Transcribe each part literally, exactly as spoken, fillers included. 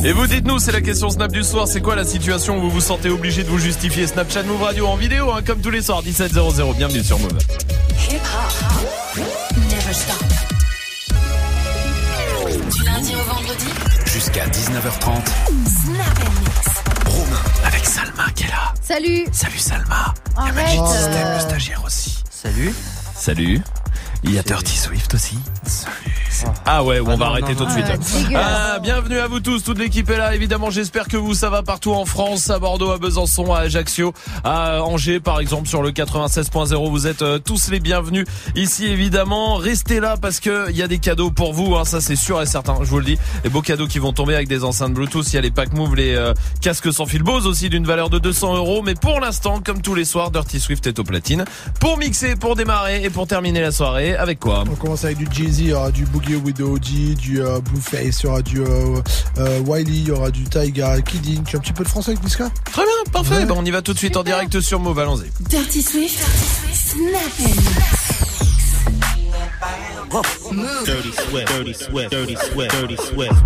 Et vous dites-nous, c'est la question Snap du soir, c'est quoi la situation où vous vous sentez obligé de vous justifier? Snapchat Move Radio en vidéo, hein, comme tous les soirs, dix-sept zéro zéro, bienvenue sur Move. Hip hop, never stop. Du lundi au vendredi, jusqu'à dix-neuf heures trente. Snap and Mix. Romain, avec Salma qui est là. Salut. Salut Salma. Arrête. Il y a Magic Oh. System, le stagiaire aussi. Salut. Salut. Il y a Dirty Swift aussi. Salut. Ah ouais, on Ah va non, arrêter non, tout de non. suite. Ah, dégueulasse. Ah, bienvenue à vous tous, toute l'équipe est là. Évidemment, j'espère que vous, ça va partout en France, à Bordeaux, à Besançon, à Ajaccio, à Angers, par exemple, sur le quatre-vingt-seize point zéro. Vous êtes euh, tous les bienvenus ici, évidemment. Restez là parce que il y a des cadeaux pour vous, hein, ça c'est sûr et certain. Je vous le dis, des beaux cadeaux qui vont tomber avec des enceintes Bluetooth. Il y a les packs Move, les euh, casques sans fil Bose aussi d'une valeur de deux cents euros. Mais pour l'instant, comme tous les soirs, Dirty Swift est au platine pour mixer, pour démarrer et pour terminer la soirée. Avec quoi? On commence avec du Jay-Z, il y aura du Boogie with the O G, du euh, Blueface, il y aura du euh, euh, Wiley, il y aura du Taiga, Kidding. Tu as un petit peu de français avec Niska? Très bien, parfait. Ouais. Bon, on y va tout de suite en direct sur Move, allons-y. Dirty Swift, Snap and Mix. Move. Dirty Swift, Dirty Swift, Dirty Swift, Dirty Swift.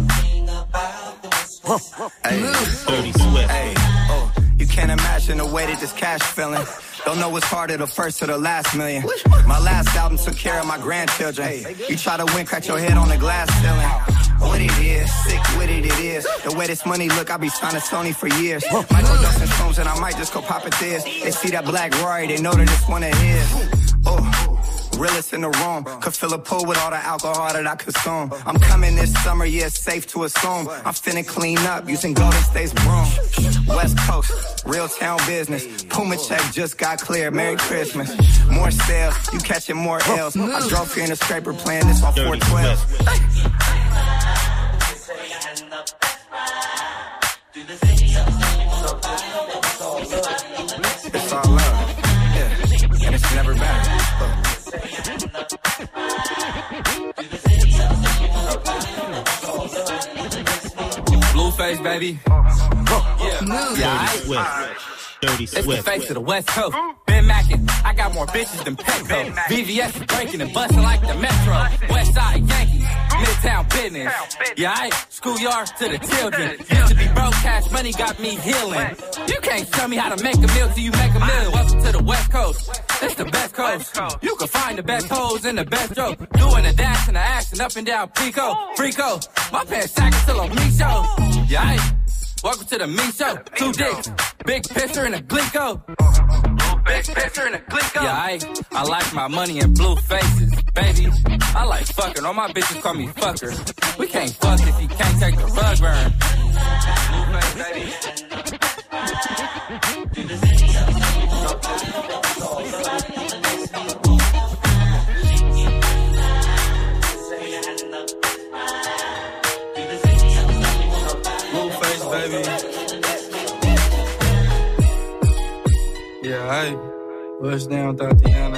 Hey, Dirty Swift. hey, oh, you can't imagine the way that this cash feeling. Don't know what's harder, the first or the last million. My last album took care of my grandchildren. You try to win, crack your head on the glass ceiling. What it is, sick with it, it is. The way this money look, I be signing Sony for years. Michael Jackson shrooms and I might just go pop it this. They see that black Rory, they know that it's one of his. Oh. Realest in the room, could fill a pool with all the alcohol that I consume. I'm coming this summer, yeah, it's safe to assume. I'm finna clean up using Golden State's broom. West Coast, real town business. Puma check just got clear, Merry Christmas. More sales, you catching more L's. I drove here in a scraper playing this on four twelve. It's all love, yeah, and it's never bad. Blueface, baby. Yeah, Move. yeah, Dirty Swift. Dirty it's the Swift. face of the West Coast. Ben Mackin, I got more bitches than Petco. V V S is breaking and busting like the Metro. West Side Yankees, Midtown business. Yeah, I schoolyard to the children. Used to be broke, cash money got me healing. You can't tell me how to make a meal till you make a meal. Welcome to the West Coast. It's the best coast. You can find the best hoes and the best joke. Doing the dash and the action up and down Pico. Frico, my pants sagging till I'm me show. Yeah, I welcome to the me show. Two dicks, big pisser and a glico. Big pisser and a glico. Yeah, I, I like my money in blue faces. Baby, I like fucking. All my bitches call me fucker. We can't fuck if you can't take the rug burn. Blue face, baby. Blueface, baby. Yeah, hey, bust down, Tatiana.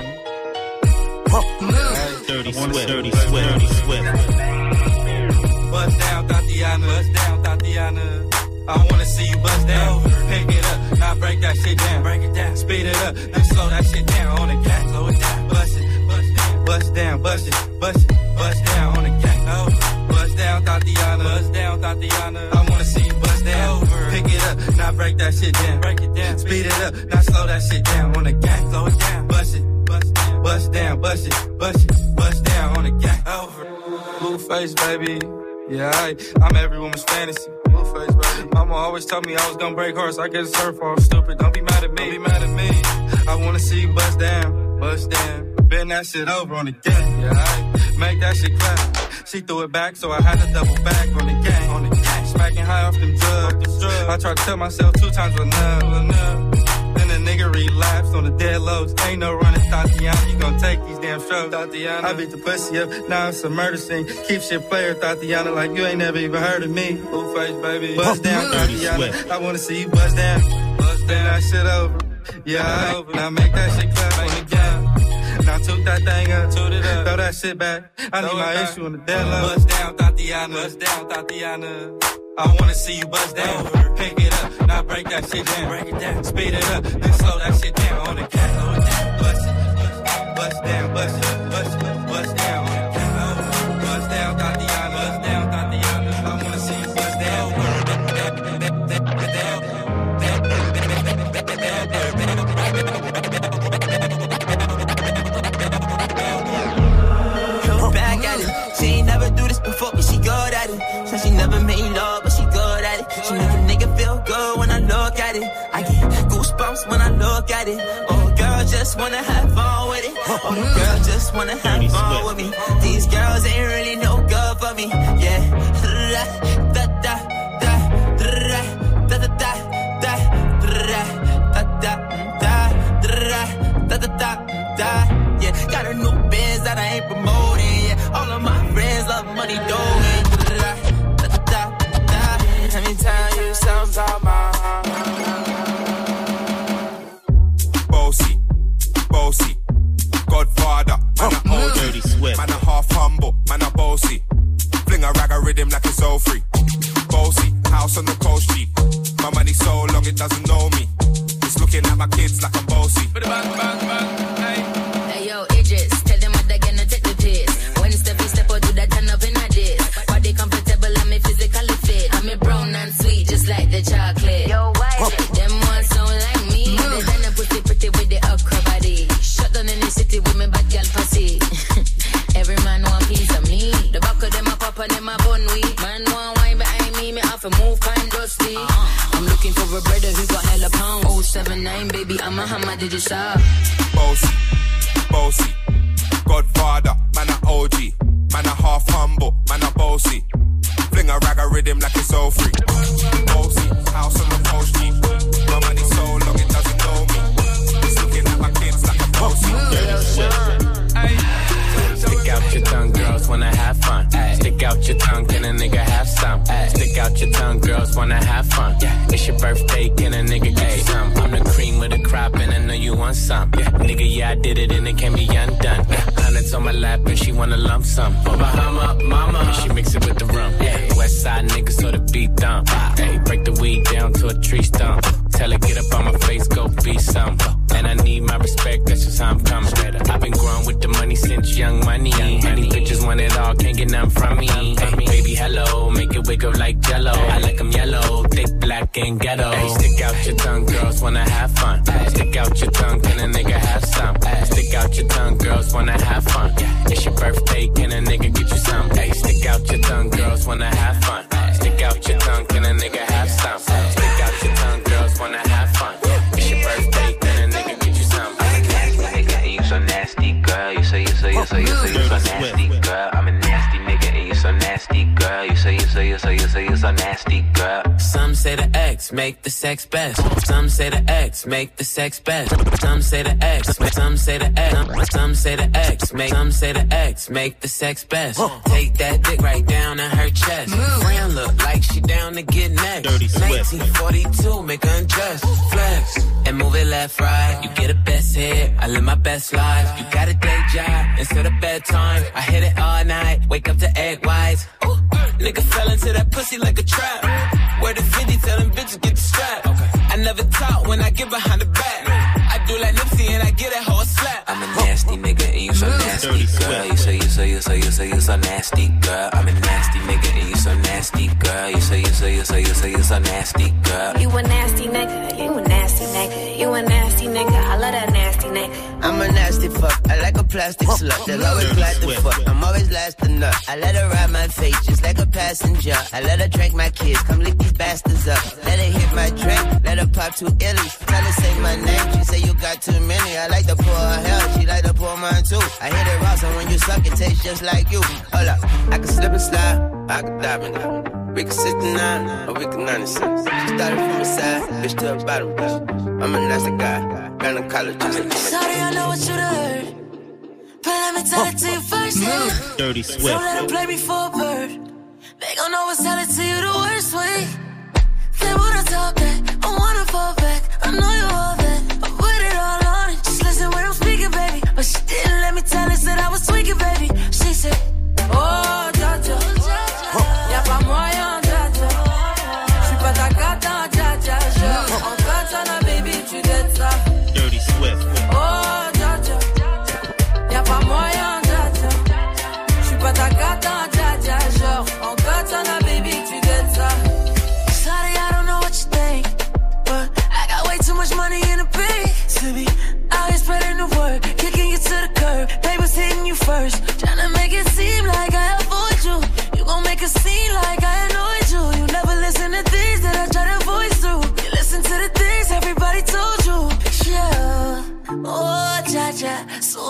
Hey, Dirty Swift. Dirty Swift. Dirty Swift. bust down, Tatiana. Bust down, Tatiana. I wanna see you bust down. Pick it up, now break that shit down. Break it down, speed it up, then slow that shit down on the gas. Slow it down, bust it, bust down, bust down, bust it, bust it, bust down on the gas. Oh, bust down, Tatiana. Bust down, Tatiana. I wanna see you bust down. Pick it up, now break that shit down. Break it down, speed it up, now slow that shit down on the gas. Slow it down, bust it, bust down, bust down, bust it, bust it, bust down on the gas. Over, Blueface, baby. Yeah, I, I'm every woman's fantasy. Blueface, baby. Mama always told me I was gonna break hearts. I guess it's her fault. Stupid. Don't be mad at me. Don't be mad at me. I wanna see you bust down, bust down. Bend that shit over on the gang. Yeah, I make that shit clap. She threw it back, so I had to double back on the gang. On the gang. Smacking high off them drugs. I tried to tell myself two times enough, enough. Then the nigga relapsed on the dead lows. Ain't no running, Tatiana. You gon' take these damn strokes, Tatiana. I beat the pussy up, now it's a murder scene. Keep shit player, Tatiana, like you ain't never even heard of me. Blueface, baby. Bust down, Tatiana. I wanna see you bust down. Bust down, that shit over. Yeah, over. Now make that shit clap on the gang. Now toot that thing up, toot it up. Throw that shit back. I need my issue on the dead low. Bust down, Tatiana. Bust down, Tatiana. I wanna see you bust down. Pick it up, now break that shit down. Break it down, speed it up, then slow that shit down on the cat. Slow it down, bust it, bust down, bust it, bust it, bust down on the cat. Bust down, Tatiana, bust down, Tatiana. I wanna see you bust down. never made love, but she good at it. She make a nigga feel good when I look at it. I get goosebumps when I look at it. Oh, girl, just wanna have fun with it. Oh, the girl just wanna have fun with me. These girls ain't really no good for me. Yeah. Da da da da da da da da da da da da da da da. Yeah, got a new biz that I ain't promoting. Yeah, all of my friends love money doing. Da da da da. Let me tell you something about my bossy, bossy, Godfather, man a old dirty sweat, man a half humble, man a bossy. Fling a rag a rhythm like it's all free. Bossy, house on the coast G. My money so long it doesn't know me. It's looking at my kids like I'm bossy. Bang, bang, bang, hey. Hey yo, Idris, tell them what they're gonna take the piss. When step in step out, do that turn up in a diss. Body comfortable, I'm a physically fit. I'm a brown and sweet, just like the chocolate. Yo, why? Them ones don't like me. They done a pussy pretty with the upper body. Shut down in the city with me bad girl pussy. Every man want piece of me. The back of them a pop and them a bun weed. Man want wine behind me, me have to move kind dusty. Uh-huh. I'm looking for a brother who got hella pound. oh seven nine, baby, I'm a hammer, did you stop? Bossy, bossy, Godfather, man a O G. Man a half humble, man a bossy. Fling a rag a rhythm like it's all free. Bossy, house on the coast G. My money so long it doesn't know me. It's looking at my kids like a bossy. Stick out your tongue, girls wanna have fun. Ay. Stick out your tongue, can a nigga have some? Ay. Stick out your tongue, girls wanna have fun. Yeah. It's your birthday, can a nigga get you some? I'm the cream with the crop and I know you want some. Yeah. Nigga, yeah, I did it and it can't be undone. Yeah. Hundreds on my lap and she wanna lump some. Oh, Bahama, mama, and she mix it with the rum. Yeah. West side niggas so the beat dump. Hey, break the weed down to a tree stump. Tell her get up on my face, go be some. And I need my respect, that's just how I'm coming. I've been growing with the money since young money. Many bitches want it all, can't get none from me. Hey, baby, hello, make it wiggle like jello. I like them yellow, thick, black, and ghetto. Hey, stick out your tongue, girls wanna have fun. Stick out your tongue, can a nigga have some? Stick out your tongue, girls wanna have fun. It's your birthday, can a nigga get you some? Hey, stick out your tongue, girls wanna have fun. Stick out your tongue, can a nigga have some? Stick out your tongue, girls wanna have fun. It's your birthday, can a nigga get you some? I'm a nasty nigga and you so nasty, girl. You so, you so, you so, you so, you so nasty, girl. I'm a nasty nigga and you so nasty, girl. You so, you so, you so, you so, you so nasty, girl. Some say the X make the sex best. Some say the X make the sex best. Some say the X, some say the X, some say the X make, some say the X make the sex best. Take that dick right down in her chest. Friend look like she down to get next. nineteen forty-two, make her undress, flex and move it left, right. You get a best hit, I live my best life. You got a day job instead of bedtime. I hit it all night, wake up to egg whites. Ooh, nigga fell into that pussy like a trap. Where the fifty tell them bitches get the strap. Okay. I never talk when I get behind the back. I do like Nipsey and I get that hoe a slap. I'm a nasty nigga and you so nasty, girl. You so, you so, you so, you so, you so nasty, girl. I'm a nasty nigga and you so nasty, girl. You so, you so, you so, you so, you so nasty, girl. You a nasty nigga, you a nasty nigga, you a nasty nigga. I love that nasty nigga. I'm a nasty fuck, I like a plastic slut. They'll always glad to fuck, I'm always last to nut. I let her ride my face just like a passenger. I let her drink my kids, come lick these bastards up. Let her hit my drink, let her pop two illies. Tell her say my name, she say you got too many. I like to pour her hell, she like to pour mine too. I hit it raw, so when you suck it tastes just like you. Hold up, I can slip and slide, I can dive in it. We can sixty-nine, or we can ninety-six. She started from the side, bitch to the bottom, bitch. I'm a nasty guy, gynecologist. Sorry, I know what you heard, but let me tell it to you first hand. Dirty Swift. Don't let them play me for a bird. They gon' always tell it to you the worst way. They wanna talk back, I wanna fall back. I know you all that, I put it all on it. Just listen when I'm speaking, baby. But she didn't let me tell her that I was tweaking, baby. She said, oh, Jaja, y'a pas moyen, Jaja. J'suis pas ta cata, Jaja. Je en katana, baby, tu dettes ça. Dirty Swift. Oh, Jaja, y'a pas moyen, Jaja. J'suis pas ta cata, Jaja. Genre, en katana, baby, tu dettes ça. Sorry, I don't know what you think, but I got way too much money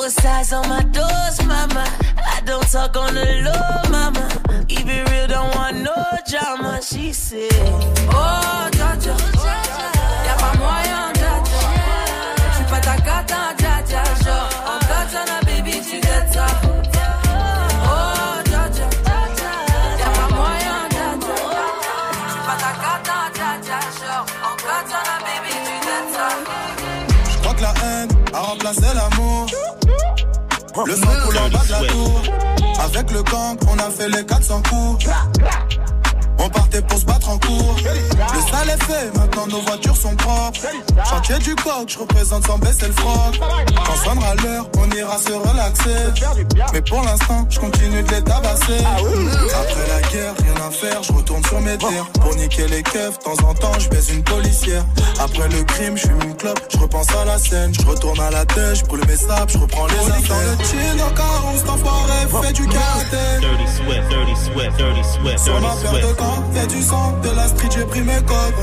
Four sides on my doors, mama. I don't talk on the low, mama. Keep it real, don't want no drama. She said, oh, Jaja, y'a pas moyen, Jaja. J'suis pas ta cata, Jaja. Genre, en katana, baby, tu gâtes ça. Oh, Jaja, y'a pas moyen, Jaja. J'suis pas ta cata, Jaja. Genre, en katana, baby, tu gâtes ça. J'crois que la haine a remplacé l'amour. Le sang coule en bas de la tour. Avec le gang, on a fait les quatre cents coups. On partait pour se battre en cours. Le sale est fait, maintenant nos voitures sont propres. Chantier du coq, je représente sans baisser le froc. Quand sonnera l'heure, on ira se relaxer. Mais pour l'instant, je continue de les tabasser. Après la guerre, rien à faire, je retourne sur mes terres. Pour niquer les keufs, de temps en temps, je baise une policière. Après le crime, je fume une clope, je repense à la scène. Je retourne à la tête, je brûle mes sables, je reprends les affaires. Dans le chin, encore on s'enfoiré, fait du karaté. Dirty Swift, Dirty Swift, Dirty Swift, Sur ma Dirty paire de Swift. camp, y'a du sang, de la street, j'ai pris mes codes.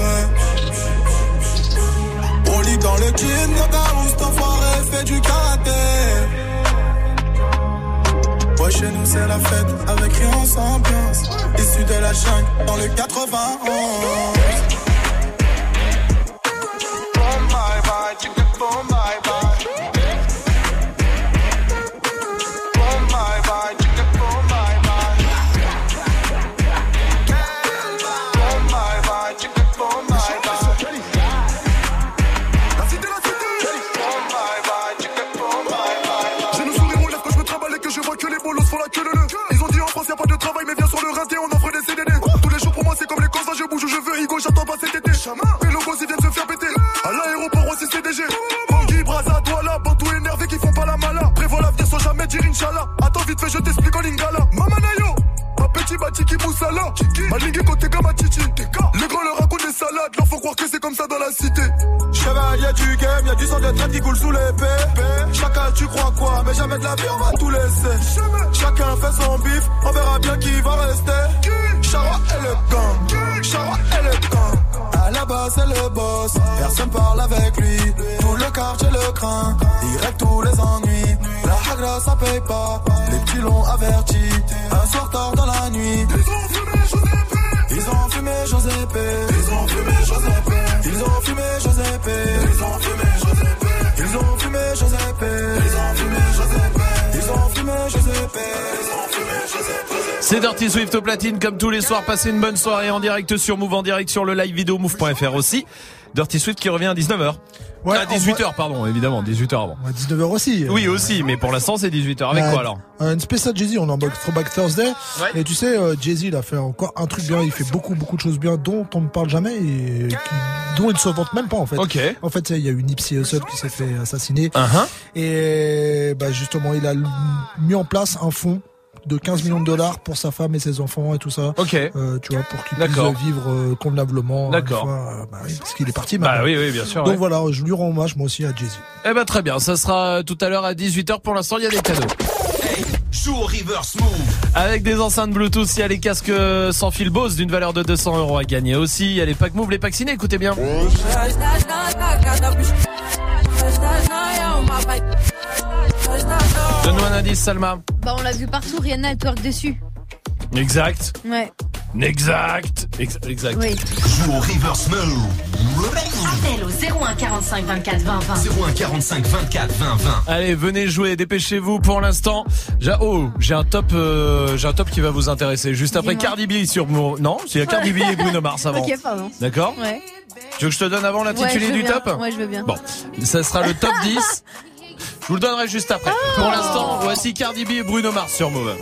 On lit dans le jean, encore on s'enfoiré, fait du karaté. Ouais, chez nous c'est la fête, avec rien sans ambiance. Issu de la jungle, dans le quatre-vingt-onze. Boom, bye bye, tu peux boom, bye bye. Boom, bye bye, tu peux boom, bye bye. Boom, bye bye, tu peux boom, bye bye. La cité, la cité. Boom, bye bye, tu peux boom, bye bye. J'ai le sourire aux lèvres quand je me trimballe et que je vois que les bolos font la queue de nœud. Ils ont dit en France y'a pas de travail, mais viens sur le rinté, on offre des C D D. Tous les jours pour moi c'est comme les courses, je bouge où je veux, Higo, j'attends pas cet été. Les logos ils viennent se faire péter. À l'aéroport aussi C D G. Bangui, Braza, Douala, Bantou énervé qui font pas la mala. Prévois l'avenir sans jamais dire Inch'Allah. Attends vite fait, je t'explique en lingala. Mamanayo, ma petit batiki moussala. Ma ligue côté gamma chichi. Les grands leur racontent des salades, leur faut croire que c'est comme ça dans la cité. Chevalier du game, y'a du sang de traite qui coule sous l'épée. Chacun tu crois quoi, mais jamais de la vie on va tout laisser. Chacun fait son bif, on verra bien qui va rester. Chara et le gang, Chara et le gang. À la base c'est le boss, personne parle avec lui. Tout le quartier le craint, il règle tous les ennuis. La hagra ça paye pas, les petits l'ont averti. Un soir tard dans la nuit, ils ont fumé Josépé. Ils ont fumé Josépé. Ils ont fumé Josépé. Ils ont fumé Josépé. Ils ont fumé Josépé. Ils ont fumé Josépé. Ils ont fumé Josépé. Ils ont fumé Josépé. C'est Dirty Swift au platine comme tous les soirs. Passez une bonne soirée en direct sur Move, en direct sur le live vidéo move point f r aussi. Dirty Swift qui revient à dix-neuf heures. Ouais, à dix-huit heures, pardon, évidemment, dix-huit heures avant. Ouais, dix-neuf heures aussi. Oui, aussi, mais pour l'instant, c'est dix-huit heures. Avec ouais, quoi alors? Une spéciale Jay-Z, on est en mode Throwback Thursday. Ouais. Et tu sais, euh, Jay-Z, il a fait encore un truc bien, il fait beaucoup, beaucoup de choses bien dont on ne parle jamais et qui, dont il ne se vante même pas, en fait. Ok. En fait, il y a eu Nipsey Hussle qui s'est fait assassiner. Uh-huh. Et, bah, justement, il a mis en place un fonds de quinze millions de dollars pour sa femme et ses enfants et tout ça. Ok. Euh, tu vois, pour qu'il puisse vivre euh, convenablement. D'accord. Euh, bah, oui, parce qu'il est parti maintenant. Bah oui, oui, bien sûr. Donc ouais. voilà, je lui rends hommage moi aussi à Jay-Z. Eh ben très bien, ça sera tout à l'heure à dix-huit heures. Pour l'instant, il y a des cadeaux. Hey, joue au reverse move. Avec des enceintes Bluetooth, il y a les casques sans fil Bose d'une valeur de deux cents euros à gagner aussi. Il y a les packs Move, les packs ciné, écoutez bien. Donne-nous un indice, Salma. Bah on l'a vu partout, Rihanna elle twerk dessus. Exact. Ouais. Exact. Ex- exact. Oui. Joue au reverse move. Appel au zéro un quarante-cinq vingt-quatre vingt vingt. zéro un quarante-cinq vingt-quatre vingt vingt. Allez, venez jouer, dépêchez-vous pour l'instant. J'ai, oh, j'ai un top, euh, j'ai un top qui va vous intéresser. Juste après Dis-moi. Cardi B sur mon, non, c'est Cardi B et Bruno Mars avant. Ok, pardon. D'accord? Ouais. Tu veux que je te donne avant l'intitulé ouais, du bien. top? Ouais, je veux bien. Bon, ça sera le top dix. Je vous le donnerai juste après. Oh. Pour l'instant, voici Cardi B et Bruno Mars sur Move.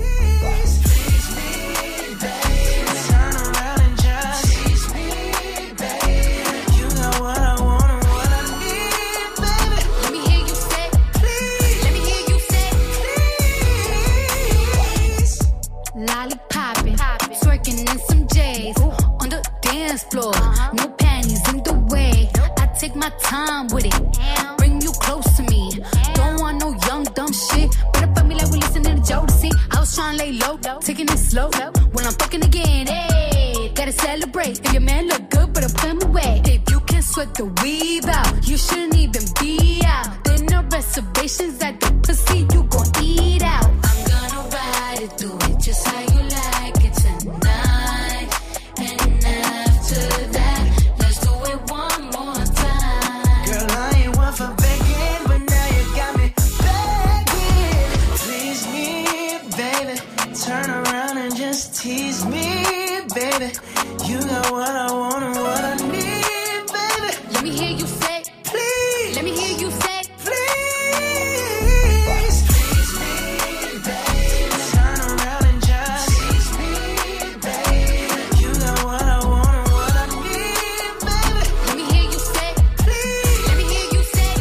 Lollipoppin', twerking in some J's on the dance floor. No panties in the way. I take my time with it. Bring you close to me. Don't want no young dumb shit. Better fuck me like we listening to Jodeci. I was trying to lay low, taking it slow. When I'm fucking again, hey, gotta celebrate. If your man look good, better put him away. If you can sweat the weave out, you shouldn't even be out. Then the reservations at the pussy, you gon' eat out. I'm gonna ride it, do it just how you like it tonight. And after that, let's do it one more time. Girl, I ain't one for begging, but now you got me begging. Please me, baby. Turn around and just tease me, baby. You got what I want and what I need, baby. Let me hear you say, please. Let me hear you say, please. Tease me, baby. Turn around and just tease me, baby. You got what I want and what I need, baby. Let me hear you say, please. Let me hear you say,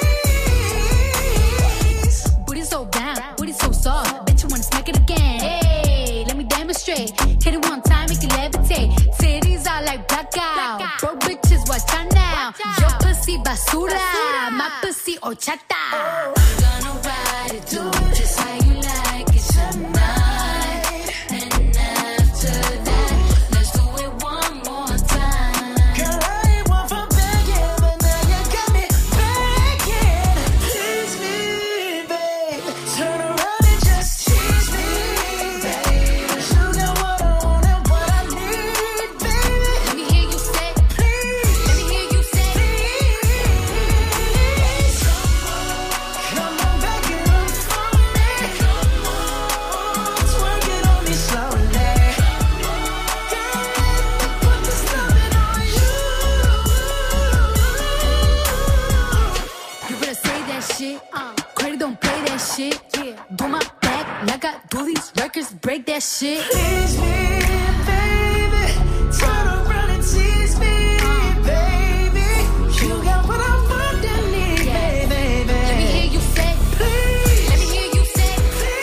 please. Booty so down, booty so soft. Bet you wanna smack it again. Hey, let me demonstrate. Hit it one time, make it levitate. Titties are like blackout. Broke bitches, watch out now. Your pussy basura, my pussy horchata. I'm gonna ride it, do it just how you like it tonight. And after that, let's do it one more time. Girl, I ain't one for begging, but now you got me begging. Please me, babe. Turn around and just tease me, babe. You got what I want and what I need, baby. Let me hear you say, please. Let me hear you say, please. Come on, back it up for me. Come on, twerk it on me slowly. Girl, let me put this loving on you. you better say that shit. Uh, credit don't play that shit. Yeah, do my back like I do these records, break that shit. Please me, baby. Turn around and tease me, baby. You got what I want and need, baby. Let me hear you say, please. Let me hear you say,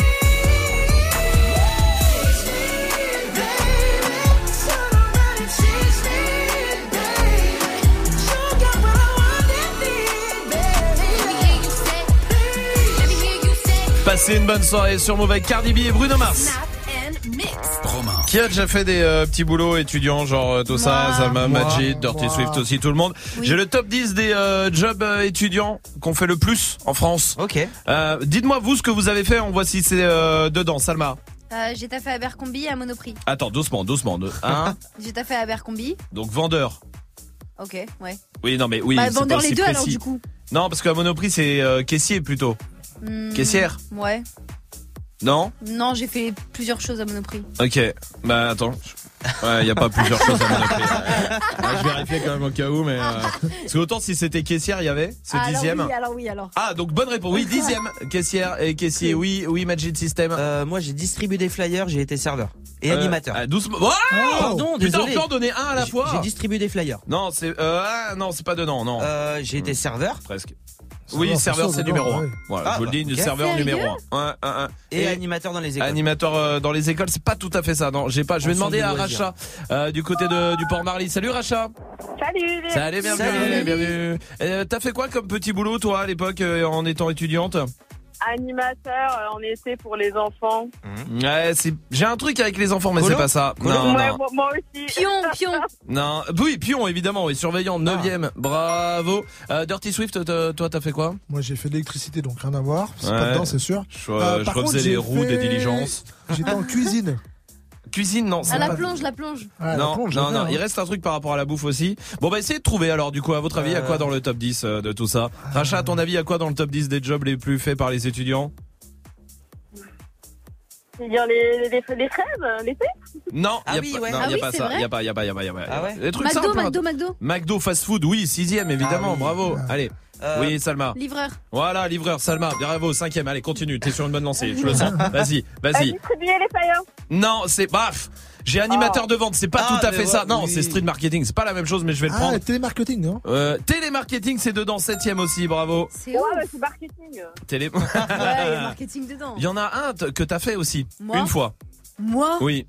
please me, baby. Turn around and tease me, baby. You got what I want and need, baby. Let me hear you say, Let me hear you say. Passez une bonne soirée sur Move avec Cardi B et Bruno Mars. Snap and mix. Romain. Qui a déjà fait des euh, petits boulots étudiants, genre euh, Tossa, Zalma, Moi. Majid, Dirty Moi. Swift aussi, tout le monde. Oui. J'ai le top dix des euh, jobs euh, étudiants qu'on fait le plus en France. Ok. Euh, dites-moi vous ce que vous avez fait, on voit si c'est euh, dedans. Salma. Euh, j'ai taffé à Abercrombie et à Monoprix. Attends, doucement, doucement. De... Hein J'ai taffé à Abercrombie. Donc vendeur. Ok, ouais. Oui, non mais oui, bah, c'est vendeur pas les aussi deux précis. alors du coup. Non, parce qu'à Monoprix c'est euh, caissier plutôt. Hmm, Caissière. Ouais. Non. Non, j'ai fait plusieurs choses à Monoprix. Ok. Bah attends. Ouais, y a pas plusieurs choses à Monoprix. Ouais, je vérifiais quand même au cas où, mais euh... parce que autant si c'était caissière, il y avait ce Ah, dixième. Alors oui, alors oui, alors. Ah donc bonne réponse. Oui, dixième caissière et caissier. Oui, oui, Magic System. Euh, moi, j'ai distribué des flyers, j'ai été serveur et Euh, animateur. ah, doucement. Oh Pardon, Putain, désolé. on peut en donner un à la J'ai- fois. J'ai distribué des flyers. Non, c'est euh, ah, non, c'est pas dedans, non. Euh, j'ai été serveur Presque. Ça Oui, va, serveur, ça, c'est dedans, numéro un. ouais. Voilà, Ah, je vous le dis, bah, ok. serveur Sérieux numéro un. Un, un, un. et, animateur dans les écoles. Animateur euh, dans les écoles, c'est pas tout à fait ça. Non, j'ai pas. Je vais En demander centre à de loisirs. Racha euh, du côté de, du Port Marly. Salut Racha. Salut. Salut, bienvenue, Salut. bienvenue. Euh, T'as fait quoi comme petit boulot toi à l'époque euh, en étant étudiante? Animateur euh, en été pour les enfants. Ouais, c'est. J'ai un truc avec les enfants, mais Colo c'est pas ça. Colo Non, Ouais, non. moi, moi aussi. Pion, pion. Non, oui, pion évidemment, oui, surveillant, neuvième, bravo. Euh, Dirty Swift, toi toi, t'as fait quoi? Moi, j'ai fait de l'électricité, donc rien à voir. C'est Ouais. pas dedans, c'est sûr. Je, Euh, je par refaisais contre, les j'ai roues des fait- diligences. J'étais en cuisine. Cuisine, non, c'est À la pas- plonge, la plonge. Ah, la non, plonge, non, j'avais, non, hein. il reste un truc par rapport à la bouffe aussi. Bon, bah, essayez de trouver alors, du coup, à votre avis, à quoi Euh. dans le top dix euh, de tout ça? Racha, à ton avis, à quoi dans le top dix des jobs les plus faits par les étudiants? C'est-à-dire les, les, les fraises, euh, l'été. Non, Ah y a oui, pas, ouais. non, Ah y a oui, pas c'est ça, vrai y a pas, y a pas, y a pas, y a pas. Ah ouais Les trucs McDo, simples, hein. McDo, McDo. McDo fast food, oui, sixième, évidemment, Ah oui. bravo. Allez. Euh, Oui, Salma. Livreur. Voilà, livreur, Salma, bravo, cinquième. Allez, continue, t'es sur une bonne lancée, je le sens. Vas-y, À vas-y. distribuer les flyers. Non, c'est baf. J'ai animateur Oh. de vente, c'est pas Ah, tout à mais fait ouais, ça. Non, oui. c'est street marketing, c'est pas la même chose, mais je vais le Ah, prendre. télémarketing, non? Euh, télémarketing, c'est dedans, septième aussi, bravo. C'est Ouais, ouf. bah, c'est marketing. Télé. Ouais, il y a marketing dedans. Il y en a un t- que t'as fait aussi, Moi une fois. Moi Oui.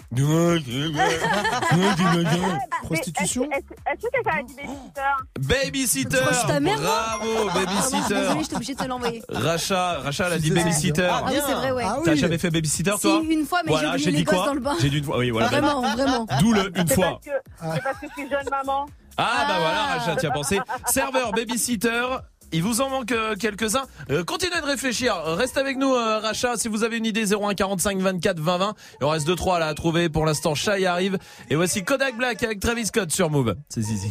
Prostitution? Est-ce est-ce que quelqu'un a dit babysitter? Babysitter. Tu crois ta mère, moi Bravo, Pardon, babysitter. désolée, j'étais obligée de te l'envoyer. Racha, Racha, elle a Je dit suis babysitter. Ah oui, c'est vrai, ouais. Ah oui. T'as jamais fait babysitter, Si, toi? une fois, mais Voilà, j'ai j'ai oublié dit les gosses quoi? dans le bain. J'ai dit une fois, oui, voilà. Vraiment, vraiment. D'où le une C'est fois. parce que, c'est parce que je suis jeune maman. Ah bah voilà, Racha, tu as pensé. Serveur, babysitter il vous en manque euh, quelques-uns. Euh, continuez de réfléchir. Reste avec nous, euh, Racha. Si vous avez une idée, zéro un quarante-cinq vingt-quatre vingt vingt. Il en reste deux trois là à trouver. Pour l'instant, Shai arrive. Et voici Kodak Black avec Travis Scott sur Move. C'est Zizi.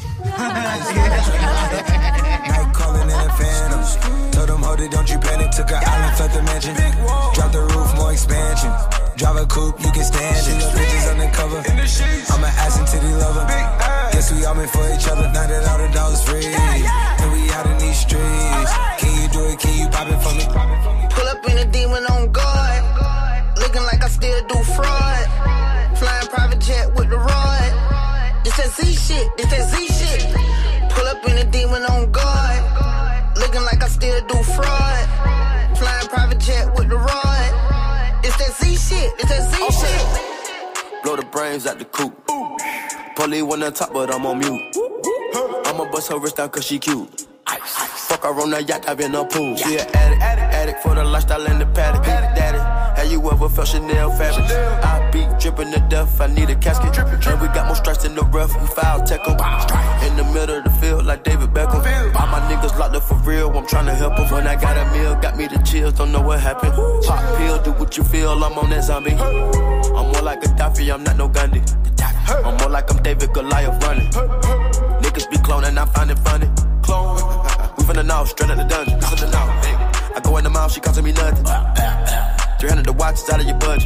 Told them, hold it, don't you panic. Took an island, left the mansion. Drop the roof, more expansion. Drive a coupe, you can stand it. Bitches undercover. I'm an ass and titty lover. Guess we all meant for each other. Now that all the dogs free, and we out in these streets. Can you do it? Can you pop it for me? Pull up in a demon on guard. Looking like I still do fraud. Flying private jet with the rod. This that Z shit. This that Z shit. Pull up in a demon on guard. Looking like I still do fraud. Flying private jet with the rod. It's that Z shit. It's that Z okay. shit. Blow the brains out the coop. Polly one on top, but I'm on mute. I'ma bust her wrist down cause she cute. Fuck her on the yacht, I've been a pool. She an addict, addict, addict for the lifestyle and the paddock. Daddy, have you ever felt Chanel fabric? I be dripping to death, I need a casket. And we got more strikes in the rough, we foul tech em. In the middle of the field like David Beckham. All my niggas locked up for real, I'm tryna help them. When I got a meal, got me the chills, don't know what happened. Pop pill, do what you feel, I'm on that zombie. I'm more like Gaddafi, I'm not no Gandhi. I'm more like I'm David Goliath running. Niggas be cloning, I find it funny. Clone. We finna know, straight out the dungeon. Listen to now, I go in the mouth, she costing me nothing. three hundred the watch, it's out of your budget.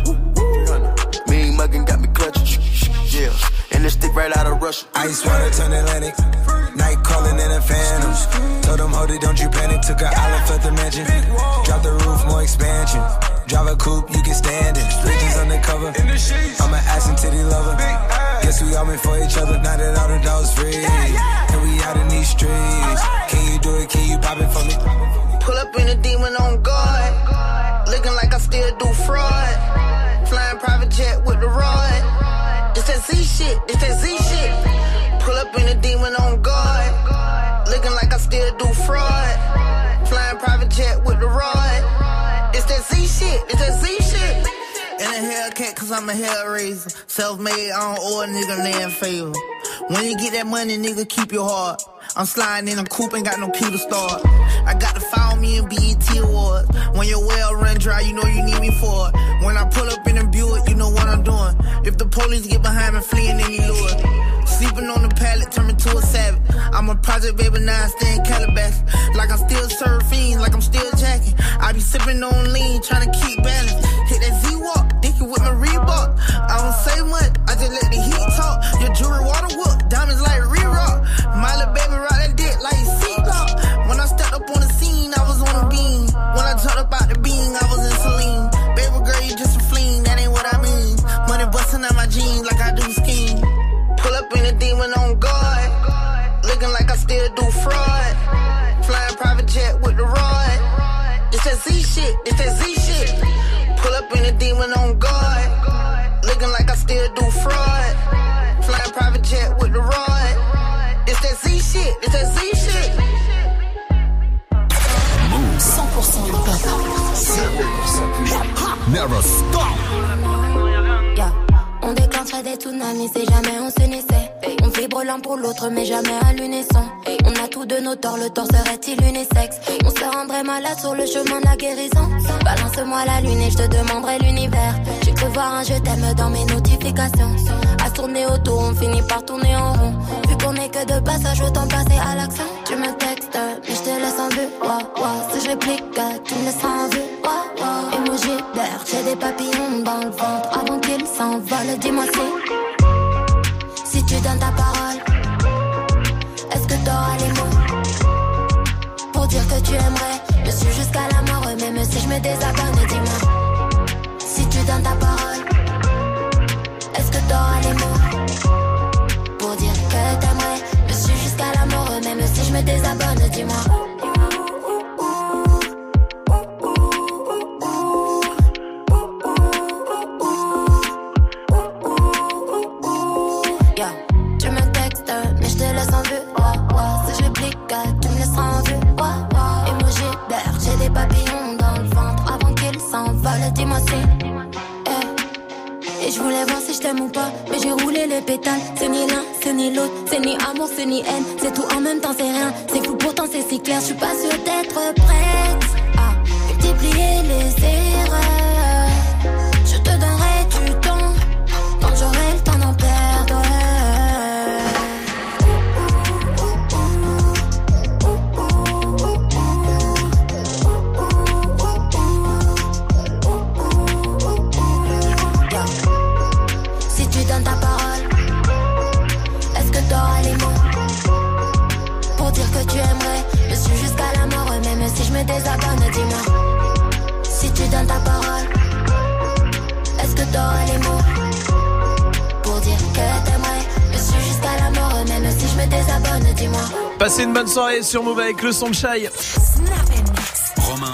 Mean muggin' got me clutching. Yeah, and this stick right out of Russia. Ice water turn Atlantic. Night calling in a phantom. Told them, hold it, don't you panic. Took an island, left the mansion. Drop the roof, more expansion. Drive a coupe, you can stand it. Bridges undercover. I'm an ass and titty lover. Guess we all meant for each other. Now that all the dogs free, and we out in these streets. Can you do it? Can you pop it for me? Pull up in a demon on guard. Looking like I still do fraud. Flying private jet with the rod. It's that Z shit. It's that Z shit. Pull up in a demon on guard. Looking like I still do fraud. Flying private jet with the rod. It's that Z shit. It's that Z shit. In a Hellcat, cause I'm a hellraiser. Self-made, I don't owe a nigga land favor. When you get that money, nigga, keep your heart. I'm sliding in a coupe, ain't got no key to start. I got to follow me in B E T Awards. When your well run dry, you know you need me for it. When I pull up in a Buick, you know what I'm doing. If the police get behind me, fleeing any lure. Sleeping on the pallet, turn me to a savage. I'm a project baby, now I stay in Calabash. Like I'm still surfing, like I'm still jacking. I be sipping on lean, trying to keep balance. Hit that Z-Walk, dicky with my Reebok. I don't say much, I just let the heat talk. Your jewelry water whoop, diamonds like re-rock. My little baby rock that dick like seatbelt. When I stepped up on the scene, I was on a beam. When I talked about the bean, I was in Celine. Baby girl, you just a fleen, that ain't what I mean. Money busting out my jeans like I do skiing. Pull up in a demon on guard. Looking like I still do fraud. Flying private jet with the rod. It's that Z shit, it's that Z shit. Pull up in a demon on guard. Looking like I still do fraud. Flying private jet with the rod. It's that Z shit, it's that Z shit. Move. cent pour cent hip-hop. zéro pour cent Never stop. Yeah. On déclencherait des tsunamis si jamais on s'unissait. On vibre l'un pour l'autre mais jamais à l'unisson. On a tous de nos torts, le tort serait-il unisexe? On se rendrait malade sur le chemin de la guérison. Balance-moi la lune et je te demanderai l'univers. J'ai cru voir un je t'aime dans mes notifications. À se tourner autour, on finit par tourner en rond. Vu qu'on est que de passage, autant passer à l'action. Tu me textes, mais je te laisse en vue. Wow, wow. Si je réplique, tu me laisses en vue. Wow, wow. Émoji d'air, j'ai des papillons dans le ventre avant qu'ils s'envolent. Dis-moi si, si tu donnes ta parole, est-ce que t'auras les mots pour dire que tu aimerais me suivre jusqu'à la mort, même si je me désabonne. Dis-moi si tu donnes ta parole, est-ce que t'auras les mots pour dire que t'aimerais me suivre jusqu'à la mort, même si je me désabonne. Dis-moi. Dis-moi si, eh, Et je voulais voir si je t'aime ou pas, mais j'ai roulé les pétales. C'est ni l'un, c'est ni l'autre, c'est ni amour, c'est ni haine. C'est tout en même temps, c'est rien. C'est fou, pourtant c'est si clair. Je suis pas sûre d'être prête à multiplier les erreurs. Je te donnerai du temps quand j'aurai le temps d'en perdre. Si tu donnes ta parole, est-ce que t'auras les mots pour dire que tu aimerais me suivre jusqu'à la mort? Même si je me désabonne, dis-moi. Si tu donnes ta parole, est-ce que t'auras les mots pour dire que t'aimerais me suivre jusqu'à la mort? Même si je me désabonne, dis-moi. Passez une bonne soirée sur Move avec le son de Shai. Romain.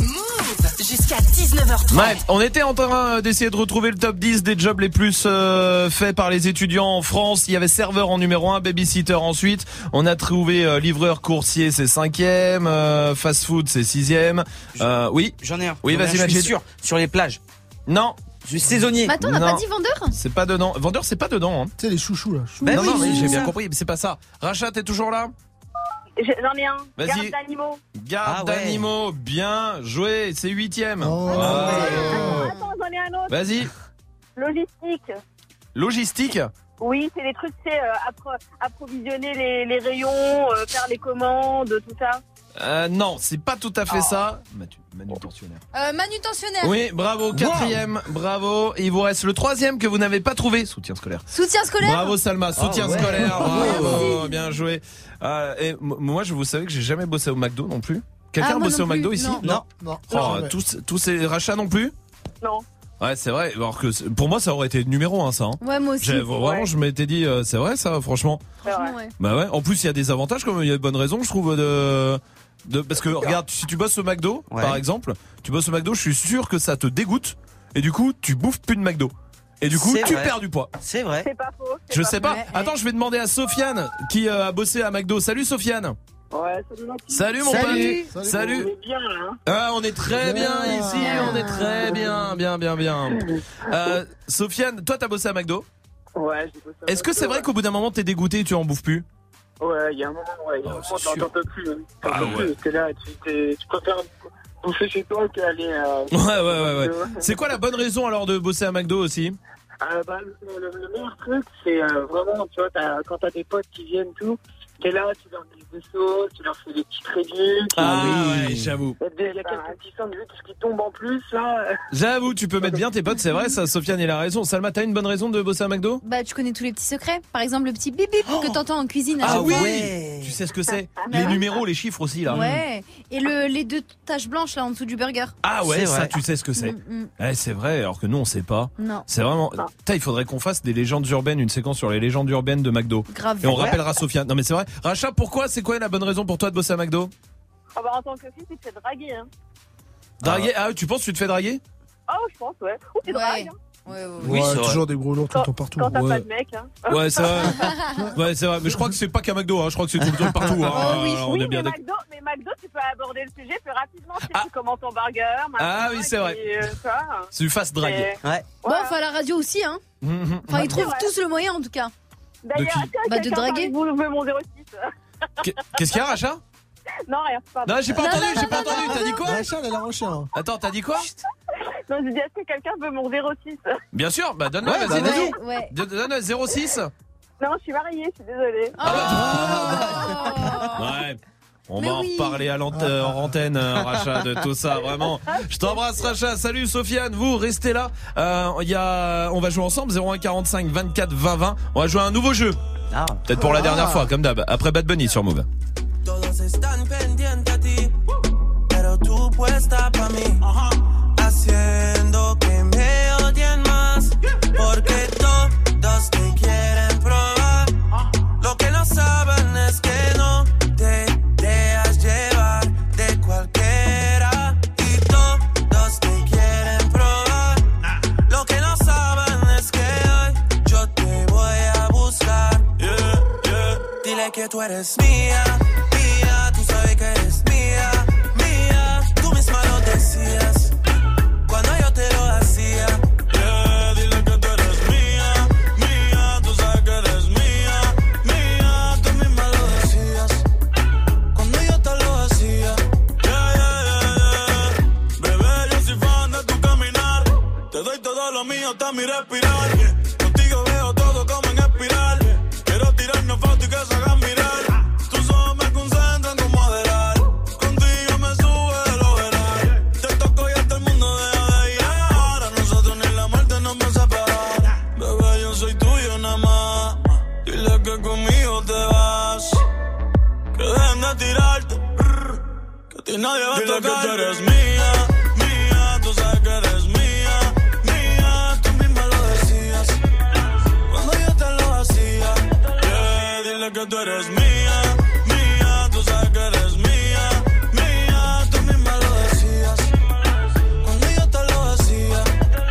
Jusqu'à dix-neuf heures trente. Ouais, on était en train d'essayer de retrouver le top dix des jobs les plus euh, faits par les étudiants en France. Il y avait serveur en numéro un, babysitter ensuite. On a trouvé euh, livreur coursier, c'est cinquième, euh, fast food c'est sixième. Euh, oui. J'en ai un. Oui, J'en ai vas-y, un, je suis Majid. sûr. Sur les plages. Non. Je suis saisonnier. Mais attends, on n'a Non. pas dit vendeur? C'est pas dedans. Vendeur, c'est pas dedans. Hein. Tu sais, les chouchous là. Ben non, oui, non, mais c'est j'ai ça. bien compris, mais c'est pas ça. Rachat, t'es toujours là? J'ai- J'en ai un. Vas-y. Garde d'animaux. Garde Ah ouais. d'animaux, bien joué, c'est huitième. Oh. Ah. Attends, j'en ai un autre. Vas-y. Logistique. Logistique. Oui, c'est des trucs, tu sais, euh, appro- approvisionner les, les rayons, euh, faire les commandes, tout ça. Euh, non, c'est pas tout à fait ça. Manu- Manutentionnaire. Euh, manutentionnaire. Oui, bravo, quatrième, bravo. Et il vous reste le troisième que vous n'avez pas trouvé. Soutien scolaire. Soutien scolaire. Bravo Salma, soutien Ah ouais. scolaire, bravo, bien joué. Euh, et m- moi, je vous savez que j'ai jamais bossé au McDo non plus. Quelqu'un Ah, a moi bossé non au McDo plus, ici? non. Non, non. Oh, jamais. tous, tous ces rachats non plus? Non. Ouais, c'est vrai. Alors que c'est- pour moi, ça aurait été numéro un, ça. Hein. Ouais, moi aussi. J'ai- Vraiment, Ouais. je m'étais dit, euh, c'est vrai, ça, franchement. Franchement, ouais. Bah ouais. En plus, il y a des avantages, comme il y a de bonnes raisons, je trouve, de, de parce que regarde, si tu bosses au McDo, Ouais. par exemple, tu bosses au McDo, je suis sûr que ça te dégoûte, et du coup, tu bouffes plus de McDo. Et du coup, C'est tu vrai. perds du poids. C'est vrai. C'est pas faux. c'est Je pas sais faux. pas. Ouais, Attends, je vais demander à Sofiane qui euh, a bossé à McDo. Salut Sofiane. Ouais, salut Mathieu. Salut mon Salut. pote. Salut. Salut. On est bien là. Hein. Ah, on est très bien Bien. ici, on est très bien, bien, bien, bien. Euh, Sofiane, toi t'as bossé à McDo. Ouais, j'ai bossé à Est-ce que c'est McDo, vrai qu'au bout d'un moment t'es dégoûté et tu en bouffes plus? Ouais, il y a un moment, ouais, il y a un Oh, moment, c'est t'en sûr. t'en peux plus. Hein. T'en Ah peux ouais. plus. T'es là, tu, t'es, tu préfères bouffer chez toi qu'aller à. Ouais, ouais, ouais, ouais. C'est quoi la bonne raison alors de bosser à McDo aussi? Euh, bah, le, le- le meilleur truc, c'est euh, vraiment, tu vois, t'as, quand t'as des potes qui viennent, tout, t'es là, tu leur mets des sauces, tu leur fais des petits réduits. Ah oui. ouais, j'avoue. Il y a, des- il y a quelques petits sandwichs qui tombent en plus, là. J'avoue, tu peux mettre bien tes potes, c'est vrai, ça, Sofiane, il a raison. Salma, t'as une bonne raison de bosser à McDo? Bah, tu connais tous les petits secrets. Par exemple, le petit bip bip que t'entends en cuisine à Ah chaque oui fois. Ouais. Tu sais ce que c'est? Bah Les oui. numéros, les chiffres aussi là. Ouais. Et le, les deux taches blanches là en dessous du burger. Ah ouais, C'est ça vrai. tu sais ce que c'est. Mm, mm. Eh, c'est vrai, alors que nous on sait pas. Non. C'est vraiment. Putain, il faudrait qu'on fasse des légendes urbaines, une séquence sur les légendes urbaines de McDo. Grave. Et on Ouais. rappellera Sofiane. Non mais c'est vrai. Racha, pourquoi? C'est quoi la bonne raison pour toi de bosser à McDo? Ah bah, en tant que fille, tu te fais draguer, hein. Draguer? Ah, tu penses que tu te fais draguer? Oh, je pense, ouais. Ou tu Ouais. dragues, hein. Ouais, ouais, ouais. Oui, Ouais, c'est vrai. toujours des gros lourds tout le temps partout. Quand t'as Ouais. pas de mec, hein. Ouais, c'est vrai. Ouais, c'est vrai. Mais je crois que c'est pas qu'à McDo, hein. Je crois que c'est tout le temps partout. Hein. Oh oui. Alors, on Oui, est bien mais d'accord. McDo, mais McDo, tu peux aborder le sujet plus rapidement si Ah. tu commandes ton burger. machin, Ah oui, c'est vrai. et, euh, tu vois. C'est du fast drag. Et- Ouais. Bon, enfin, à la radio aussi, hein. Mhm. Enfin, ils C'est trouvent vrai. tous le moyen en tout cas. D'ailleurs, De qui est-ce que Bah, de quelqu'un draguer. parmi vous veut mon zéro six? Qu'est- Qu'est-ce qu'il y a, Racha? Non, rien, pardon. Non, j'ai pas Non, entendu, non, j'ai pas non, entendu. non, T'as dit quoi? Rachel, elle a un chien. Attends, t'as dit quoi? Non, je dis, est-ce que quelqu'un veut mon zéro six? Bien sûr, bah donne-le, Ouais, vas-y, bah, dis-nous. Ouais, ouais. Donne- Donne zéro six. Non, je suis mariée, je suis désolée. Oh. Ouais. On Mais va en oui. reparler à l'ant- euh, en antenne, euh, Racha, de tout ça, vraiment. Je t'embrasse, Racha. Salut, Sofiane. Vous, restez là. Euh, il y a, on va jouer ensemble, zéro un quarante-cinq vingt-quatre vingt vingt. On va jouer à un nouveau jeu. Ah. Peut-être pour la Ah. dernière fois, comme d'hab. Après Bad Bunny sur Move. Todos están pendientes a ti, pero tú puesta pa' mí, haciendo que me odien más, porque todos te quieren probar. Lo que no saben es que no te dejas llevar de cualquiera, y todos te quieren probar. Lo que no saben es que hoy yo te voy a buscar. Yeah, yeah. Dile que tú eres mía. Tú sabes que eres mía, mía. Tú misma lo decías cuando yo te lo hacía. Yeah, dile que tú eres que conmigo te vas. Que dejen de tirarte, que a ti nadie va a tocar. Dile que tú eres mía, mía, tú sabes que eres mía, mía, tú misma lo decías cuando yo te lo hacía. Yeah, dile que tú eres mía, mía, tú sabes que eres mía, mía, tú misma lo decías cuando yo te lo hacía.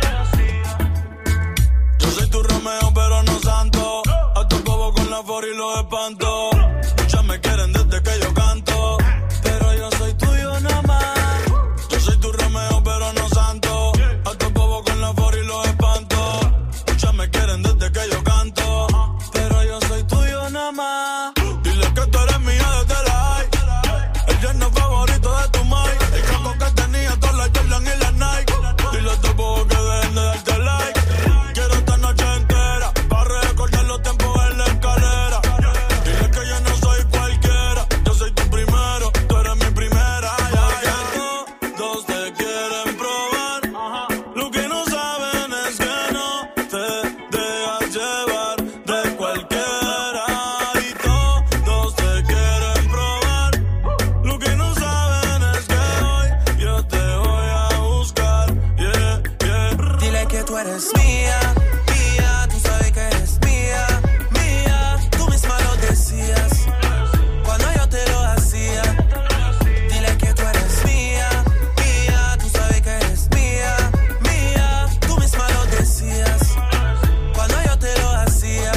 Yo soy tu Romeo pero no santo, a tu bobo con la for y los espanto. Muchas me quieren desde que yo canto, pero yo soy tuyo nada más. Yo soy tu Romeo pero no santo, a tu bobo con la for y los espanto. Muchas me quieren desde que yo canto, pero yo soy tuyo nada más. Dile que tú eres mía desde la high, el yerno favorito de tu mai. El caco que tenía todas las Jordan y las Nike. Dile a tu bobo que dejen de darte like. Quiero esta noche entera para recordar los tiempos en la escalera. Dile que yo no soy cualquiera, yo soy tu primero, tú eres mi primera. Ya, ya, todos te quieren probar, lo que no saben es que no te dejas llevar de cualquiera. Y todos te quieren probar, lo que no saben es que hoy yo te voy a buscar. Yeah, yeah. Dile que tú eres mía, mía, tú sabes que eres mía, mía, tú misma lo decías cuando yo te lo hacía. Dile que tú eres mía, mía, tú sabes que eres mía, mía, tú misma lo decías cuando yo te lo hacía.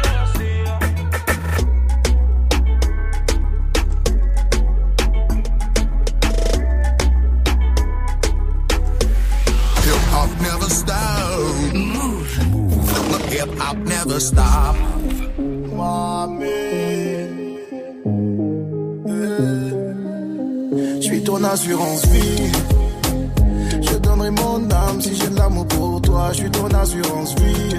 Hip hop never stop. Move. Hip hop never stop. Je suis ton assurance vie. Je donnerai mon âme si j'ai de l'amour pour toi. Je suis ton assurance vie.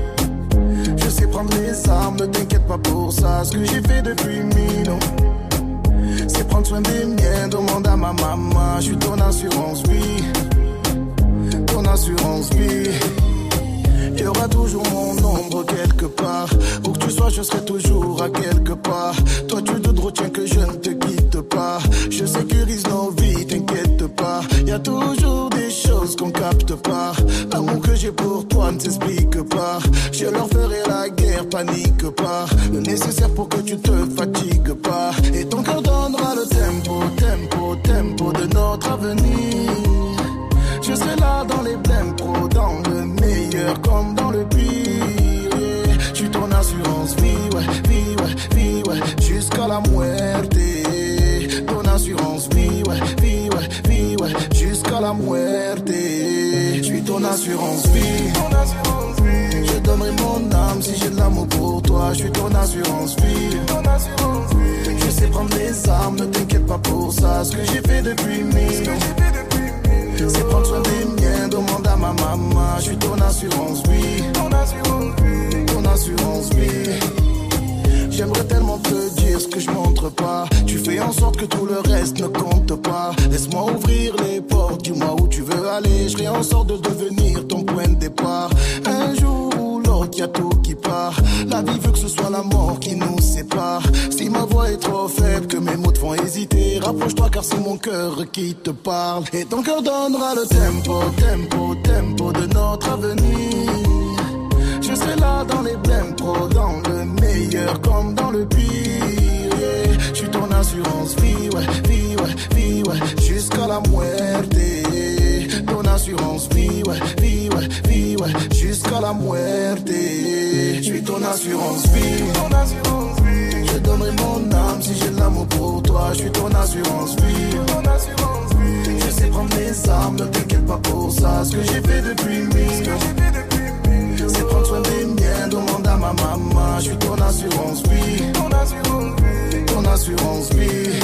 Je sais prendre les armes, ne t'inquiète pas pour ça. Ce que j'ai fait depuis mille ans, c'est prendre soin des miens. Demande à ma maman. Je suis ton assurance vie. Ton assurance vie. Il y aura toujours mon ombre quelque part. Où que tu sois, je serai toujours à quelque part. Toi, tu te retiens que je ne te quitte pas. Je sécurise nos vies, t'inquiète pas. Il y a toujours des choses qu'on capte pas. L'amour que j'ai pour toi ne s'explique pas. Je leur ferai la guerre, panique pas. Le nécessaire pour que tu te fatigues pas. Et ton cœur donnera le tempo, tempo, tempo de notre avenir. Je serai là dans les blèmes pro, dans le meilleur comme dans le pire. Yeah. Je suis ton assurance vie, ouais, vie, ouais, vie, ouais, jusqu'à la muerte. Ton assurance vie, ouais, vie, ouais, vie, ouais, jusqu'à la muerte. Je suis ton assurance vie, ton assurance vie. Je donnerai mon âme si j'ai de l'amour pour toi. Je suis ton assurance vie, ton assurance vie. Je sais prendre les armes, ne t'inquiète pas pour ça. Ce que j'ai fait depuis mille ans, c'est prendre soin des miens, demande à ma maman. Je suis ton assurance vie, ton assurance vie, ton assurance vie. J'aimerais tellement te dire ce que je montre pas. Tu fais en sorte que tout le reste ne compte pas. Laisse-moi ouvrir les portes, dis-moi où tu veux aller. Je ferai en sorte de devenir ton point de départ. Un jour ou l'autre, y'a tout qui part. La vie veut que ce soit la mort qui nous sépare. Si ma voix est trop faible, que mes mots te font hésiter, rapproche-toi car c'est mon cœur qui te parle. Et ton cœur donnera le tempo, tempo, tempo de notre avenir. Je serai là dans les blèmes pro, dans le meilleur comme dans le pire. Yeah. Je suis ton assurance vie, ouais, vie, ouais, vie, ouais, jusqu'à la muerte. Ton assurance vie, ouais, vie, ouais, vie, ouais, jusqu'à la muerte. Je suis ton assurance vie, ton assurance vie. Je donnerai mon âme si j'ai de l'amour pour toi. Je suis ton assurance vie, ton assurance vie. Je sais prendre les armes, ne t'inquiète pas pour ça. Ce que j'ai fait depuis mille ans, c'est prendre soin des miens, demande à ma maman. Je suis ton assurance vie, ton assurance vie, ton assurance vie.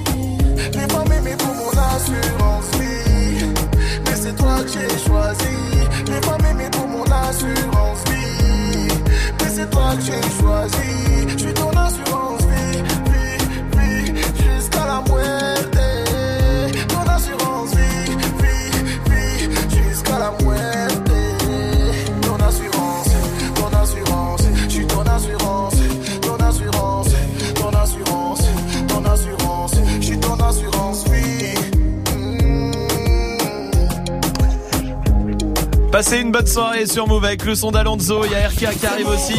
Les femmes aimées pour mon assurance vie, mais c'est toi que j'ai choisi. Les femmes aimées pour mon assurance vie, mais c'est toi que j'ai choisi. Je suis ton assurance vie, vie, vie, jusqu'à la muerte. Ton assurance vie, vie, vie, jusqu'à la muerte. Ton assurance, ton assurance, je suis ton assurance, ton Passez une bonne soirée sur Move avec le son d'Alonso. Il y a R K qui arrive aussi.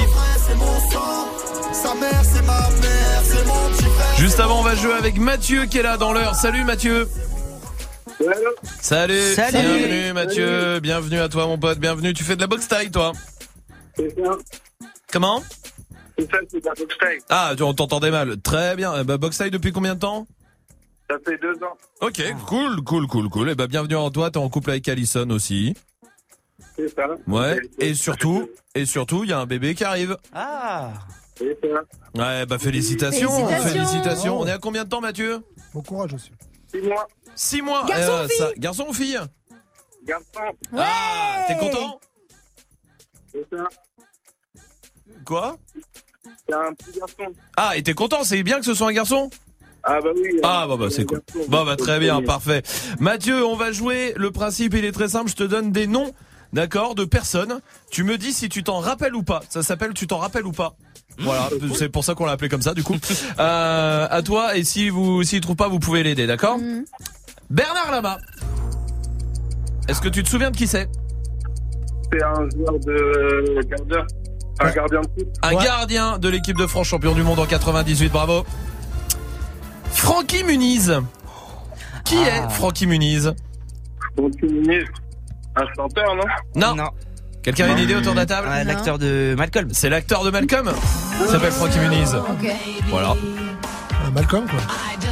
Juste avant, on va jouer avec Mathieu qui est là dans l'heure. Salut Mathieu. Salut. Salut. Bienvenue Mathieu. Salut. Bienvenue à toi mon pote. Bienvenue. Tu fais de la boxe taille toi? C'est ça. Comment? C'est ça, c'est de la boxe taille. Ah, on t'entendait mal. Très bien. Eh ben, boxe taille depuis combien de temps? Ça fait deux ans. Ok, cool, cool, cool, cool. Et eh ben bienvenue en toi. T'es en couple avec Alison aussi. C'est ça. Ouais. Et surtout, et surtout, il y a un bébé qui arrive. Ah. C'est ça. Ouais, bah félicitations, Félicitations. félicitations. On est à combien de temps, Mathieu? Bon courage aussi. Six mois. Six mois. Garçon ou fille ça, garçon ou fille? Garçon. Ouais. Ah, t'es content? C'est ça. Quoi? C'est un petit garçon. Ah, et t'es content? C'est bien que ce soit un garçon? Ah bah oui. Ah bah bah c'est cool. Bah bah très bien, parfait. Mathieu, on va jouer. Le principe il est très simple. Je te donne des noms, d'accord, de personnes. Tu me dis si tu t'en rappelles ou pas. Ça s'appelle tu t'en rappelles ou pas. Voilà, c'est pour ça qu'on l'a appelé comme ça du coup. Euh, à toi, et si vous s'il trouve pas, vous pouvez l'aider, d'accord? Mm. Bernard Lama. Est-ce que tu te souviens de qui c'est? C'est un joueur de gardien. Un gardien de foot. Un Ouais. gardien de l'équipe de France, champion du monde en quatre-vingt-dix-huit, bravo. Francky Muniz. Qui Ah. est Francky Muniz? Donc, Muniz, un chanteur, non? Non. Non. Quelqu'un a une idée autour de la table? Ouais, Non. l'acteur de Malcolm. C'est l'acteur de Malcolm. Il s'appelle Francky Muniz. Ok. Voilà. Euh, Malcolm quoi.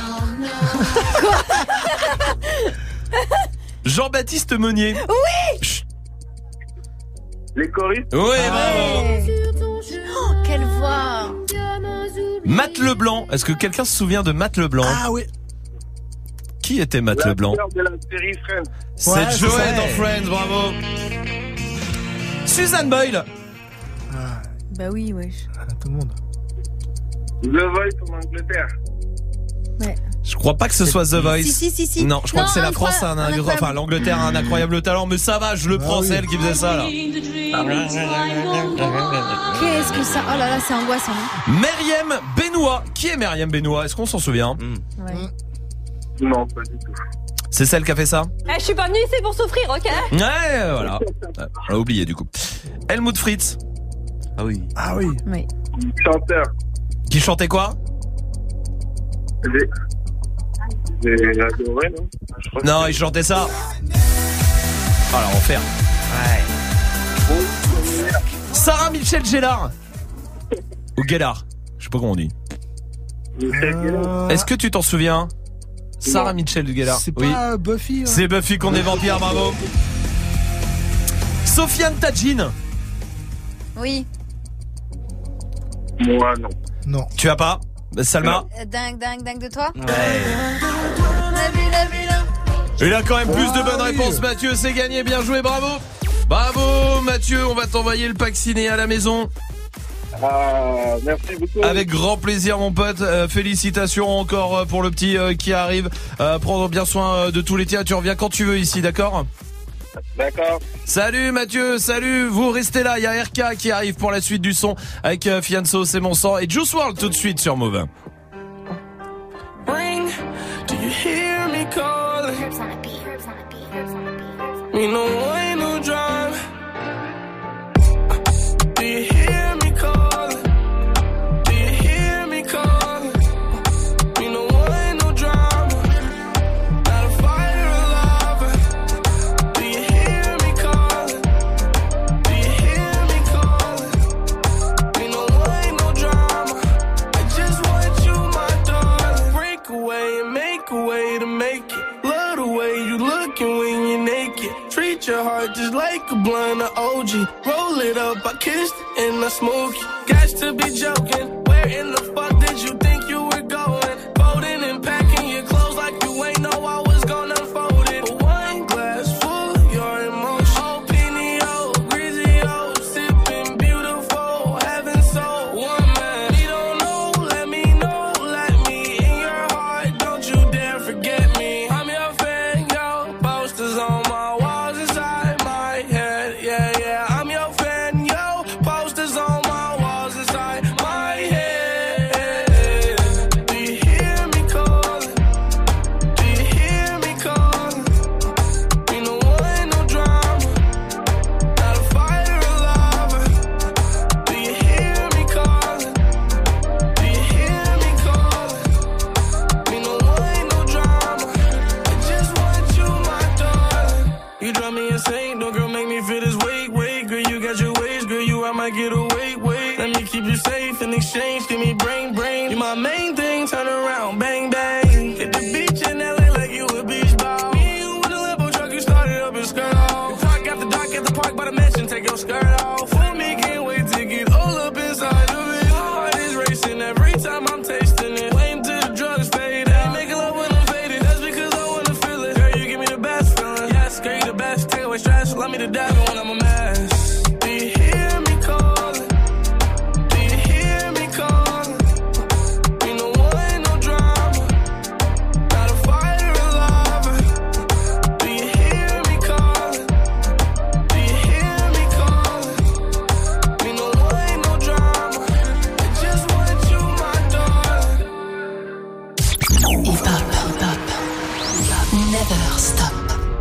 Jean-Baptiste Monnier. Oui. Les choristes. Oui, bravo. Oh, quelle voix. Matt Leblanc. Est-ce que quelqu'un se souvient de Matt Leblanc? Ah oui. Qui était Matt Leblanc? L'acteur de la série Friends. C'est Ouais, c'est Joey ça. dans Friends, bravo. Suzanne Boyle. Ah, Bah oui, wesh. tout le monde. The Voice en Angleterre. Ouais. Je crois pas que ce soit The Voice. Si, si, si, si. Non, je crois Non, que c'est la incroyable, France, un, un un- incroyable. enfin l'Angleterre a un incroyable talent, mais ça va, je le Ah prends, oui. c'est elle qui faisait ça là. Qu'est-ce que ça. Oh là là, c'est angoissant. hein. Myriam Benoît. Qui est Myriam Benoît? Est-ce qu'on s'en souvient? Ouais. Non, pas du tout. C'est celle qui a fait ça? Eh, je suis pas venue ici pour souffrir, ok? Ouais, voilà. On l'a oublié du coup. Helmut Fritz. Ah oui. Ah oui. Oui. Chanteur. Qui chantait quoi? J'ai. J'ai adoré, non? Je crois que Non, il chantait ça. Ah l'enfer. Ouais. Sarah Michel Gellar. Ou Gellar. Je sais pas comment on dit. Euh, Est-ce que tu t'en souviens? Sarah Michel Gellar. C'est Oui. pas Buffy. hein. C'est Buffy qu'on est vampire, bravo. Sofiane Tadjine. Oui. Moi, non. Non. Tu as pas? Salma? Euh, Dingue, dingue, dingue de toi. Ouais. La vie, la vie, la- Il a quand même plus de Ah, bonnes oui. réponses, Mathieu, c'est gagné, bien joué, bravo. Bravo Mathieu, on va t'envoyer le pack ciné à la maison. Ah, merci beaucoup. Avec grand plaisir mon pote, euh, félicitations encore euh, pour le petit euh, qui arrive. Euh, prendre bien soin euh, de tous les tiens, tu reviens quand tu veux ici, d'accord? D'accord. Salut Mathieu, salut, vous restez là, il y a R K qui arrive pour la suite du son avec euh, Fianso, c'est mon sang, et Juice world tout de suite sur Move. Ring, do you hear me calling? Me no way, no drive. Do you hear me calling? Do you hear me calling? Me no way, no drama. Not a fire alive. Do you hear me calling? Do you hear me calling? Me no way, no drama. I just want you, my darling. Break away and make a way to make it. Love the way you looking when you're naked. Treat your heart just like a blunt of O G. Roll it up, I kissed it and I smoke it. Got to be joking. Where in the fuck did you think you were going? Folding and packing your clothes like you ain't know I was gonna fold it. But one glass full of your emotion. Oh, Pinio, Grizio, sipping beautiful, heaven so one man. You don't know, let me know, let me in your heart. Don't you dare forget me. I'm your fan, yo. Posters on my walls inside my head. Yeah, yeah. I'm your fan, yo. Posters on my walls inside my head. here to wait, wait. Let me keep you safe in exchange. Give me brain, brain. You my main thing. Turn around, bang, bang. Hit the beach in L A like you a beach ball. Me and you in the Lambo truck, you started up and skirt off. Park after dock at the park by the mansion, take your skirt off. For me, can't wait to get all up inside of it. My heart is racing every time I'm tasting it. Waiting till the drugs fade. Ain't making love when I'm faded. That's because I wanna feel it. Girl, you give me the best feeling. Yes, girl, you the best. Take away stress. Love me to death when I'm a mess. Do you hear me calling? Do you hear me calling? You know what, ain't no drama. Not a fighter, a lover. Do you hear me calling? Do you hear me calling? You know what, ain't no drama. I just want you, my darling. Hip hop, hip hop, never stop.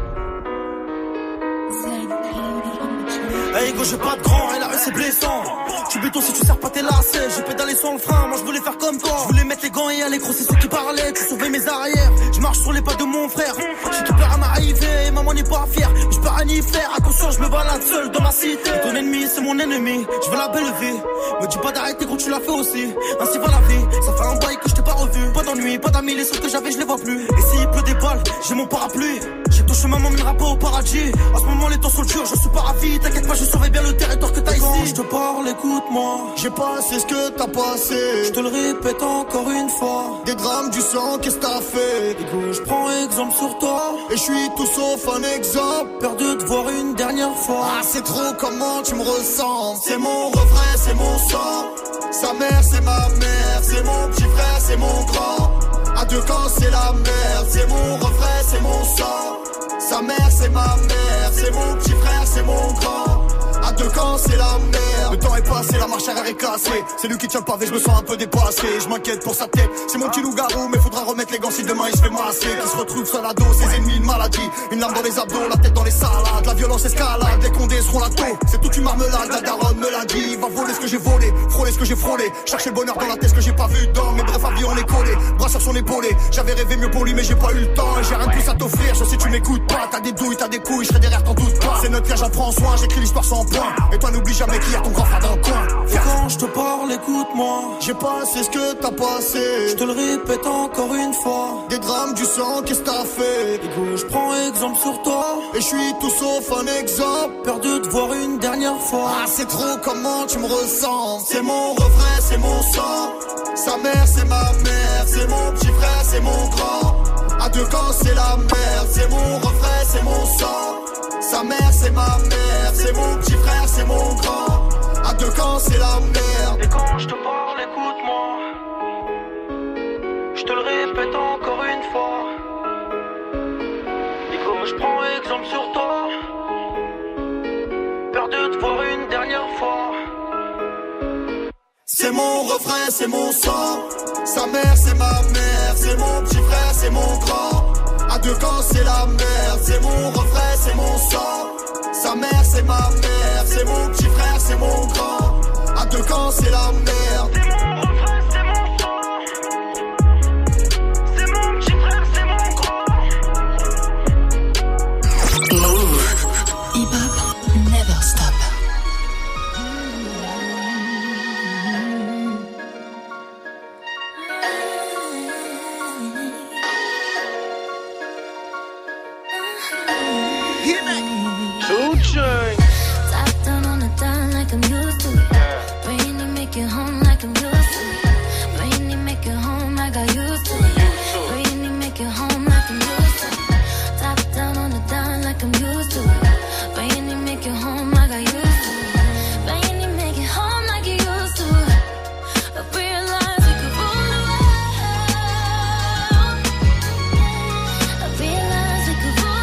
Hey go, j'ai pas de grand et la rue c'est blessant. Tu béton si tu sers pas tes lacets. J'ai pédalé sans le frein, moi je voulais faire comme toi. Je voulais mettre les gants et aller gros, c'est ceux qui parlaient. Tu sauvais mes arrières, je marche sur les pas de mon frère. J'ai tout peur à m'arriver, maman n'est pas fière. Mais je peux rien y faire, attention je me balade seul dans ma cité. Et ton ennemi c'est mon ennemi, je veux la belle vie. Me dis pas d'arrêter gros, tu l'as fait aussi. Ainsi va la vie, ça fait un bail que je t'ai pas revu. Pas d'ennui, pas d'amis, les seuls que j'avais je les vois plus. Et s'il pleut des balles, j'ai mon parapluie. J'ai ton chemin, mon mènera pas au paradis. En ce moment les temps sont durs, je suis pas ravi. T'inquiète pas, je surveille bien le territoire que t'as ici. Quand je te parle, écoute-moi. J'ai passé ce que t'as passé. Je te le répète encore une fois. Des drames, du sang, qu'est-ce que t'as fait? Écoute, je prends exemple sur toi. Et je suis tout sauf un exemple. Peur de te voir une dernière fois. Ah, c'est trop comment tu me ressembles. C'est mon refrain, c'est mon sang. Sa mère, c'est ma mère. C'est mon petit frère, c'est mon grand. À deux camps, c'est la merde. C'est mon refrain, c'est mon sang. Sa mère, c'est ma mère. C'est mon petit frère, c'est mon grand. À deux camps, c'est la merde. Le temps est passé, la marche arrière est cassée. C'est lui qui tient le pavé, je me sens un peu dépassé. Je m'inquiète pour sa tête, c'est mon petit loup-garou. Mais faudra remettre les gants si demain il se fait masser. Qui se retrouve seul à dos, ses ennemis, une maladie. Une lame dans les abdos, la tête dans les salades. La violence escalade, les condés seront la taux. C'est toute une marmelade, la daronne me l'a dit. Va voler ce que j'ai volé, frôler ce que j'ai frôlé. Chercher le bonheur dans la tête, ce que j'ai pas vu dans. Mais bref, avis on est collé, bras sur son épaulé. J'avais rêvé mieux pour lui, mais j'ai pas eu le temps. J'ai rien de plus à t'offrir, je sais tu m'écoutes pas. T'as des douilles, t'as des couilles, je serai derrière, t'en doute pas. C'est notre cas, j'en prends soin, j'écris l'histoire sans point. Et toi n'oublie jamais qu'il y a ton grand frère dans le coin. Et quand je te parle, écoute-moi. J'ai passé ce que t'as passé. Je te le répète encore une fois. Des drames, du sang, qu'est-ce que t'as fait? Écoute, je prends exemple sur toi. Et je suis tout sauf un exemple. Peur de te voir une dernière fois. Ah, c'est trop comment tu me ressembles. C'est mon refrain, c'est mon sang. Sa mère, c'est ma mère. C'est mon petit frère, c'est mon grand. À deux camps, c'est la merde. C'est mon refrain, c'est mon sang. Sa mère, c'est ma mère. C'est mon petit frère, c'est mon grand. À deux camps, c'est la merde. Et quand je te parle, écoute-moi. Je te le répète encore une fois. Nico, je prends exemple sur toi. Peur de te voir une dernière fois. C'est mon refrain, c'est mon sang. Sa mère, c'est ma mère. C'est mon petit frère, c'est mon grand. À deux camps, c'est la merde. C'est mon refrain, c'est mon sang. Sa mère, c'est ma mère. C'est mon petit frère, c'est mon grand. À deux camps, c'est la merde. C'est mon refrain, c'est mon sang. C'est mon petit frère, c'est mon grand. Move. Hip hop, never stop. Two chains. Top down on the dime like I'm used to it. Brainy make it home like I'm used to it. Brainy make it home like I used to it. Brainy make it home like I'm used to it. Top down on the dime like I'm used to it. Brainy make it home like I used to it. Brainy make it home like you used to it. I realize we could rule the world. I realize we could rule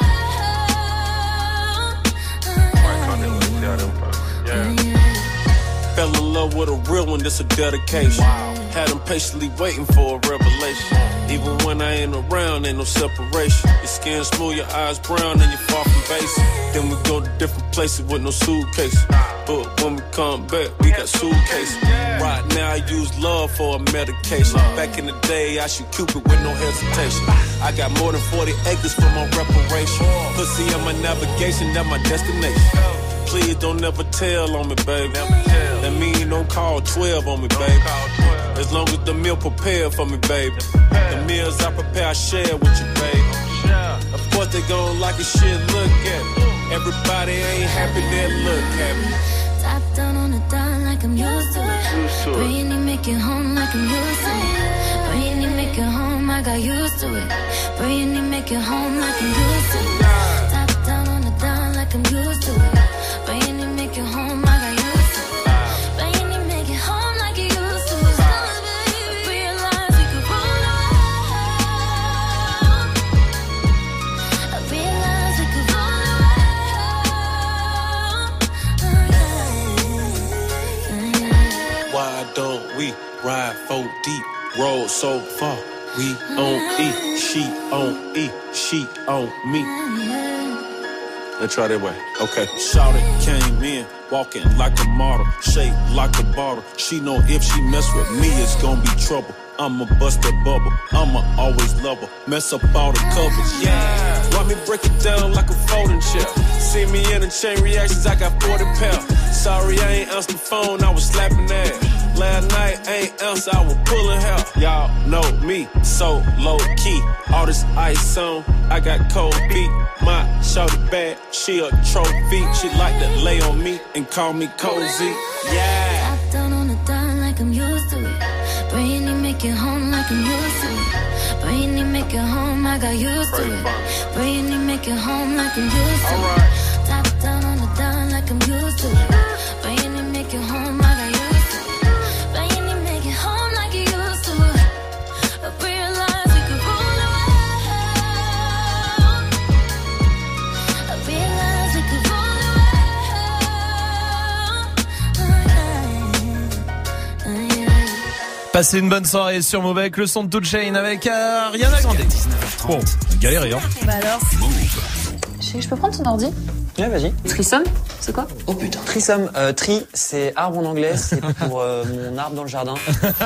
Fell in love with a real one, this a dedication. Wow. Had them patiently waiting for a revelation. Even when I ain't around, ain't no separation. Your skin smooth, your eyes brown, and you're far from basic. Then we go to different places with no suitcase. But when we come back, we got suitcases. Right now, I use love for a medication. Back in the day, I shoot Cupid with no hesitation. I got more than forty acres for my reparation. Pussy on my navigation, that's my destination. Please don't ever tell on me, baby. That mean don't call twelve on me, baby. As long as the meal prepared for me, baby. The meals I prepare, I share with you, baby. Of course they gon' like a shit, look at me. Everybody ain't happy, they look happy. Top down on the dime like I'm used to it. Bring it, make it home like I'm used to it. Bring it, make it home, I got used to it. Bring it, make it home like I'm used to it. Top down on the dime like I'm used to it. Bring it, make it home, I got used to it. Bring it, make it home like you used to it. I realize we could roll out. I realize we could roll Why don't we ride four deep, roll so far? We on E, she on E, she on me. Let's try that way. Okay. Shawty came in, walking like a model, shaped like a bottle. She know if she mess with me, it's gonna be trouble. I'ma bust that bubble, I'ma always love her. Mess up all the covers, yeah. Want me break it down like a folding chair. See me in the chain reactions, I got forty pounds. Sorry, I ain't answered the phone, I was slapping ass. Last night, ain't answer, I was pulling hair. Y'all know me, so low key. All this ice on, I got cold feet. My shorty bad, she a trophy. She like to lay on me and call me cozy. Yeah. Top down on the dime like I'm used to it. Bring it, make it home like I'm used to it. Bring it, make it home, I got used to it. Bring it, make it home like I'm used to it. Top down on the dime like I'm used to it. Bring it, make it home, I got used to it. Bring it, make it home like you used to it. I realize we could roll out. I realize we could roll Passez une bonne soirée sur Move avec le son de Two Chainz avec euh, Ariana Grande. Bon, galéré hein. Bah alors. Chérie, je peux prendre ton ordi? Ouais, vas-y. Trisome, c'est quoi? Oh putain. Trisome, euh, tri, c'est arbre en anglais, c'est pour euh, mon arbre dans le jardin.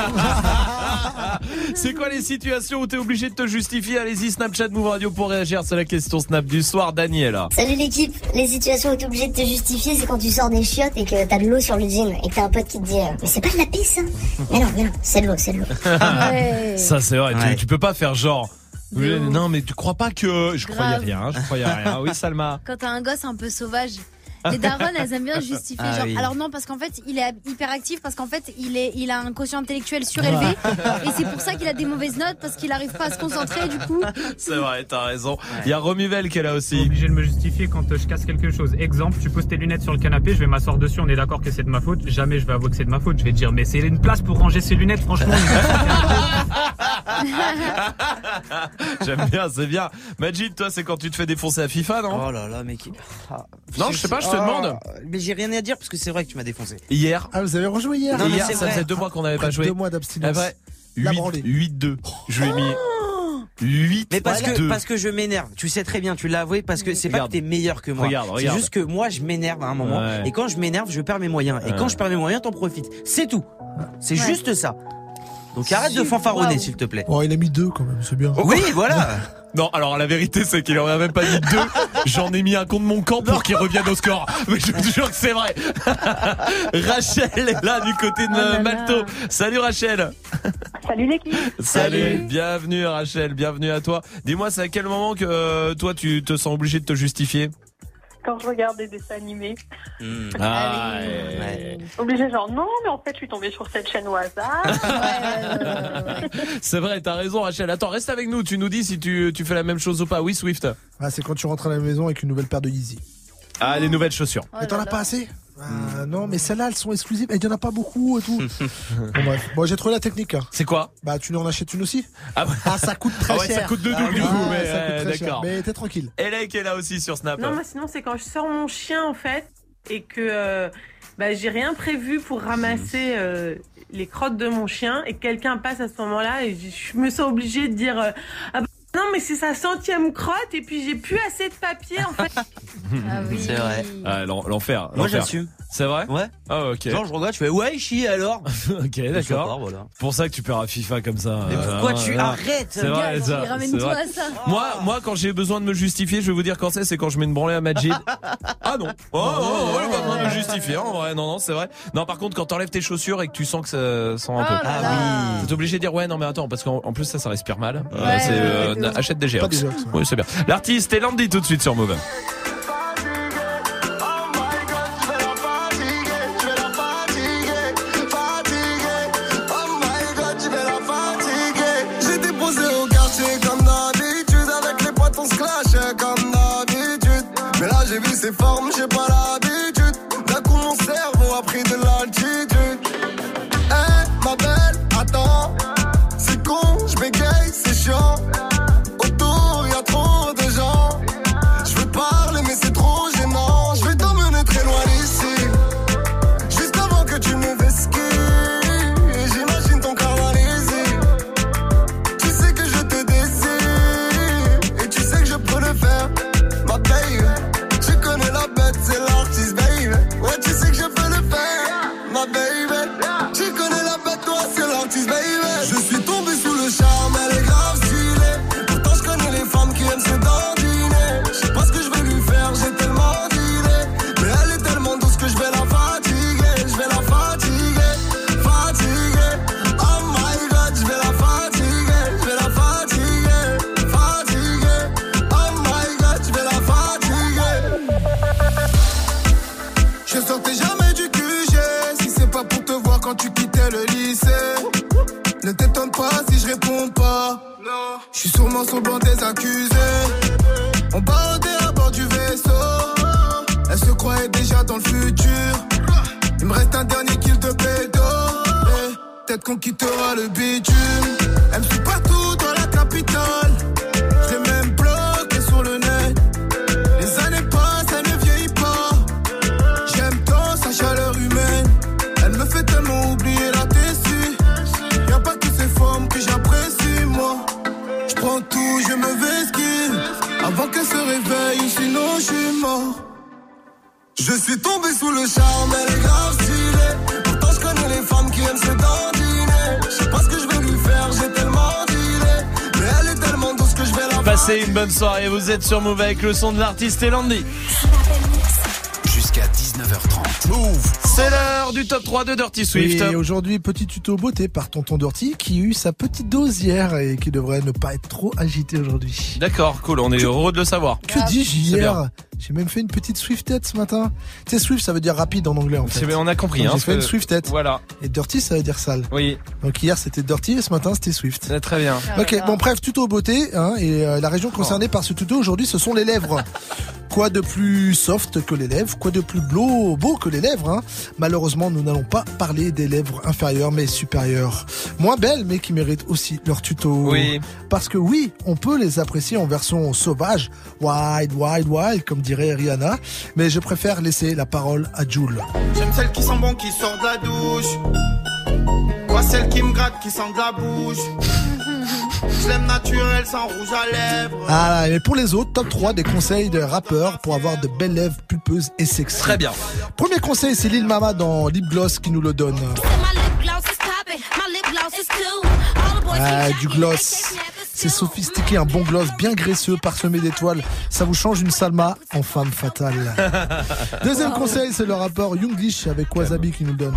C'est quoi les situations où t'es obligé de te justifier? Allez-y, Snapchat Move Radio pour réagir. C'est la question Snap du soir. Daniela. Salut l'équipe. Les situations où t'es obligé de te justifier, c'est quand tu sors des chiottes et que t'as de l'eau sur le jean et que t'as un pote qui te dit euh, mais c'est pas de la pisse, hein. Mais non, mais non, c'est de l'eau, c'est de l'eau. Ouais. Ça c'est vrai. Ouais. Tu, tu peux pas faire genre. Oui, non mais tu crois pas que je Grave. croyais rien, hein, je croyais rien. Oui Salma. Quand t'as un gosse un peu sauvage, les darons elles aiment bien justifier Ah genre. oui. Alors non parce qu'en fait il est hyperactif parce qu'en fait il est il a un quotient intellectuel surélevé et c'est pour ça qu'il a des mauvaises notes parce qu'il arrive pas à se concentrer du coup. C'est vrai, t'as raison. Il y a Romuvel qui est là aussi. Obligé de me justifier quand je casse quelque chose. Exemple, tu poses tes lunettes sur le canapé, je vais m'asseoir dessus, on est d'accord que c'est de ma faute. Jamais je vais avouer que c'est de ma faute. Je vais dire mais c'est une place pour ranger ses lunettes, franchement. J'aime bien, c'est bien. Majid, toi, c'est quand tu te fais défoncer à FIFA, non? Oh là là, mec. Ah. Non, je sais pas, je te Ah, demande. Mais j'ai rien à dire parce que c'est vrai que tu m'as défoncé. Hier. Ah, vous avez rejoué hier? Non, mais Hier, c'est ça vrai. faisait deux mois qu'on n'avait pas joué. Deux mois d'abstinence. Ah, vrai. La branlée. huit deux. Je lui ai mis huit Mais parce que, deux. parce que je m'énerve. Tu sais très bien, tu l'as avoué, parce que c'est pas Regarde. que t'es meilleur que moi. Regarde, c'est regarde. juste que moi, je m'énerve à un moment. Ouais. Et quand je m'énerve, je perds mes moyens. Et Ouais. quand je perds mes moyens, t'en profites. C'est tout. C'est Ouais. juste ça. Donc arrête de fanfaronner, Wow. s'il te plaît. Oh, il a mis deux quand même, c'est bien. Oui, voilà. Non, alors la vérité c'est qu'il aurait même pas mis deux. J'en ai mis un contre mon camp pour qu'il revienne au score. Mais je te jure que c'est vrai. Rachel est là du côté de Oh là là. Malto. Salut Rachel. Salut l'équipe. Salut. Bienvenue Rachel, bienvenue à toi. Dis-moi, c'est à quel moment que euh, toi tu te sens obligé de te justifier? Quand je regarde des dessins animés, Mmh. Ah, Ouais. obligé genre non, mais en fait je suis tombée sur cette chaîne au hasard. c'est vrai, t'as raison Rachel. Attends, reste avec nous, tu nous dis si tu, tu fais la même chose ou pas. Oui Swift. Ah, c'est quand tu rentres à la maison avec une nouvelle paire de Yeezy. Ah, les nouvelles chaussures. Oh Mais t'en là as là. pas assez? Ah, non, mais celles-là, elles sont exclusives. Et il y en a pas beaucoup et tout. Bon, bref. Bon, j'ai trouvé la technique. Hein. C'est quoi? Bah, tu lui en achètes une aussi? Ah, ouais. Ah, ça coûte très Ah ouais, cher. ça coûte deux Ah, doubles du ouais, coup, mais ça coûte euh, très cher. d'accord. Mais t'es tranquille. Elec est là aussi sur Snap. Non, moi sinon c'est quand je sors mon chien en fait et que euh, bah, j'ai rien prévu pour ramasser euh, les crottes de mon chien et que quelqu'un passe à ce moment-là et je je me sens obligée de dire euh, ah bah, non mais c'est sa centième crotte et puis j'ai plus assez de papier en fait. Ah oui. C'est vrai. Ah, l'en- l'enfer. Moi, l'enfer. j'assume. C'est vrai? Ouais. Ah, ok. Genre, je regarde, je fais ouais, chi alors. Ok, d'accord. Voilà. Pour ça que tu perds à FIFA comme ça. Mais pourquoi euh, tu euh, arrêtes? C'est vrai, ça. Ramène-toi à ça. Moi, moi, quand j'ai besoin de me justifier, je vais vous dire quand c'est, c'est quand je mets une branlée à Majid. Ah non. Oh, oh, oh, j'ai pas besoin de me justifier, en vrai. Non, non, c'est vrai. Non, par contre, quand t'enlèves tes chaussures et que tu sens que ça sent un peu. Oh là là. Ah oui. T'es obligé de dire ouais, non, mais attends, parce qu'en en plus, ça, ça respire mal. Euh, Ouais, c'est, ouais, euh, ouais, ouais. achète des Pas Geox. des Geox, ouais. Oui, c'est bien. L'artiste est Landy tout de suite sur Move. J'étais posé au quartier comme d'habitude. Avec les potes on se clashait comme d'habitude. Mais là j'ai vu ses formes, j'ai pas l'habitude. D'un coup mon cerveau a pris de l'altitude. Eh ma belle, attends. C'est con, je bégaye, c'est chiant. Autour y'a trop de gens. Je veux parler mais c'est trop gênant. Je vais t'emmener très loin d'ici. Juste avant que tu me vesquilles. J'imagine ton carnalisé. Tu sais que je te désire. Et tu sais que je peux le faire. Ma baby, tu connais la bête, c'est l'artiste, baby. Ouais, tu sais que je peux le faire. Ma baby, tu connais la bête, toi, c'est l'artiste, baby. Je suis tombé sous le charme, elle est grave stylée. Pourtant, je connais les femmes qui aiment se dandiner. Je sais pas ce que je vais lui faire, j'ai tellement d'idées. Mais elle est tellement douce que je vais la fatiguer. Je vais la fatiguer, fatiguer. Oh my god, je vais la fatiguer. Je vais la fatiguer, fatiguer. Oh my god, je vais la fatiguer. Je sortais jamais du Q G. Si c'est pas pour te voir quand tu quittais le lycée. Ne t'étonne pas si je réponds pas. Je suis sûrement semblant des accusés. On bandait à bord du vaisseau. Elle se croyait déjà dans le futur. Il me reste un dernier kill de pédo. Eh, peut-être qu'on quittera le bitume. Elle me suit partout dans la capitale. Je l'ai même bloqué sur le net. Les années passent, elle ne vieillit pas. J'aime tant sa chaleur humaine. Elle me fait tellement oublier la tessie. Y'a pas que ces formes que j'apprécie, moi. Je prends tout, je me vesquille. Avant qu'elle se réveille, sinon je suis mort. Je suis tombé sous le charme, elle est grave stylée. Pourtant je connais les femmes qui aiment se dandiner. Je sais pas ce que je vais lui faire, j'ai tellement d'idées. Mais elle est tellement douce que je vais la Passez une bonne soirée, vous êtes sur Move avec le son de l'artiste et Landy. Jusqu'à dix-neuf heures trente. Move. C'est l'heure du top trois de Dirty Swift. Et aujourd'hui, petit tuto beauté par Tonton Dirty qui a eu sa petite dose hier et qui devrait ne pas être trop agité aujourd'hui. D'accord, cool, on est heureux de le savoir. Que dis-je C'est hier? bien. J'ai même fait une petite Swiftet ce matin. Tu sais, Swift, ça veut dire rapide en anglais en fait. C'est- on a compris, Donc, hein, J'ai fait que- une Swiftet. Voilà. Et Dirty, ça veut dire sale. Oui. Donc hier, c'était Dirty et ce matin, c'était Swift. C'est très bien. Ok, bon bref, tuto beauté, hein, et euh, la région concernée par ce tuto aujourd'hui, ce sont les lèvres. Quoi de plus soft que les lèvres, quoi de plus beau, beau que les lèvres, hein. Malheureusement, nous n'allons pas parler des lèvres inférieures, mais supérieures. Moins belles, mais qui méritent aussi leur tuto. Oui. Parce que oui, on peut les apprécier en version sauvage, wild, wild, wild, comme dirait Rihanna, mais je préfère laisser la parole à Jul. J'aime celle qui sent bon, qui sort de la douche. Pas celle qui me gratte, qui sent de la bouche. Je l'aime naturel, sans rouge à lèvres. Ah, mais pour les autres, top trois des conseils de rappeurs pour avoir de belles lèvres pulpeuses et sexy. Très bien. Premier conseil, c'est Lil Mama dans Lip Gloss qui nous le donne. Ah, du gloss. C'est sophistiqué, un bon gloss bien graisseux, parsemé d'étoiles. Ça vous change une Salma en femme fatale. Deuxième conseil, c'est le rappeur Younglish avec Wasabi qui nous le donne.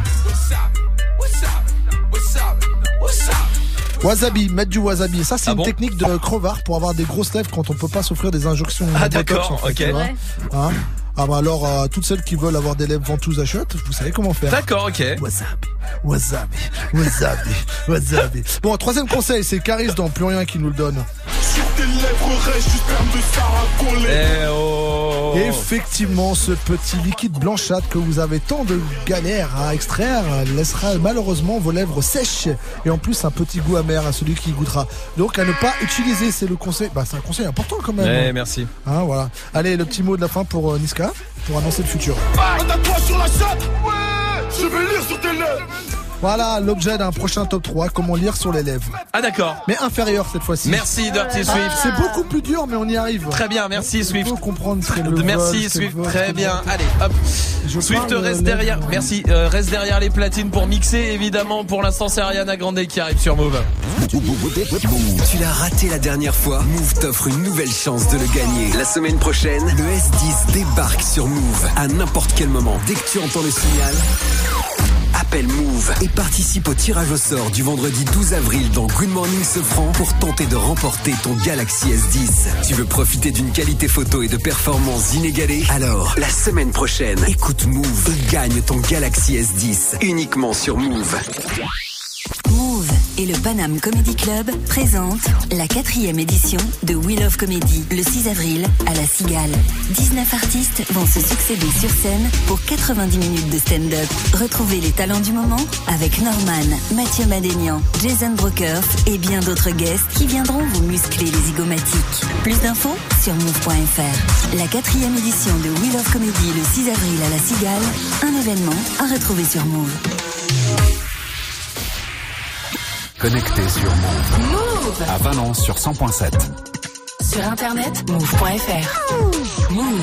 Wasabi, mettre du wasabi. Ça, c'est Ah une bon technique de crevard pour avoir des grosses lèvres quand on peut pas s'offrir des injections. Ah, Botox, d'accord, en fait, ok. tu vois. Ouais. Hein ah bah alors, euh, toutes celles qui veulent avoir des lèvres ventouses à shot, vous savez comment faire. D'accord, ok. Wasabi, wasabi, wasabi, wasabi. Bon, troisième conseil, c'est Caris dans Plus Rien qui nous le donne. Sur tes lèvres reste juste perme de Sarah collée. Eh oh. Effectivement, ce petit liquide blanchâtre que vous avez tant de galères à extraire laissera malheureusement vos lèvres sèches et en plus un petit goût amer à celui qui y goûtera. Donc à ne pas utiliser, c'est le conseil. Bah c'est un conseil important quand même. Eh, merci. Hein, voilà. Allez, le petit mot de la fin pour euh, Niska pour annoncer le futur. Attaque-toi sur la chatte. Ouais, je vais lire sur tes lèvres. Voilà l'objet d'un prochain top trois, comment lire sur les lèvres. Ah d'accord. Mais inférieur cette fois-ci. Merci Dirty Ah, Swift. c'est beaucoup plus dur mais on y arrive. Très bien, merci Swift. Il faut comprendre ce qu'elle Merci veut, ce qu'elle Swift, veut, ce très qu'elle bien. veut. Allez, hop. Je Swift parle, reste euh, derrière. lèvres. Merci. Euh, reste derrière les platines pour mixer. Évidemment, pour l'instant, c'est Ariana Grande qui arrive sur Move. Tu l'as raté la dernière fois. Move t'offre une nouvelle chance de le gagner. La semaine prochaine, le S dix débarque sur Move à n'importe quel moment. Dès que tu entends le signal, appelle Move et participe au tirage au sort du vendredi douze avril dans Good Morning Sofran pour tenter de remporter ton Galaxy S dix. Tu veux profiter d'une qualité photo et de performances inégalées? Alors, la semaine prochaine, écoute Move et gagne ton Galaxy S dix uniquement sur Move. Move et le Paname Comedy Club présentent la quatrième édition de We Love Comedy le six avril à la Cigale. dix-neuf artistes vont se succéder sur scène pour quatre-vingt-dix minutes de stand-up. Retrouvez les talents du moment avec Norman, Mathieu Madénian, Jason Brokers et bien d'autres guests qui viendront vous muscler les zygomatiques. Plus d'infos sur move point f r. La quatrième édition de We Love Comedy le six avril à la Cigale, un événement à retrouver sur Move. Connecté sur Move. Move. À Valence sur cent point sept. Sur internet, move point f r. Move.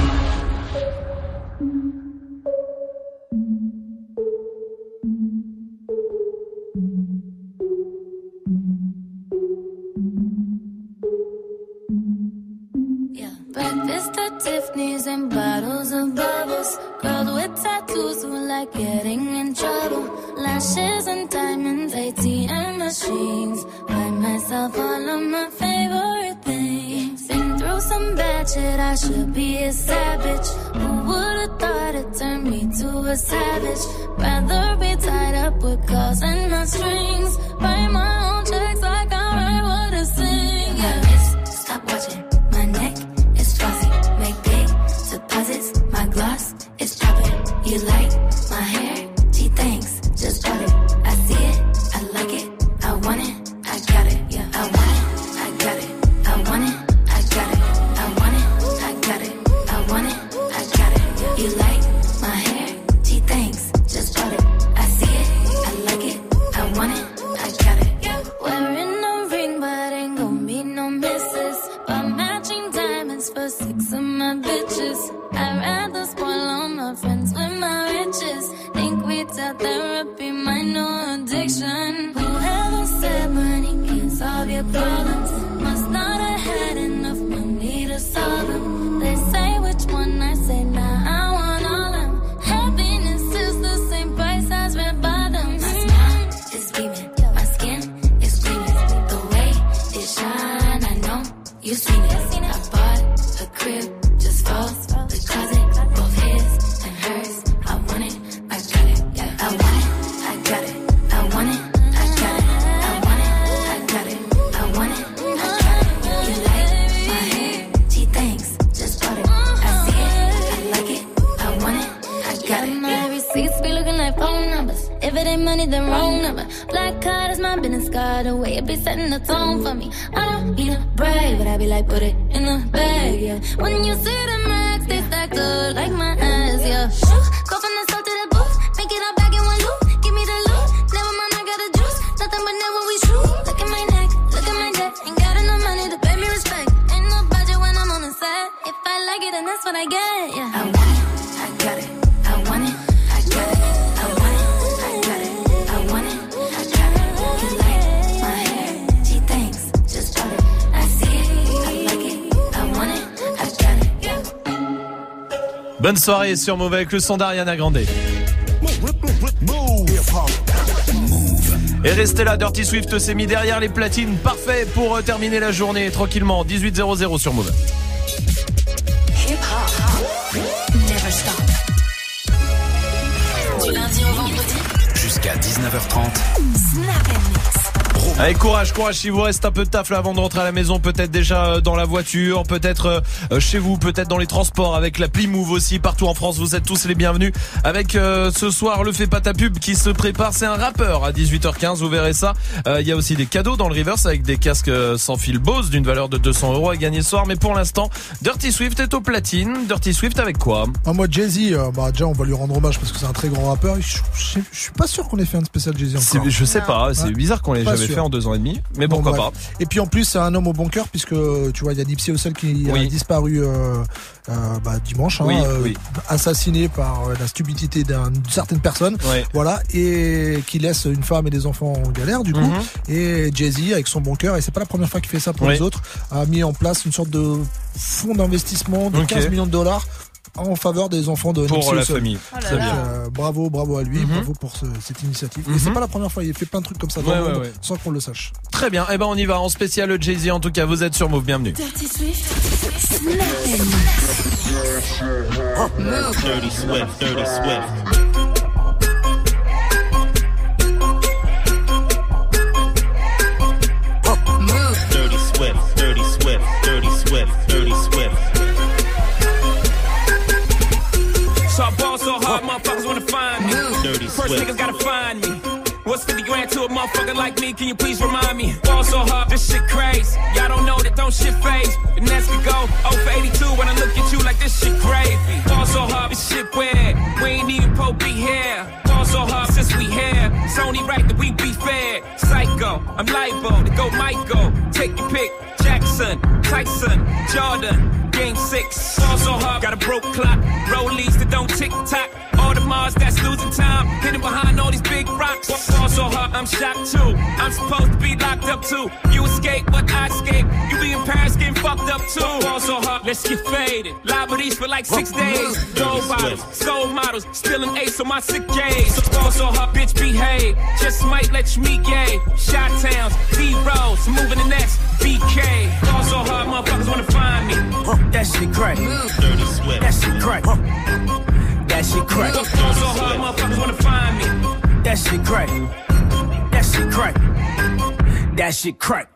Breakfast at Tiffany's and bottles of bubbles. Girls with tattoos who like getting in trouble. Lashes and diamonds, A T M machines. Buy myself all of my favorite things. Been through some bad shit, I should be a savage. Who would've thought it turned me to a savage? Rather be tied up with calls and not strings. Write my own checks like I write what I sing. Yeah, wrist, stop watching. My neck is fuzzy. Make big deposits. My gloss is popping. You like my hair? Gee, thanks. Just bought it. I see it. I like it. I want it. I got it. Yeah, I want it. I got it. I want it. I got it. I want it. I got it. I want it. I got it. Yeah. You like my hair? Gee, thanks. Just bought it. I see it. I like it. I want it. I got it. Yeah. Wearing a ring, but ain't gon' be no misses. But matching diamonds for six of my bitches. I'd rather spoil all my friends with my riches. Think we tell therapy, my no addiction. Whoever said money can solve your problems must not have had enough money to solve them. They say which one, I say nah, I want all them. Happiness is the same price as red bottoms. My smile is beaming, my skin is gleaming. The way it shine, I know you've seen it. I bought a crib just for the closet, both his and hers. I want it, I got it, yeah. I want it, I got it. I want it, I got it. I want it, I got it. I want it, I got it. You like my hair? Gee, thanks, just bought it. I see it, I like it. I want it, I got it. My receipts be looking like phone numbers. If it ain't money, then wrong number. Black card is my business card. The way it be setting the tone for me. I don't need a brag, but I be like, put it in the bag, yeah. When you see the max, they stacked up like my ass, yeah. Shoo, go from the south to the booth, make it all back in one loop. Give me the loot, never mind, I got the juice. Nothing but never we shoot. Look at my neck, look at my neck. Ain't got enough money to pay me respect. Ain't no budget when I'm on the set. If I like it, then that's what I get, yeah. I want it, I got it. I want it, I got it. I want it, I got it. I want it, I got it. You like my hair? Gee, thanks, just bought it. I see it, I like it. I want it, I got it, yeah. Bonne soirée sur Move avec le son d'Ariana Grande. Et restez là, Dirty Swift s'est mis derrière les platines. Parfait pour euh, terminer la journée tranquillement. dix-huit zéro zéro sur Move. Hip hop. Never stop. Du lundi au vendredi. Jusqu'à dix-neuf heures trente. Snap and mix. Allez, courage, courage, si vous reste un peu de taf là avant de rentrer à la maison, peut-être déjà dans la voiture, peut-être euh, chez vous, peut-être dans les transports, avec l'appli Move aussi, partout en France, vous êtes tous les bienvenus. Avec euh, ce soir, le Fais pas ta pub qui se prépare, c'est un rappeur à dix-huit heures quinze, vous verrez ça. Il euh, y a aussi des cadeaux dans le reverse avec des casques sans fil Bose d'une valeur de deux cents euros à gagner ce soir, mais pour l'instant, Dirty Swift est au platine. Dirty Swift avec quoi? Ah, moi, Jay-Z, euh, bah, déjà, on va lui rendre hommage parce que c'est un très grand rappeur. Je, je, je suis pas sûr qu'on ait fait un spécial Jay-Z encore. Je sais pas, c'est ouais. bizarre qu'on l'ait pas jamais fait sûr. en deux ans et demi, mais Bon, pourquoi bref. pas. Et puis en plus, c'est un homme au bon cœur puisque tu vois, il y a Nipsey Hussle qui Oui. a disparu euh, euh, bah, dimanche, hein, Oui, euh, oui. assassiné par euh, la stupidité d'un- d'une certaine personne, Ouais. voilà, et qui laisse une femme et des enfants en galère du coup. Mhm. Et Jay-Z, avec son bon cœur, et c'est pas la première fois qu'il fait ça pour Oui. les autres, a mis en place une sorte de fonds d'investissement de Ok. quinze millions de dollars en faveur des enfants de Pour Nipsey la Hussle. famille. Oh là Très là. bien. Euh, bravo, bravo à lui, Mhm. bravo pour ce- cette initiative. Et Mhm. c'est pas la première fois, il fait plein de trucs comme ça dans Ouais, le ouais, monde ouais. sans qu'on le sache. Très bien, eh ben on y va en spécial Jay-Z en tout cas, vous êtes sur Move, bienvenue. Dirty Swift, Snap and Move. Dirty Swift, Dirty Swift. Move. Dirty Swift, Dirty Swift, Dirty Swift, Dirty Swift. So I ball so hard, motherfuckers wanna find me. Dirty First Swift. niggas gotta find me. What's fifty grand to a motherfucker like me? Can you please remind me? Ball so hard, this shit crazy. Y'all don't know that don't shit phase. The next could go oh for eighty-two when I look at you like this shit gravy. Ball so hard, this shit weird. We ain't even po be here. Ball so hard since we here. It's only right that we be fair. Psycho, I'm libo to go Michael. Take your pick. Jackson, Tyson, Jordan, game six. Ball so hard, got a broke clock. Rollies that don't tick tock. All the Mars that's losing time. Hidden behind all these big rocks. Ball so hard, I'm shocked too. I'm supposed to be locked up too. You escape, but I escape. You be in Paris getting fucked up too. Ball so hard, let's get faded. Liberties for like six days. Gold bottles, soul models, spilling ace on my sick days. Ball so hard, bitch behave. Just might let you meet gay. Shot towns, B-rolls, moving the next B K. Ball so hard, motherfuckers wanna find me. That shit crack. Dirty Swift. That shit crack. That shit crack. Ball so hard, motherfuckers wanna find me. That shit crack. That shit crack. That shit crack.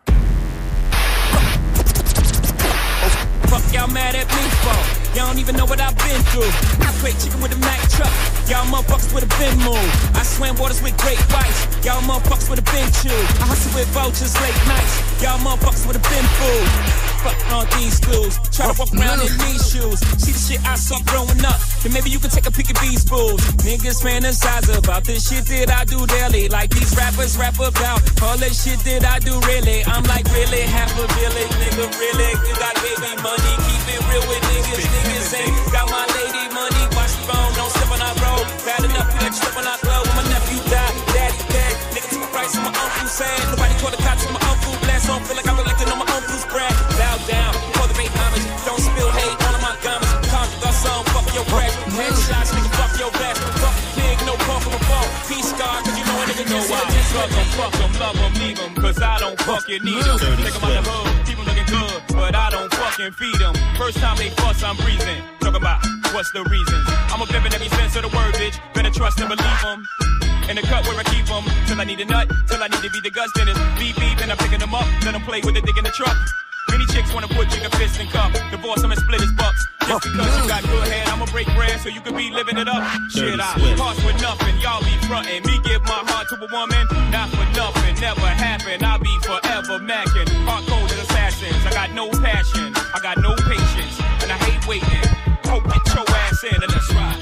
Fuck y'all mad at me for? Y'all don't even know what I've been through. I play chicken with a Mack truck. Y'all motherfuckers with a bin move. I swam waters with great whites. Y'all motherfuckers with a bin chew. I hustle with vultures late nights. Y'all motherfuckers with a bin food. Fuck on these schools. Try to walk around in these shoes. See the shit I saw growing up. Then maybe you can take a peek at these fools. Niggas fantasize about this shit that I do daily. Like these rappers rap about all that shit that I do really. I'm like really half a village, nigga, really. You got baby money, keep it real with niggas. Niggas ain't got my lady money. Watch the phone, don't step on our road. Bad enough, you let you step on our glove. When my nephew died, daddy dead. Nigga took a price on my uncle's sad. Nobody called the cops on my uncle blast. Don't feel like I'm collecting on my uncle's bread. Bow down, for the bait homage. Don't spill hate on my garments. Conjure our song, fuck your crash. Headshots, nigga, fuck your vest. Fuck the pig, no pump from a fall. Peace scar, cause you know a nigga know why. Fuck em, fuck em, love em, leave em. Cause I don't fucking need em. Take em out the hood, keep em looking good. But I don't fucking feed them. First time they fuss, I'm breathing. Talk about what's the reasons. I'm a pimpin' every sense of the word, bitch. Better trust and believe them. In the cut where I keep them. Till I need a nut, till I need to be the guts. Then it's beep beep, and I'm picking them up. Let them play with the dick in the truck. Many chicks wanna put chicken fist in cup. Divorce them and split his bucks. Just because you got good head, I'ma break bread so you can be living it up. Shit, I cost with nothing, y'all be frontin'. Me give my heart to a woman, not for nothing, never happen. I'll be forever mackin'. Hard-coded assassins, I got no passion, I got no patience, and I hate waiting. Hope get your ass in and let's ride.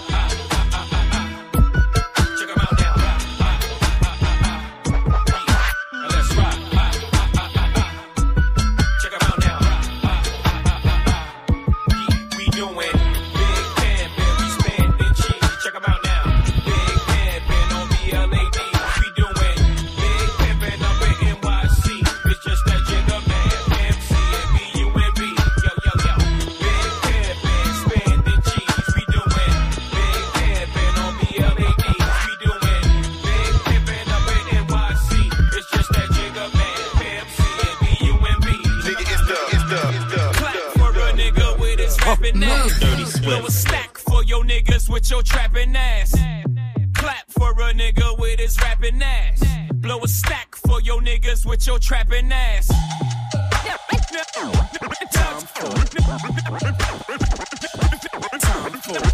Check 'em out now. And let's ride. Check 'em out now. We doing big pimpin', we spendin' cheese. Check 'em out now. Big pimpin' on B L A D. We doing big pimpin' up in N Y C. It's just that jigga man, M C and B U N B. Yo, yo, yo. Big pimpin', spendin' cheese. We doing big pimpin' on B L A D. We doing big pimpin' up in N Y C. It's just that jigga man, M C and B U N B. Nigga, it's the, it's the, it's the. Clap for a nigga with his rapping ass. Dirty Swift. Blow a stack for your niggas with your trapping ass. Clap for a nigga with his rapping ass. Blow a stack for your niggas with your trapping ass. Time for it. Time for it.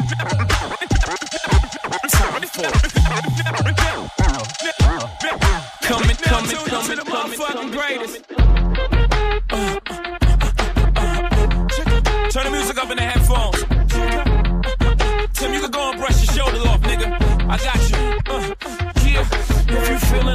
Time for it. Coming, coming, coming, the motherfucking greatest. Turn the music up in the headphones. Tim, you can go and brush your shoulders off, nigga. I got you. Uh, yeah, if you feeling like a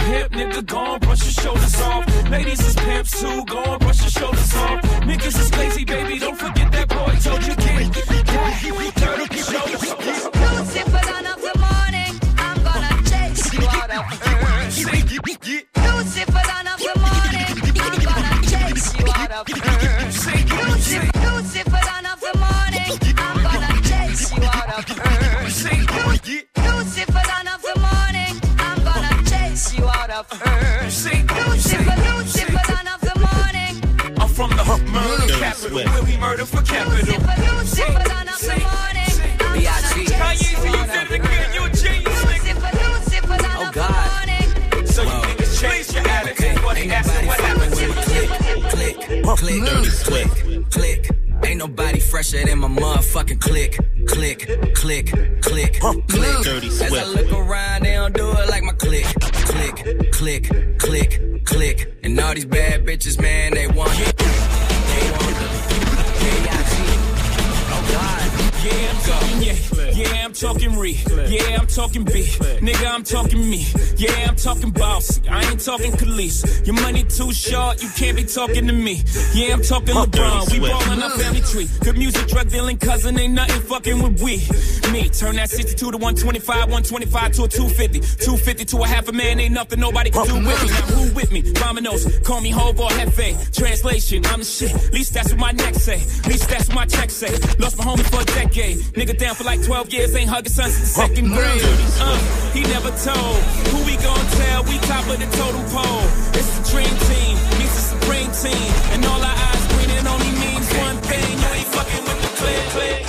pimp, nigga, go on, brush your shoulders off. Ladies is pimps too, go on, brush your shoulders off. Niggas is lazy, baby, don't forget that boy told you can't. Dirty shoulders off. Lucifer, dawn of the morning, I'm gonna chase you out of earth. Lucifer, dawn of the morning, I'm gonna chase you out of earth. Lucifer, Lucifer, dawn of the morning, I'm gonna chase you out of earth. Lucifer, dawn of the morning, I'm gonna chase you out of earth. Lucifer, Lucifer, dawn of the morning. I'm from the murder capital, where we murder for capital. Lucifer, Lucifer, dawn of the morning, I'm gonna chase you out of earth. You a genius, Lucifer, Lucifer, dawn of the morning. So you niggas change your attitude, but they asking what happened to you. Click, click, dirty click, click. Ain't nobody fresher than my motherfucking click, click, click, click, click. Dirty As I Swift. look around, they don't do it like my click, click, click, click, click. And all these bad bitches, man, they want it. They want it. Yeah, oh God. Yeah, I'm talking, yeah, yeah, I'm talking re, yeah, I'm talking B, nigga, I'm talking me, yeah, I'm talking bossy, I ain't talking Khalees, your money too short, you can't be talking to me, yeah, I'm talking LeBron, we ballin' our family tree, good music, drug dealing, cousin, ain't nothing fucking with we, me, turn that sixty-two to one twenty-five, one twenty-five to a two fifty, two fifty to a half a man, ain't nothing nobody can do with me, now who with me, Ramanos, call me Hov or Hefe, translation, I'm the shit, at least that's what my neck say, at least that's what my check say, lost my homie for a decade. Nigga down for like twelve years, ain't hugging son since the second grade. Uh, he never told. Who we gon' tell? We top of the totem pole. It's the dream team, he's the supreme team. And all our eyes green, it only means one thing. You ain't fucking with the click, click,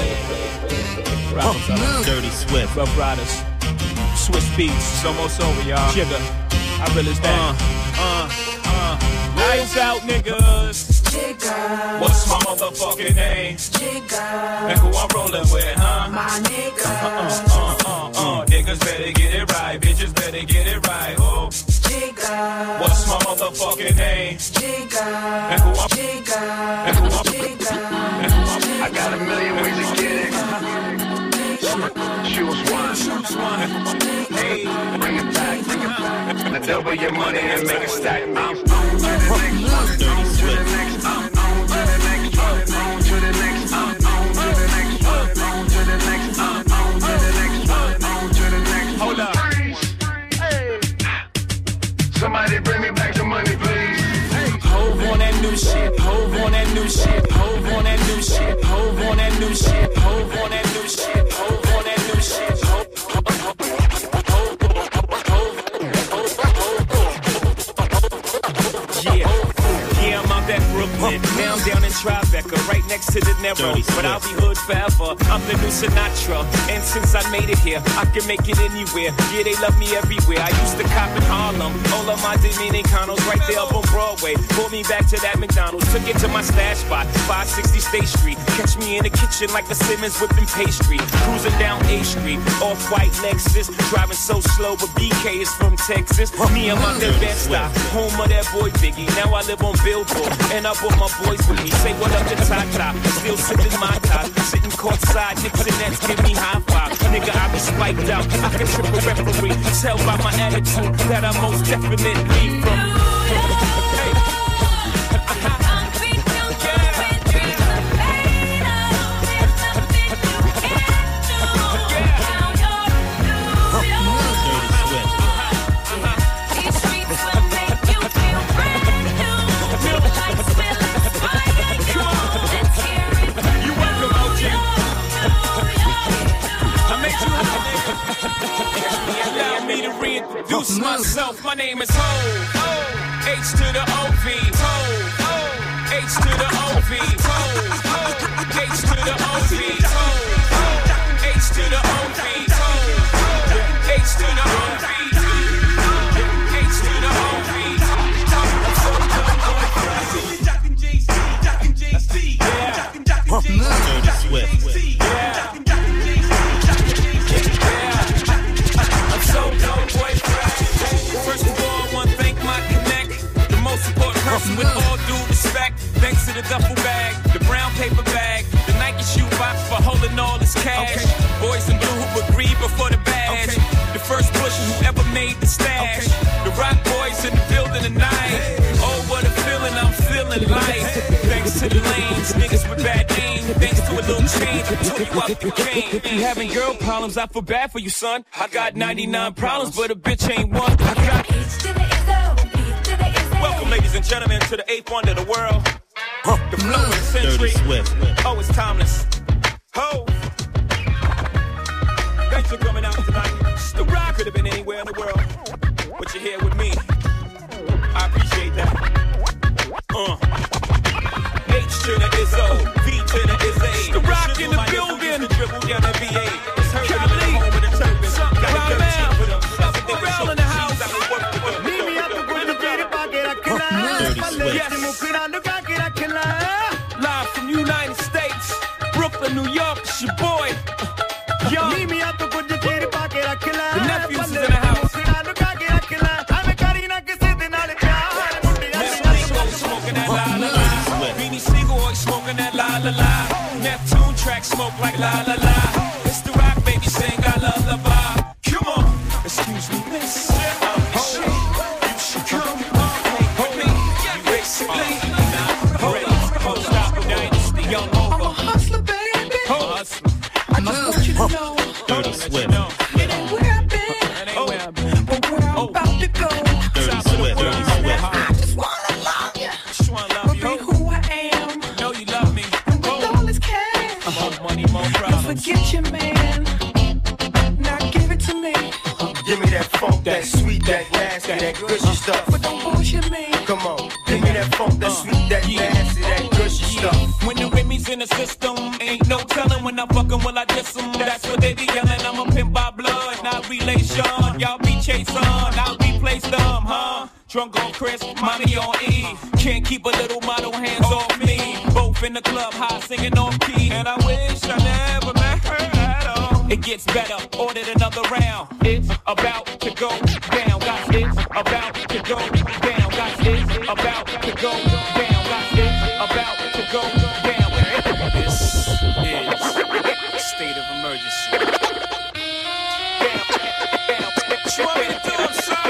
click. Riders up. Dirty Swift. Rough Riders. Swiss beats. It's almost over, y'all. Jigga. I realize that. Uh, uh, uh. Lights out, niggas. Jigga. What's my motherfucking name? Jigga. And who I'm rolling with, huh? My nigga. Uh, uh, uh, uh. Niggas better get it right. Bitches better get it right. Oh. Jigga. What's my motherfucking name? Jigga. And who I'm Jigga. And who I'm And who I'm I got a million ways to get it. Choose one. Choose one. Hey. Bring it back, bring it back. Now double your money and make it stack. I'm on to the next one. On to the next one. On to the next one. On to the next one. On to the next one. On to the next one. On to the next one. Hold up. Hey. Somebody bring me back the money, please. Hove on that new shit. Hove on that new shit. Hove on that new shit. Hove on that new shit. Hove on that new shit. Hove on that new shit. Brooklyn, now I'm down in Tribeca, right next to the Narrow. But I'll be hood forever, I'm the new Sinatra. And since I made it here, I can make it anywhere. Yeah, they love me everywhere. I used to cop in Harlem, all of my Dominicanos right there up on Broadway. Pulled me back to that McDonald's, took it to my stash spot, five sixty State Street. Catch me in the kitchen like the Simmons whipping pastry. Cruising down A Street, off-white Lexus. Driving so slow, but B K is from Texas. Me, I'm out there Bed-Stuy, home of that boy Biggie. Now I live on Billboard, and I brought my boys with me. Say what up to Tata, still sipping my top. Sitting courtside, Knicks and Nets give me high five. Nigga, I be spiked out, I can trip a referee. Tell by my attitude that I most definitely from. Hey. Introduce myself, my name is Ho, H to the O V, Ho, H to the O V, Ho, H to the O V, Ho, H to the O V, Ho, H to the O V, H to the O V. Dirty Swift. Yeah. First of all, I want to thank my connect, the most important person with all due respect. Thanks to the duffel bag, the brown made the stash. The Rock Boys in the building tonight. Oh, what a feeling, I'm feeling like. Thanks to the lanes, niggas with bad names. Thanks to a little change, I took you out the game. If you having girl problems, I feel bad for you, son. I got ninety-nine problems, but a bitch ain't one. I got Welcome, ladies and gentlemen, to the eighth wonder of the world. Huh. The flow of the century. Oh, it's timeless. Ho! Thanks for coming out tonight. The Rock could have been anywhere in the world, but you're here with me. I appreciate that. Uh. H to the Izzo, V to the Izzy. The Rock in the building. Dribble down the V A. It's her in the home of the turban. Got a dirty shit for them. Pharrell in the house. Meet me up the window, get it back, get it, get it. Yes. Live from United States, Brooklyn, New York, it's your boy. Yo. Meet me up the window, get it back, get it. The nephews is in the house. Smoking that la la la. Beanie Siegel smoking that la la la. Neptune track smoke like la la la. It's the Rock, baby, sing I love the vibe. Come on, excuse me, miss. You should come with me. You basically Unstoppable Dynasty, young over. I'm a hustler, baby. Hustler. I just want you to know. Dirty Swift. It ain't where I've been, but where I'm about to go. Dirty Swift. Dirty Swift. I just wanna love you. Just wanna love you. Be who I am. Know you love me. And with all this cash, more money, more problems. Don't forget your man. Now give it to me. Give me that funk, that sweet, that nasty, that gushy stuff. But don't bullshit me. Come on, give me that funk, that sweet, that nasty, that gushy stuff. When the Remy's in the system, ain't no telling when I'm fucking will I diss them. That's what they be yelling. I'm a pimp by blood, not relation. Y'all be chasing, I'll replace them, huh? Drunk on Chris, mommy on E. Can't keep a little model hands off me. Both in the club, high singing off key. And I wish I never met her at all. It gets better, ordered another round. It's about to go down, guys. It's about to go down, guys. It's about to go down, guys. It's about to go down. This is state of emergency. You want me to do it, son?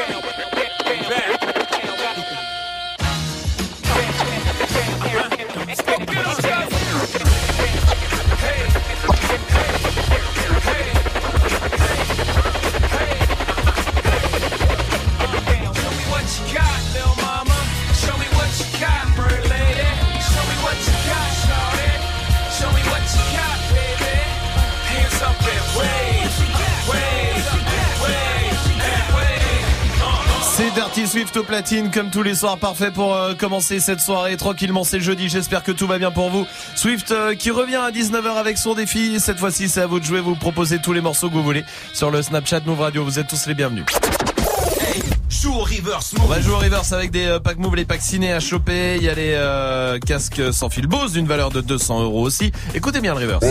C'est Dirty Swift au platine comme tous les soirs, parfait pour euh, commencer cette soirée tranquillement. C'est jeudi, j'espère que tout va bien pour vous. Swift euh, qui revient à dix-neuf heures avec son défi. Cette fois-ci c'est à vous de jouer, vous proposez tous les morceaux que vous voulez sur le Snapchat Move Radio. Vous êtes tous les bienvenus. Hey, joue au reverse. On va jouer au reverse avec des euh, packs Move, les packs ciné à choper. Il y a les euh, casques sans fil Bose d'une valeur de deux cents euros aussi. Écoutez bien le reverse.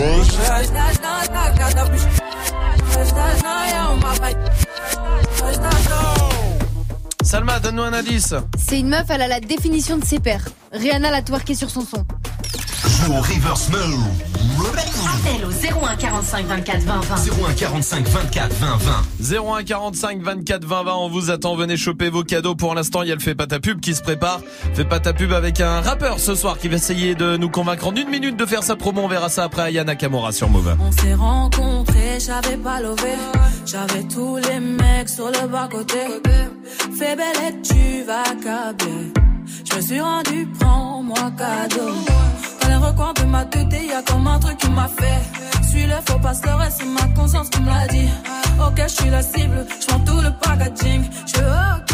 Salma, donne-nous un indice. C'est une meuf, elle a la définition de ses pairs. Rihanna l'a twerké sur son son. Joue au reverse mode. Appel au zéro un quarante-cinq vingt-quatre vingt vingt. zéro un quarante-cinq vingt-quatre vingt vingt. zéro un quarante-cinq vingt-quatre vingt vingt. On vous attend, venez choper vos cadeaux. Pour l'instant, il y a le Fais pas ta pub qui se prépare. Fais pas ta pub avec un rappeur ce soir qui va essayer de nous convaincre en une minute de faire sa promo. On verra ça après Aya Nakamura sur Move. On s'est rencontrés, j'avais pas levé. J'avais tous les mecs sur le bas-côté. Fais belle et tu vas câbler. Je me suis rendu, prends-moi cadeau. Dans les recoins de ma tête, y'a comme un truc qui m'a fait. Suis le faux pasteur et c'est ma conscience qui me l'a dit. Ok, je suis la cible, je prends tout le packaging. Je suis ok.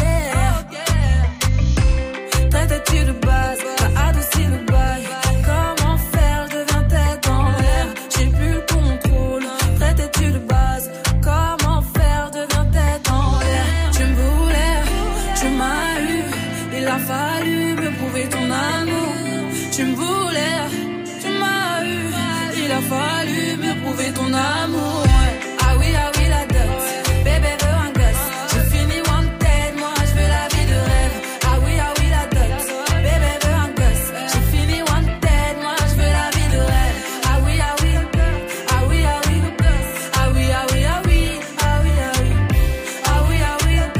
Traite-tu de base, t'as adouci le bail. Comment faire, je deviens tête en l'air. J'ai plus le contrôle. Traite-tu de base, comment faire, je deviens tête en l'air. Tu me voulais, tu m'as eu. Il a fallu me prouver ton amour. Tu me voulais, tu m'as eu. Il a fallu me prouver ton amour. Ah oui, ah oui, la dot. Bébé veut un gosse. J'ai fini wanted, moi je veux la vie de rêve. Ah oui, ah oui, la dot. Bébé veut un gosse. J'ai fini wanted, moi je veux la vie de rêve. Ah oui, ah oui, ah oui, ah oui. Ah oui, ah oui, ah oui. Ah oui, ah oui. Ah oui, ah oui.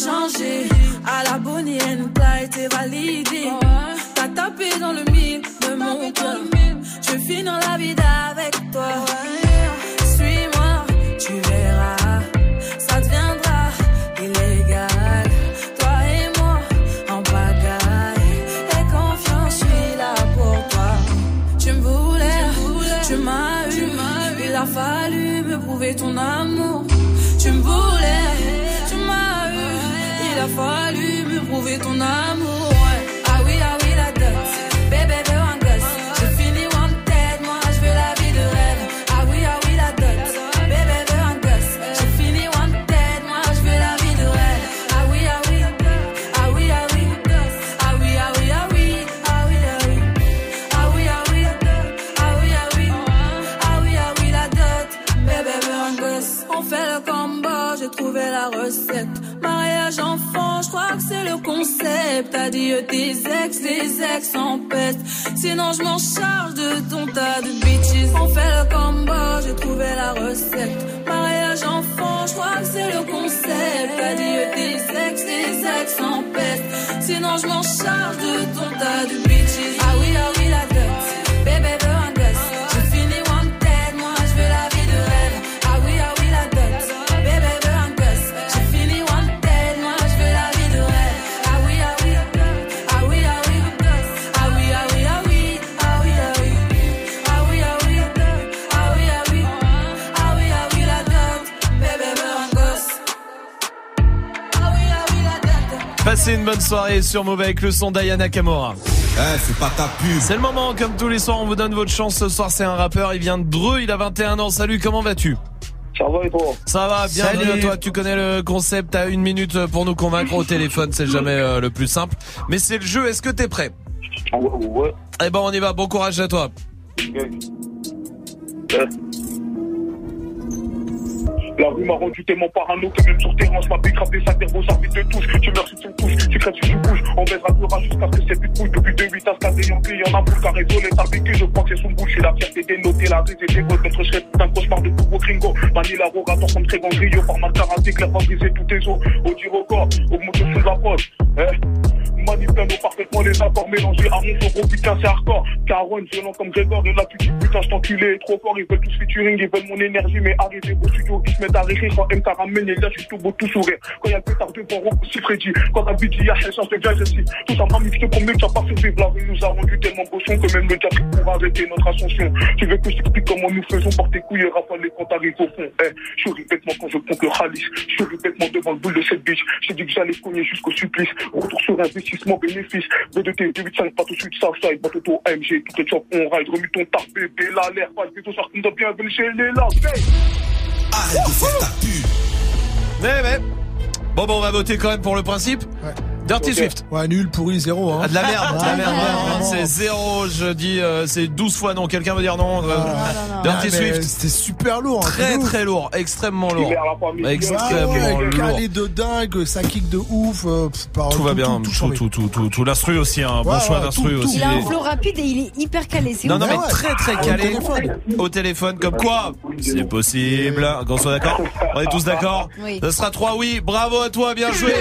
changé. À la Bonnie and Clyde, t'es validé. T'as tapé dans le mille de mon cœur. Je vais finir la vie avec toi. Suis-moi, tu verras. Ça deviendra illégal. Toi et moi, en pagaille. Et confiance, je suis là pour toi. Tu me voulais, tu m'as eu. Il a fallu me prouver ton amour. Tu me voulais, tu m'as eu. Il a fallu me prouver ton amour. Ouais. Ah oui, ah oui, la dot. Bébé veut un gosse. J'ai fini wanted, moi je veux la vie de rêve. Ah oui, ah oui, la dot. Bébé veut un gosse. J'ai fini wanted, moi je veux la vie de rêve. Ah oui, ah oui, ah oui, ah oui. Ah oui, ah oui, ah oui. Ah oui, ah oui. Ah oui, ah oui. Ah oui, ah oui. Ah oui, ah oui, la dot. Bébé veut un gosse. On fait le combo, j'ai trouvé la recette. Mariage enfant, je crois que c'est le concept. Adieu tes ex, les ex en peste. Sinon je m'en charge de ton tas de bitches. On fait le combo, j'ai trouvé la recette. Mariage enfant, je crois que c'est le concept. Adieu tes ex, les ex en peste. Sinon je m'en charge de ton tas de bitches. Ah oui, ah oui, la dot. Bébé veut un gosse. J'ai fini wanted, moi je veux la vie de rêve. Ah oui, ah oui, la dot. Bébé veut un gosse. J'ai fini wanted, moi je veux la vie de rêve. Ah oui, ah oui. Ah oui, ah oui. Ah oui, ah oui, ah oui. Ah oui, ah oui. Ah oui, ah oui. Ah oui, ah oui. Ah oui, ah oui, la dot. Bébé veut un gosse. Ah oui, ah oui, la dot. Passez une bonne soirée sur Move avec le son d'Ayana Kamora. Eh, c'est pas ta pub. C'est le moment, comme tous les soirs, on vous donne votre chance. Ce soir, c'est un rappeur, il vient de Dreux, il a vingt et un ans. Salut, comment vas-tu? Ça va et toi? Ça va, bienvenue Salut. à toi. Tu connais le concept, t'as une minute pour nous convaincre au téléphone, c'est jamais euh, le plus simple. Mais c'est le jeu, est-ce que t'es prêt? Ouais, ouais. Eh ben, on y va, bon courage à toi. Ouais. Ouais. La rue m'a rendu tellement parano que même sur terrain, je m'appelle grave des sacs d'herbe, ça fait de touche. Tu meurs si tu me touches, tu crèves si tu bouges. On baisera le rage jusqu'à ce que c'est plus de couilles. Depuis deux huit à ce cas Yankee, y'en a pour qu'à raisonner. T'as vécu, je crois que c'est son bouche. Et la fierté des notés, la rue des égots. Notre chef, c'est un cauchemar de nouveau gringo. Manila, rogator comme très grand griot. Par ma karaté, clair, va briser tous tes os. Au dire record, augmente le son de la poche. Eh, manipulons parfaitement les accords mélangés. À mon gros putain, c'est hardcore. Caron, violent comme Grégor. Et là, tu dis putain, je t'enculé, trop fort. Ils veulent tous featuring, ils veulent mon énergie. Mais arrivez au studio, ils se mettent à rire. Quand M K ramène, et là, je suis tout beau, tout sourire. Quand y'a le pétard devant, Rocco, si Freddy. Quand la bite, y'a elle change de gars, je suis. Tout ça m'a mis, je te promets que tu vas pas survivre. La rue nous a rendu tellement cochons que même le diable pour arrêter notre ascension. Tu veux que je t'explique comment nous faisons porter tes couilles et rafaler quand t'arrives au fond. Eh, je suis répètement quand je compte le Khalis. Je suis répètement devant le boule de cette bitch. J'ai dit que j'allais cogner jusqu'au supplice. Retour sur investissement, bénéfice. B deux T, deux huit cinq, pas tout de suite, Southside, Batoto, A M G, tout est chop, on ride, remue ton tard, bébé, la l'air, pas de ça, on doit bienvenue chez les langues. Arrête de faire ta pub. Mais, mais. Bon, bon, on va voter quand même pour le principe. Ouais. Dirty Ok. Swift. Ouais, nul, pourri, zéro. Hein. Ah, de la merde, de la Ah, merde. ouais, vraiment, vraiment. c'est zéro, je dis, euh, c'est douze fois non. Quelqu'un veut dire non? euh, Ah, Dirty mais Swift. C'était super lourd. hein, Très de ouf. très lourd, extrêmement lourd. Libère la famille. Extrêmement Ouais, ouais, lourd. calé de dingue, ça kick de ouf. euh, pff, par- Tout va bien, tout, tout, tout, tout, tout, tout. L'instru aussi, un bon Ouais, choix ouais, d'instru tout, tout. aussi. Il a un flow rapide et il est hyper calé. C'est Non, ouf. non, mais ouais. très très Au calé téléphone. au téléphone, comme quoi c'est possible. Qu'on soit d'accord? On est tous d'accord? Oui. Ce sera trois oui. Bravo à toi, bien joué.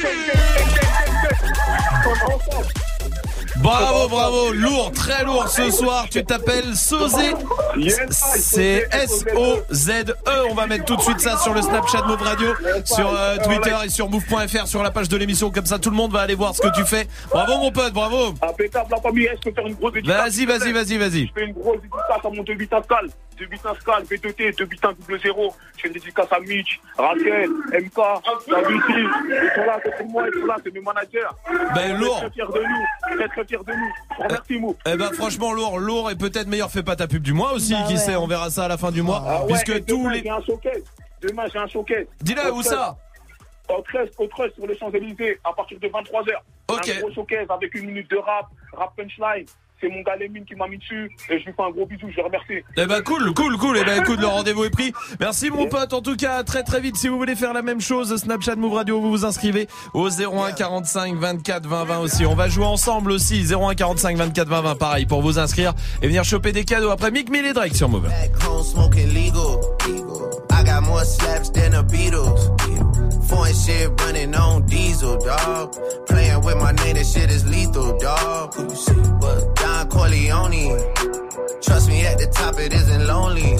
Bravo, bravo, lourd, très lourd ce soir. Tu t'appelles Sozé. C'est S O Z E. On va mettre tout de suite ça sur le Snapchat Move Radio, sur euh, Twitter et sur move point f r, sur la page de l'émission. Comme ça, tout le monde va aller voir ce que tu fais. Bravo, mon pote, bravo. Impeccable, la famille, est-ce que faire une grosse dédicace? Vas-y, vas-y, vas-y, vas-y. Je fais une grosse dédicace à mon deux huit un Scal, deux huit un Scal, V deux T, deux huit un double zéro. Je fais une dédicace à Mitch, Raquel, M K, David, ils sont là, c'est pour moi, ils sont là, c'est mes managers. Ben, lourd. Très fiers de nous, très très fiers de nous. Merci, Mou. Eh ben franchement lourd, lourd et peut-être meilleur fais pas ta pub du mois aussi, Bah qui ouais. sait, on verra ça à la fin du mois, Ah ouais, puisque et tous demain, les... j'ai un showcase. Demain, j'ai un showcase. Dis-le, Au où treize, ça? Au treize, au treize sur les Champs-Élysées, à partir de vingt-trois heures. Ok. Un gros showcase avec une minute de rap, rap punchline. C'est mon gars Lémine qui m'a mis dessus et je lui fais un gros bisou, je le remercie. Eh ben cool, cool, cool, eh ben écoute, le rendez-vous est pris. Merci mon pote, en tout cas, très très vite, si vous voulez faire la même chose, Snapchat Move Radio, vous vous inscrivez au zéro un quarante-cinq vingt-quatre vingt vingt aussi. On va jouer ensemble aussi, zéro un quarante-cinq vingt-quatre vingt vingt, pareil, pour vous inscrire et venir choper des cadeaux après Mick Mill et Drake sur Move. Back home smoking legal. I got got more slaps than the Beatles. Foreign shit running on diesel, dog. Playing with my name, that shit is lethal, dog. Who you see? What? Don Corleone. Trust me, at the top it isn't lonely.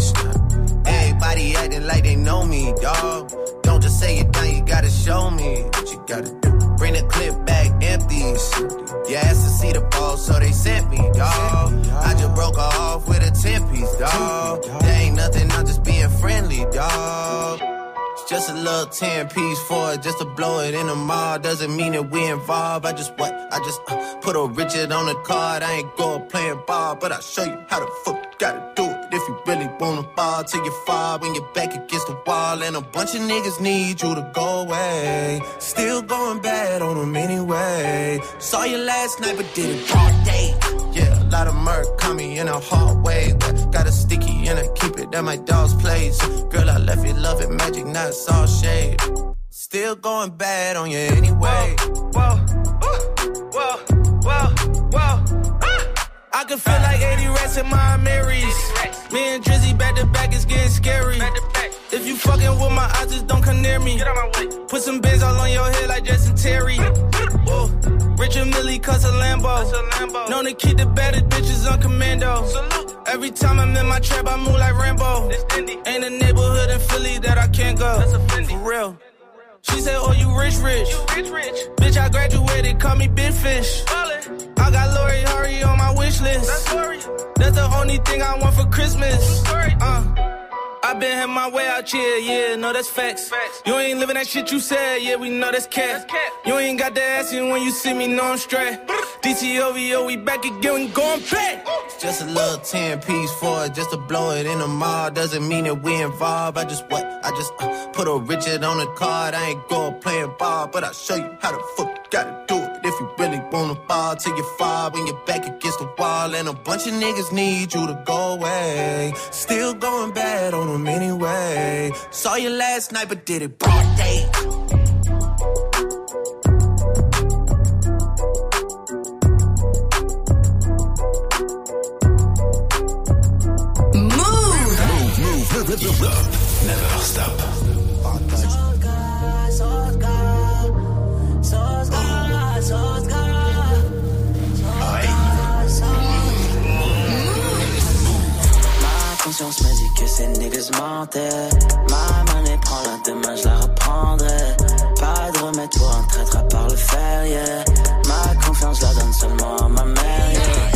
Everybody acting like they know me, dog. Don't just say it down, you gotta show me what you gotta do. Bring the clip back empty. You asked to see the ball, so they sent me, dog. I just broke her off with a ten piece, dog. There ain't nothing, I'm just being friendly, dog. It's just a little ten piece for it, just to blow it in the mall. Doesn't mean that we involved. I just what? I just uh, put a Richard on the card. I ain't going playing ball, but I'll show you how the fuck you gotta do it. If you really wanna ball till you fall when you're back against the wall. And a bunch of niggas need you to go away. Still going bad on them anyway. Saw you last night but did it all day. Yeah, a lot of murk caught me in a hard way. Got a sticky and I keep it at my dog's place. Girl, I left you love it magic, not it's all shade. Still going bad on you anyway. Whoa, whoa, whoa, whoa, whoa. I can feel like eighty rats in my Marys. Me and Drizzy back to back, it's getting scary. If you fucking with my eyes, just don't come near me. Put some bins all on your head like Justin Terry. Whoa. Richard Millie cuss a Lambo. Known to keep the baddest bitches on commando. Every time I'm in my trap, I move like Rambo. Ain't a neighborhood in Philly that I can't go. For real. She said, oh, you rich, rich. You rich, rich. Bitch, I graduated, call me Big Fish. Ballin'. I got Lori Hurry on my wish list. That's, That's the only thing I want for Christmas. Uh. I been had my way out here, yeah, no, that's facts. facts. You ain't living that shit you said, yeah, we know that's cat. That's you ain't got the ass in when you see me, know I'm straight. D T O V O, we back again, we going back. It's just a little ten piece for it, just to blow it in the mall. Doesn't mean that we involved. I just what? I just uh, put a Richard on the card. I ain't going playing ball, but I'll show you how the fuck you gotta do it. If you really wanna ball till you fall when you're back against the wall. And a bunch of niggas need you to go away. Still going bad on them anyway. Saw you last night but did it broad day. Move, move, move, move. Never stop. Ma conscience me dit que ces niggas mentaient. Ma monnaie prend la demain, je la reprendrai. Pas de remède pour un traître à part le fer, yeah. Ma confiance, je la donne seulement à ma mère, yeah.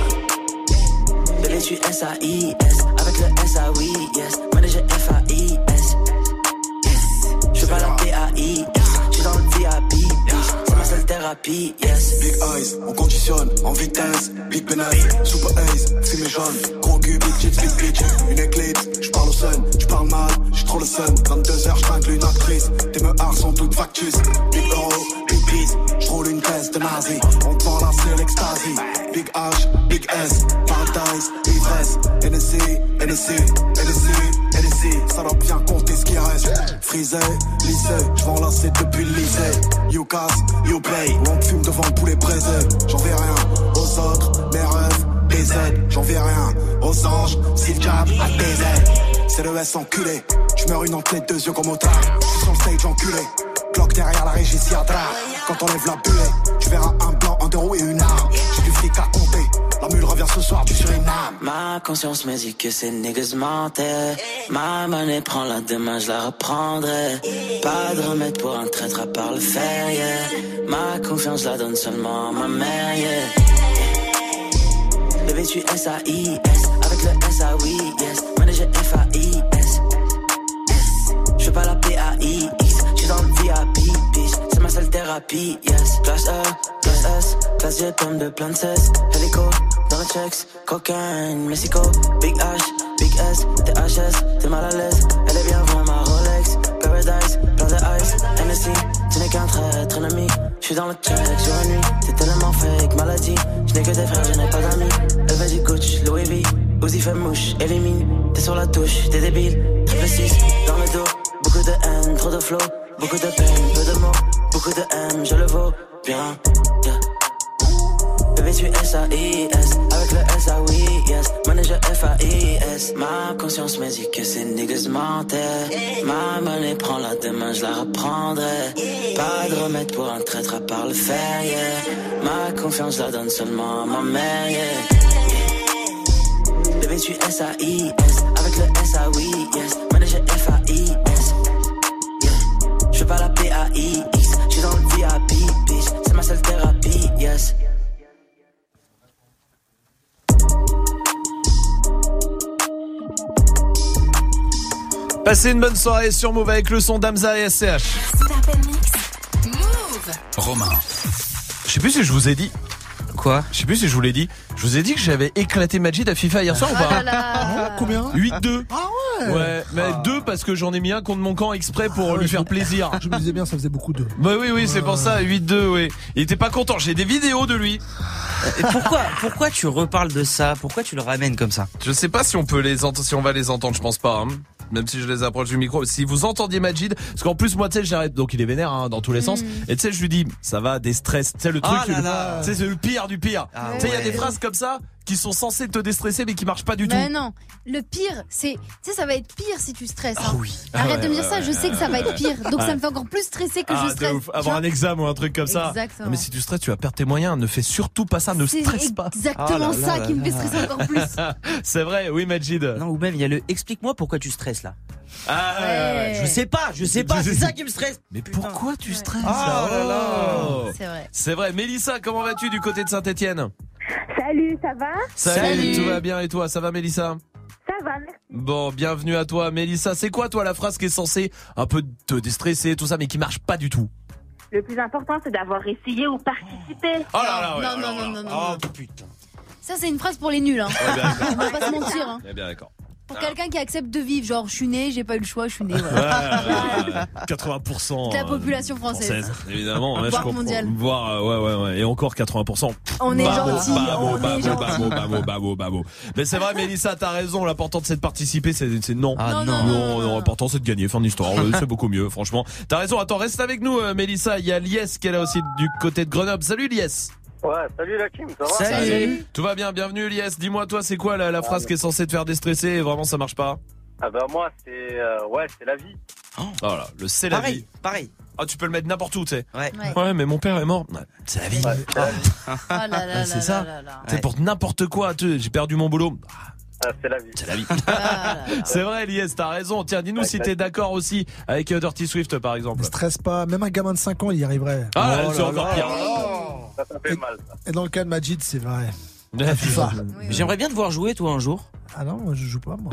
Bébé, tu S A I S, avec le S A oui, yes. Manager F A I S, yes. Je pas la P A I S, j'suis dans le V I P, c'est ma seule thérapie, yes. Big eyes, on conditionne, en vitesse. Big penis, super ace, fumée jaune. Gros cul, big chips, big bitch. Une éclipse, j'parle au sun, j'parle mal, j'suis trop le sun. vingt-deux heures, j'tringle une actrice. Tes meurs sont toutes factus. Big euro, big peace, j'roule une caisse de nazi. On te vend là, c'est l'extasie. Big H, big S, paradise, ivresse. N S C, N S C, N S C, N S C. Ça doit bien compter ce qui reste. Frisé, lycée, j'vends là, c'est depuis le lycée. You casse, you play. On te fume devant le poulet braisé. J'en vais rien aux autres, mes rêves, des aides. J'en vais rien aux anges, si le diable a des aides. C'est le S enculé. J'meurs une en tête, deux yeux comme au tard. J'suis sur le stage enculé. Glock derrière la régie, si à drap. Quand on lève la buée, tu verras un blanc, un deux roues et une arme. J'ai du fric à compter. La mule revient ce soir du Suriname. Ma conscience me dit que ces niggas mentaient. Ma monnaie prend la demain, je la reprendrai. Pas de remède pour un traître à part le fer, yeah. Ma confiance, je la donne seulement à ma mère, yeah. Bébé, tu S A I S, avec le S A oui, yes. Manager F A I S, yes. J'fais pas la P A I X, j'suis dans le V I P, bitch. C'est ma seule thérapie, yes. Classe E, classe S, classe G, pomme de plein de cesse. Hélico, dans le checks, cocaine, Mexico. Big H, Big S, T H S, t'es mal à l'aise. Elle est bien vraiment ma Rolex, Paradise, plein de ice. N S C, tu n'es qu'un traître ennemi. J'suis dans le check sur la nuit, t'es tellement fake, maladie. J'n'ai que des frères, je n'ai pas d'amis. Elle veut du Gucci, Louis V, Uzi fait mouche, élimine. T'es sur la touche, t'es débile. Triple six, dans le dos, beaucoup de haine, trop de flow. Beaucoup de peine, peu de mots, beaucoup de haine, je le vaux bien, yeah. Bébé tu S A I S, avec le S A oui yes. Manager F A I S. Ma conscience me dit que ces niggas mentaient. Ma monnaie prend la demain, je la reprendrai. Pas de remède pour un traître à part le fer, yeah. Ma confiance la donne seulement à ma mère, yeah. Bébé tu S A I S, avec le S A oui yes. Manager F A I S, yeah. Je fais pas la P A I X, je suis dans le V I P, bitch. C'est ma seule thérapie, yes. Passez une bonne soirée sur Move avec le son d'Hamza et S C H. Move. Romain. Je sais plus si je vous ai dit. Quoi? Je sais plus si je vous l'ai dit. Je vous ai dit que j'avais éclaté Majid à FIFA hier soir ou pas? Ah là là. Combien? huit deux. Ah ouais. Ouais, mais deux parce que j'en ai mis un contre mon camp exprès pour Ah ouais, lui je faire me- plaisir. Je me disais bien, ça faisait beaucoup de. Bah oui, oui, c'est pour ça, huit deux, oui. Il était pas content, j'ai des vidéos de lui. Et pourquoi, pourquoi tu reparles de ça? Pourquoi tu le ramènes comme ça? Je sais pas si on peut les entendre, si on va les entendre, je pense pas, hein. Même si je les approche du micro. Si vous entendiez Majid, parce qu'en plus, moi, tu sais, j'arrête, donc il est vénère, hein, dans tous les sens. Et tu sais, je lui dis, ça va, des stress. Tu sais, le truc, Ah là là. tu sais, c'est le pire du pire. Ah tu sais, il y a ouais. des phrases comme ça qui sont censées te déstresser, mais qui marchent pas du Mais tout. non, le pire, c'est, tu sais, ça va être pire si tu stresses. Ah hein. oui. Arrête Ah de me ouais, dire ça, ouais, je sais que ça va être pire. Donc Ouais. ça me fait encore plus stresser que Ah, je de stresse. ouf. Tu Avoir vois un examen ou un truc comme ça. Exactement. Non, mais si tu stresses, tu vas perdre tes moyens. Ne fais surtout pas ça, ne C'est stresse pas. exactement Ah là ça là qui me là fait là. stresser encore plus. C'est vrai, oui, Majid. Non, ou même il y a le explique-moi pourquoi tu stresses là. Ah, ouais, ouais. Je sais pas, je sais pas, c'est ça qui me stresse. Mais pourquoi tu stresses? Ah Oh là là. C'est vrai. C'est vrai. Mélissa, comment vas-tu du côté de Saint-Etienne? Salut, ça va? Salut, tout va bien et toi? Ça va, Mélissa? Ça va, merci. Bon, bienvenue à toi, Mélissa. C'est quoi, toi, la phrase qui est censée un peu te déstresser, tout ça, mais qui marche pas du tout? Le plus important, c'est d'avoir essayé ou participé. Oh là là, ouais, non, alors non, là. non, non, non, Oh, non. putain. Ça, c'est une phrase pour les nuls. Hein. Ouais, bien d'accord. On va pas se mentir. Hein. Eh bien d'accord. Pour quelqu'un qui accepte de vivre, genre je suis né, j'ai pas eu le choix, je suis né. Ouais, Voilà. ouais, ouais. quatre-vingts pour cent De la euh, population française. évidemment. Ouais, je Voire comprends. mondiale. Voire, euh, ouais, ouais, ouais. Et encore quatre-vingts pour cent. On est Babo, gentil, babo, on est babo, gentil. babo, babo, babo, babo. Mais c'est vrai, Mélissa, t'as raison. L'important c'est de participer, c'est, c'est non. Ah non. Non, non, l'important c'est de gagner. Fin d'histoire. Ouais, c'est beaucoup mieux, franchement. T'as raison. Attends, reste avec nous, euh, Mélissa. Il y a Lies qui est là aussi du côté de Grenoble. Salut, Lies. Ouais, salut la team, ça va? Salut. Tout va bien, bienvenue, Lies. Dis-moi, toi, c'est quoi la, la phrase qui est censée te faire déstresser et vraiment ça marche pas? Ah bah moi, c'est euh, ouais, c'est la vie. Oh là, le c'est la Pareil, vie. pareil. Ah, tu peux le mettre n'importe où, tu sais. Ouais. Ouais. Ouais, mais mon père est mort. Ouais, c'est la vie. Ouais, c'est la vie. Oh là là Ouais, c'est là ça. là là. C'est pour n'importe quoi. Tu sais, j'ai perdu mon boulot. Ah, c'est la vie. C'est la vie. Ah là là. C'est vrai, Lies, t'as raison. Tiens, dis-nous Ouais, si ouais. t'es d'accord aussi avec euh, Dirty Swift, par exemple. Ne stresse pas, même un gamin de cinq ans, il y arriverait. Ah, Oh c'est là encore là. pire. Ça, ça fait mal, ça. Et dans le cas de Majid, c'est vrai. Ouais, FIFA. Oui, oui. J'aimerais bien te voir jouer toi un jour. Ah non, moi, je joue pas, moi.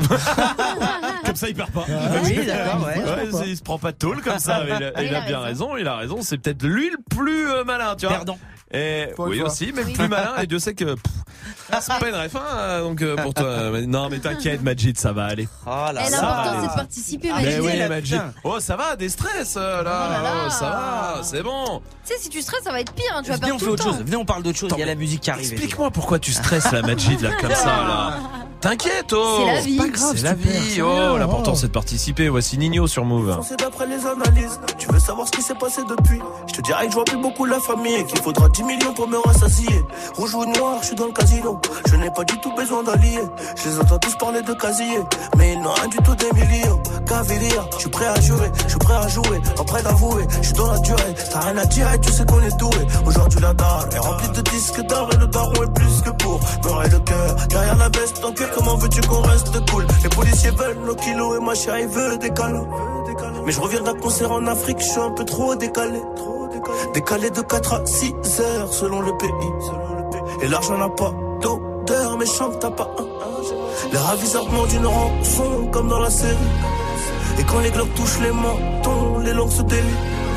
Comme ça, il perd pas. Oui, d'accord, ouais. Ouais, c'est- il se prend pas de tôle comme ça. Il a, Ah, il il a a bien raison. Il a raison. C'est peut-être lui le plus euh, malin, tu vois. Perdant. Et Faut oui le voir. aussi, mais le Oui. plus malin. Et Dieu sait que pff, c'est pas une ref, hein, donc euh, pour toi. Mais non, mais t'inquiète, Majid, ça va aller. Oh là Et ça l'important, va. c'est de participer, Ah, Mais Majid. oui, là, Majid. putain. Oh, ça va, des stress euh, là. Oh là là. Oh, ça va, c'est bon. Tu sais, si tu stresses, ça va être pire. Hein. Tu vas Venez, perdre on tout fait le autre temps. chose. Venez, on parle d'autre chose. Il y a la musique qui arrive. Explique-moi pourquoi tu stresses la Majid là comme ça là. T'inquiète, oh. C'est la vie. Pas grave, C'est la super, vie. c'est Oh, bien, l'important oh. c'est de participer. Voici Nino sur Move. C'est d'après les analyses. Tu veux savoir ce qui s'est passé depuis? Je te dirais que je vois plus beaucoup la famille et qu'il faudra dix millions pour me rassasier. Rouge ou noir, je suis dans le casino. Je n'ai pas du tout besoin d'alliés. Je les entends tous parler de casier, mais ils n'ont rien du tout des millions. Cavalier, je suis prêt à jurer, je suis prêt à jouer, pas prêt d'avouer. Je suis dans la durée, t'as rien à dire et tu sais qu'on est doué. Aujourd'hui la dalle est remplie de disques d'or et le daron est plus que pour me le cœur. Derrière la veste en cuir, comment veux-tu qu'on reste cool? Les policiers veulent nos kilos et ma chérie veut des câlins. Mais je reviens d'un concert en Afrique, je suis un peu trop décalé. Décalé de quatre à six heures selon le pays. Et l'argent n'a pas d'odeur, mais chante t'as pas un. Les raviseurs demandent une rançon comme dans la série. Et quand les globes touchent les mentons, les langues se délient.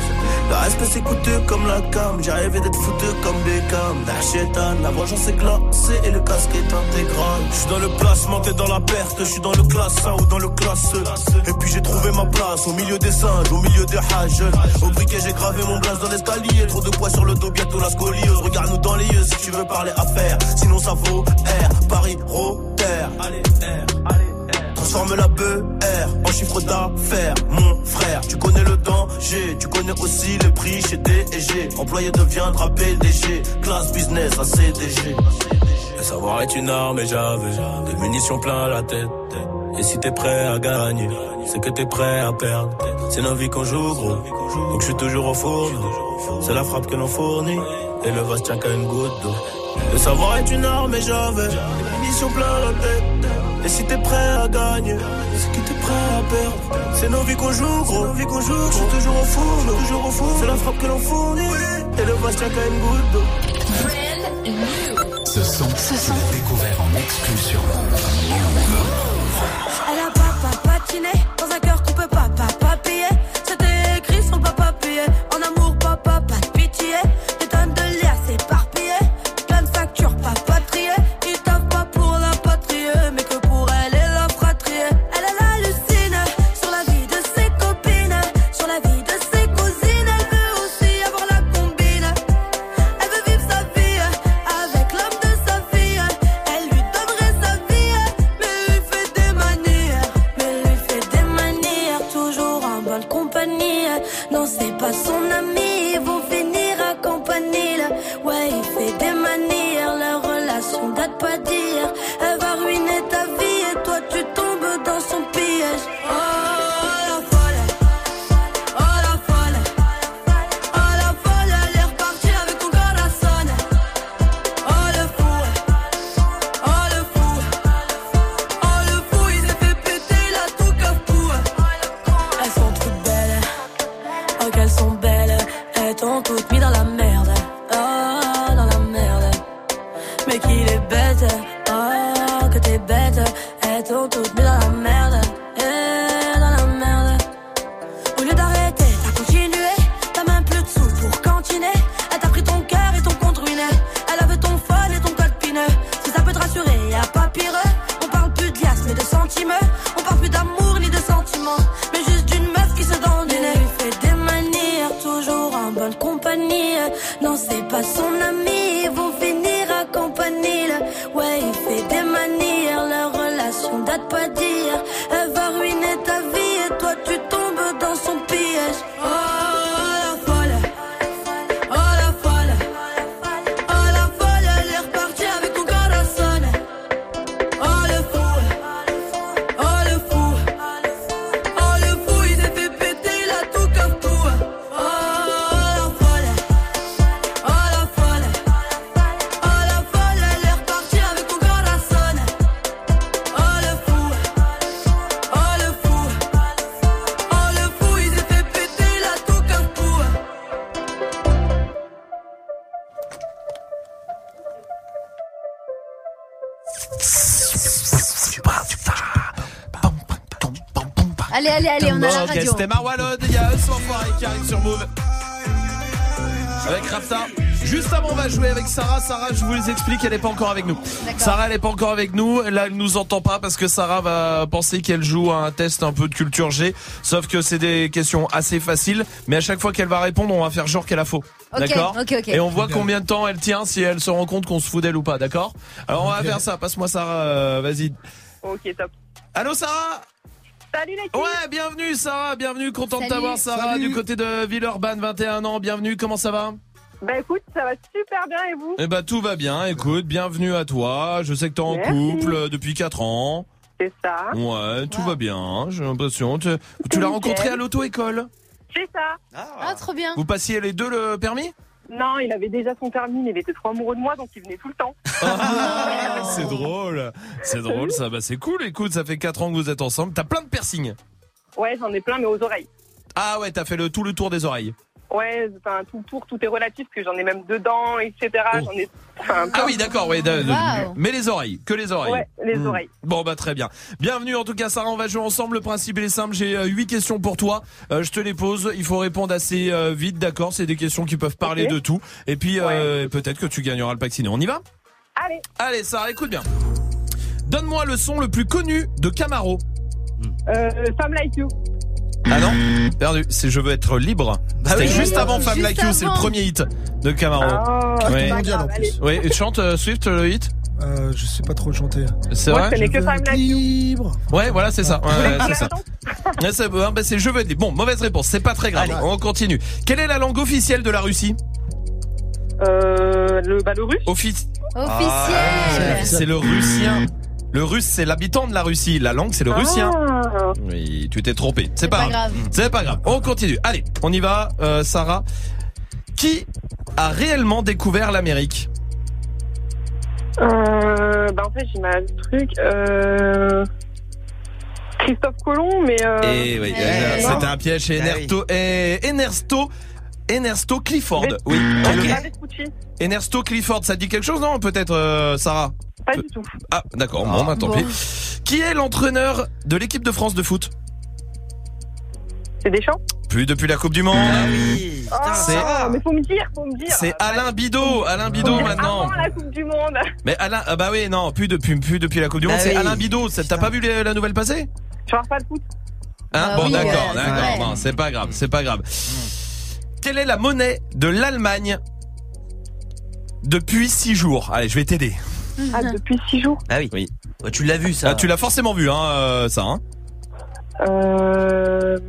Le respect c'est coûteux comme la cam. J'ai rêvé d'être foutu comme Beckham. Darchetan, la vengeance est glacée et le casque est intégral. Je suis dans le placement, t'es dans la perte. Je suis dans le classe un ou dans le classe E. Et puis j'ai trouvé ma place au milieu des singes, au milieu des hages. Au briquet j'ai gravé mon blaze dans l'escalier. Trop de poids sur le dos, bientôt la scoliose. Regarde-nous dans les yeux si tu veux parler affaires. Sinon ça vaut R, Paris, Rotter. Allez, R, allez, R. transforme la B R en chiffre d'affaires. Mon frère, tu connais le danger, tu connais aussi les prix chez D et G. Employé deviendra P D G, classe business à C D G. Le savoir est une arme et j'avais des munitions plein la tête. Et si t'es prêt à gagner, c'est que t'es prêt à perdre. C'est nos vies qu'on joue gros, donc je suis toujours au fourneau. C'est la frappe que l'on fournit, et le vase tient qu'à une goutte d'eau. Le savoir est une arme et j'avais des munitions plein la tête. Et si t'es prêt à gagner, c'est que t'es prêt à perdre. C'est nos vies qu'on joue gros, nos vies qu'on joue, je suis toujours au fourneau, toujours au fourneau. C'est la frappe que l'on fournit, et le vase tient qu'à une goutte d'eau. Ce son, ce son découvert en exclu sur Move. Elle a papa patiné dans un cœur qu'on peut pas papa payer. C'était écrit sur le papa payé. En amour papa pas de pitié. Des tonnes de liasses éparpillées, plein de factures papa triées. Ils taffent pas pour la patrie, mais que pour elle et la fratrie. Elle elle hallucine sur la vie de ses copines, sur la vie de ses cousines. Elle veut aussi avoir la combine. Elle veut vivre sa vie avec l'homme de sa vie. Elle lui donnerait sa vie, mais lui fait des manières, mais lui fait des manières, toujours en bonne compagnie. Non, c'est pas son ami, ils vont finir à campanile. Ouais, il fait des manières, leur relation date pas d'hier. Elle va ruiner ta vie et toi tu tombes dans son piège. Oh la folle, oh la folle, oh la folle, elle est repartie avec ton corazon. Oh le fou, oh le fou, oh le fou, il s'est fait péter la tout cafou. Elles sont toutes belles, oh qu'elles sont belles, elles t'ont toutes mis dans la merde, oh dans la merde. Mais qu'il est bête, oh que t'es bête, elles t'ont toutes mis dans la merde, eh, dans la merde. Au lieu d'arrêter, t'as continué, t'as même plus de sous pour cantiner. Elle t'a pris ton cœur et ton compte ruiné. Elle avait ton phone et ton code pineux. Si ça peut te rassurer, y'a pas pire. On parle plus de liasses mais de sentiments. On parle plus d'amour ni de sentiments, mais juste d'une meuf qui se donne du nez. Elle lui fait des manières, toujours en bonne compagnie. Non, c'est pas son ami, ils vont finir à campanile. Ouais, il fait des manières, leur relation date pas d'hier. Elle va ruiner ta vie et toi tu tombes dans son piège. Oh la folle, oh la folle, oh la folle, elle est repartie avec ton corazon. Oh le fou, oh le fou, oh le fou, il s'est fait péter la tout cafou. Oh la folle, oh la folle, oh la folle, elle est repartie avec ton corazon. Oh le fou, oh le fou, oh le fou, il s'est fait péter la tout cafou. Allez, allez, allez, on a la Ok, radio. c'était Marwalod, il y a Us l'enfoiré qui arrive sur Move. Avec Rapta. Juste avant, on va jouer avec Sarah. Sarah, je vous les explique, elle n'est pas encore avec nous. D'accord. Sarah, elle n'est pas encore avec nous. Là, elle nous entend pas parce que Sarah va penser qu'elle joue à un test un peu de culture G. Sauf que c'est des questions assez faciles. Mais à chaque fois qu'elle va répondre, on va faire genre qu'elle a faux. Ok, D'accord ok, ok. Et on voit combien de temps elle tient, si elle se rend compte qu'on se fout d'elle ou pas. D'accord? Alors, on va faire ça. Passe-moi Sarah, euh, vas-y. Ok, top. Allô, Sarah? Salut les filles. Ouais, bienvenue Sarah, bienvenue, content Salut. de t'avoir Sarah, Salut. du côté de Villeurbanne, vingt et un ans, bienvenue, comment ça va? Bah écoute, ça va super bien et vous? Eh ben tout va bien, écoute, bienvenue à toi, je sais que t'es en Merci. couple euh, depuis quatre ans. C'est ça. Ouais, tout va bien, j'ai l'impression. Tu, tu l'as rencontré à l'auto-école? C'est ça. Ah, trop bien. Vous passiez les deux le permis? Non, il avait déjà son permis, mais il était trop amoureux de moi, donc il venait tout le temps. Ah, c'est drôle, c'est drôle ça, bah c'est cool, écoute, ça fait quatre ans que vous êtes ensemble, t'as plein de piercings. Ouais, j'en ai plein, mais aux oreilles. Ah ouais, t'as fait le, tout le tour des oreilles. Ouais, enfin, tout le tour, tout est relatif, parce que j'en ai même dedans, et cetera. Oh. J'en ai. Enfin, Ah oui, d'accord, ouais, de- de- Wow. mais les oreilles, que les oreilles. Ouais, les Hmm. oreilles. Bon bah très bien. Bienvenue en tout cas Sarah, on va jouer ensemble. Le principe il est simple, j'ai euh, huit questions pour toi. Euh, je te les pose, il faut répondre assez euh, vite, d'accord? C'est des questions qui peuvent parler Ok. de tout. Et puis euh, peut-être que tu gagneras le pack ciné. On y va? Allez. Allez Sarah, écoute bien. Donne-moi le son le plus connu de Camaro. Euh, Femme Like You. Ah non, perdu. C'est Je veux être libre. C'était oui. juste avant Femme Juste Like You, c'est le avant. premier hit de Camaro. Ah, Ouais. c'est pas mondial, grave, en allez. plus. Ouais, et chante euh, Swift le hit. Euh, je sais pas trop le chanter. C'est Moi, vrai je connais que Femme Like You. Libre. Ouais, voilà, c'est ça. Ouais, ouais, Tu c'est ça. Ouais, c'est, bah, c'est je veux dire. Bon, mauvaise réponse. C'est pas très grave. Allez. On continue. Quelle est la langue officielle de la Russie? Euh, le, bah, le russe. Office. Officiel. C'est le russien. Le russe, c'est l'habitant de la Russie. La langue, c'est le russien. Ah. Oui, tu t'es trompé. C'est pas, pas grave. C'est pas grave. On continue. Allez, on y va, euh, Sarah. Qui a réellement découvert l'Amérique? Euh, bah, en fait, j'ai mal le truc. Euh, Christophe Colomb, mais. Euh... Et oui, Eh, euh, non. c'était un piège chez Ah Ernesto, eh, Ernesto, Ernesto Clifford. Ves- Oui. Ah, Et le- Ves- Vespucci. Ernesto Clifford, ça te dit quelque chose, non? Peut-être, euh, Sarah? Pas du tout. Ah, d'accord. Bon, bah, tant Bon. pis. Qui est l'entraîneur de l'équipe de France de foot? C'est Deschamps. Plus depuis la Coupe du Monde. Ah oui. Putain, Ah, c'est- mais faut me dire, faut me dire. C'est Alain Bidot, Alain Bidot maintenant. Avant la Coupe du Monde. Mais Alain, ah bah oui, non, plus depuis, plus depuis la Coupe du Bah Monde, c'est oui. Alain Bidot. Ça- T'as pas vu les- la nouvelle passer? Je regarde pas le foot. Hein? Ah Bon, oui, d'accord, ouais, d'accord. ouais. Bon, c'est pas grave, c'est pas grave. Quelle est la monnaie de l'Allemagne depuis six jours? Allez, je vais t'aider. Ah, depuis six jours. Ah oui. Oui. Ouais, tu l'as vu ça. Ah, tu l'as forcément vu, hein, euh, ça. Hein. Euh.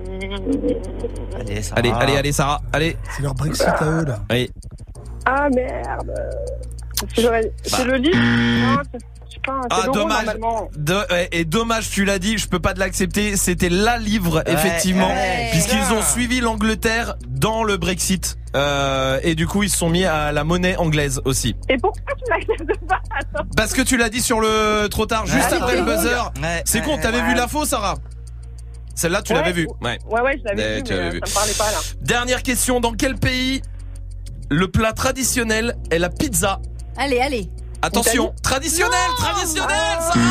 Allez, ça Allez, va. allez, allez, Sarah, allez. C'est leur Brexit à eux, là. Oui. Ah merde. C'est le, c'est le livre. Non, c'est- je sais pas. C'est Ah, l'euro, dommage. normalement. De- ouais, et dommage, tu l'as dit, je peux pas te l'accepter. C'était la livre, Ouais, effectivement, ouais. puisqu'ils ont suivi l'Angleterre dans le Brexit. Euh, et du coup, ils se sont mis à la monnaie anglaise aussi. Et pourquoi tu l'acceptes pas? Attends. Parce que tu l'as dit sur le trop tard, juste Ouais, après le ouais. buzzer. Ouais, C'est ouais, con, t'avais ouais. vu l'info, Sarah? Celle-là, tu Ouais. l'avais vue. Ouais. Ouais, ouais, je l'avais Ouais, vu, tu mais l'avais euh, vu. ça me parlait pas là. Dernière question, dans quel pays le plat traditionnel est la pizza? Allez, allez. Attention, Italie. traditionnel, Non. traditionnel, Ah. Sarah.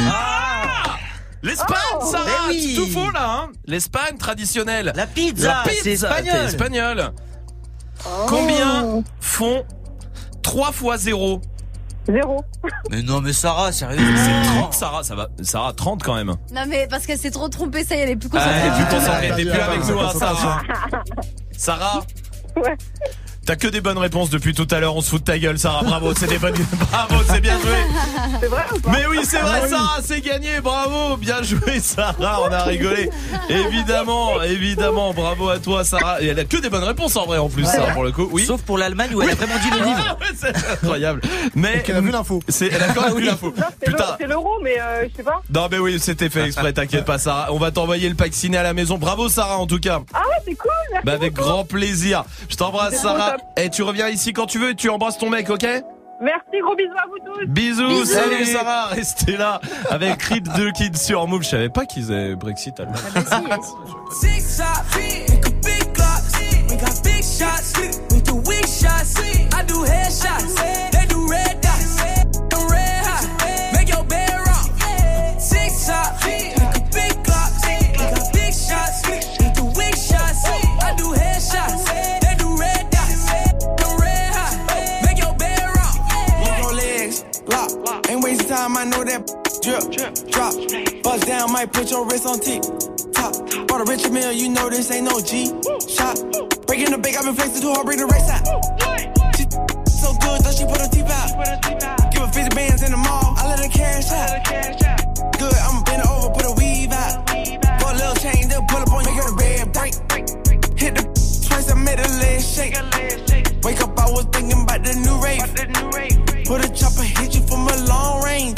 Ah L'Espagne, Oh. Sarah, Mais oui. c'est tout faux là, hein. L'Espagne traditionnelle. La pizza, La c'est pizza, espagnol. t'es espagnol. Oh. Combien font trois fois zéro? Zéro. Mais non, mais Sarah, sérieux. C'est trente, Sarah, ça va. Sarah, trente quand même. Non, mais parce qu'elle s'est trop trompée, ça y est, elle est plus Ah, concentrée. elle est plus Ah, concentrée, ah, t'es ah, plus ah, avec ah, nous, hein, ah, Sarah. Sarah. Ouais. T'as que des bonnes réponses depuis tout à l'heure, on se fout de ta gueule, Sarah. Bravo, c'est des bonnes. Bravo, c'est bien joué. C'est vrai ou pas? Mais oui, c'est vrai, Sarah, c'est gagné. Bravo, bien joué, Sarah. On a rigolé. Évidemment, évidemment. Bravo à toi, Sarah. Et elle a que des bonnes réponses en vrai, en plus, Sarah, pour le coup. Oui. Sauf pour l'Allemagne où elle a vraiment dit le livre. Ouais, c'est incroyable. Mais Elle a vu l'info. c'est, elle a quand même vu l'info. Non, c'est Putain. l'euro- c'est l'euro, mais euh, je sais pas. Non, mais oui, c'était fait exprès. T'inquiète pas, Sarah. On va t'envoyer le pack ciné à la maison. Bravo, Sarah, en tout cas. Ah ouais, c'est cool. Merci Bah, avec beaucoup. grand plaisir. Je t'embrasse, C'est Sarah. trop Et tu reviens ici quand tu veux et tu embrasses ton mec, ok? Merci, gros bisous à vous tous. Bisous, Bisous. salut Sarah, restez là avec Creed deux Kids sur Move. Je savais pas qu'ils avaient Brexit allemand. Ah bah si, si. Six shot, make a big glocks. We got big shots, we do weak shots. I do headshots, they do red dots. The red hot, make your bed rock. Six shot, make a big glocks. We got big shots, we do weak shots. I do headshots, they do red dots. The red hot, make your bed rock. Move your legs, lock. Ain't wasting time, I know that drip, drop. Bust down, might put your wrist on tick. Top. Bought a Richard Mill, you know this ain't no G shot. Breaking the bank, I've been flexing too hard, bring the race out. She so good, though she put her teeth out. Give her fifty bands in the mall, I let her cash out. Good, I'ma bend her over, put a weave out. Put a little chain, they'll pull up on you, make her red break. Hit the twice, I made her leg shake. Wake up, I was thinking about the new rave. Put a chopper, hit you from a long range.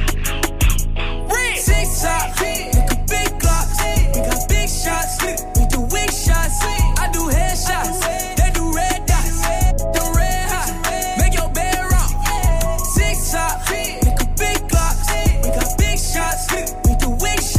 Six shots, make a big glocks. We got big shots, we do weak shots. I do headshots, they do red dots. The red hot, make your bed rock. Six shots, make a big glocks. We got big shots, we do weak shots.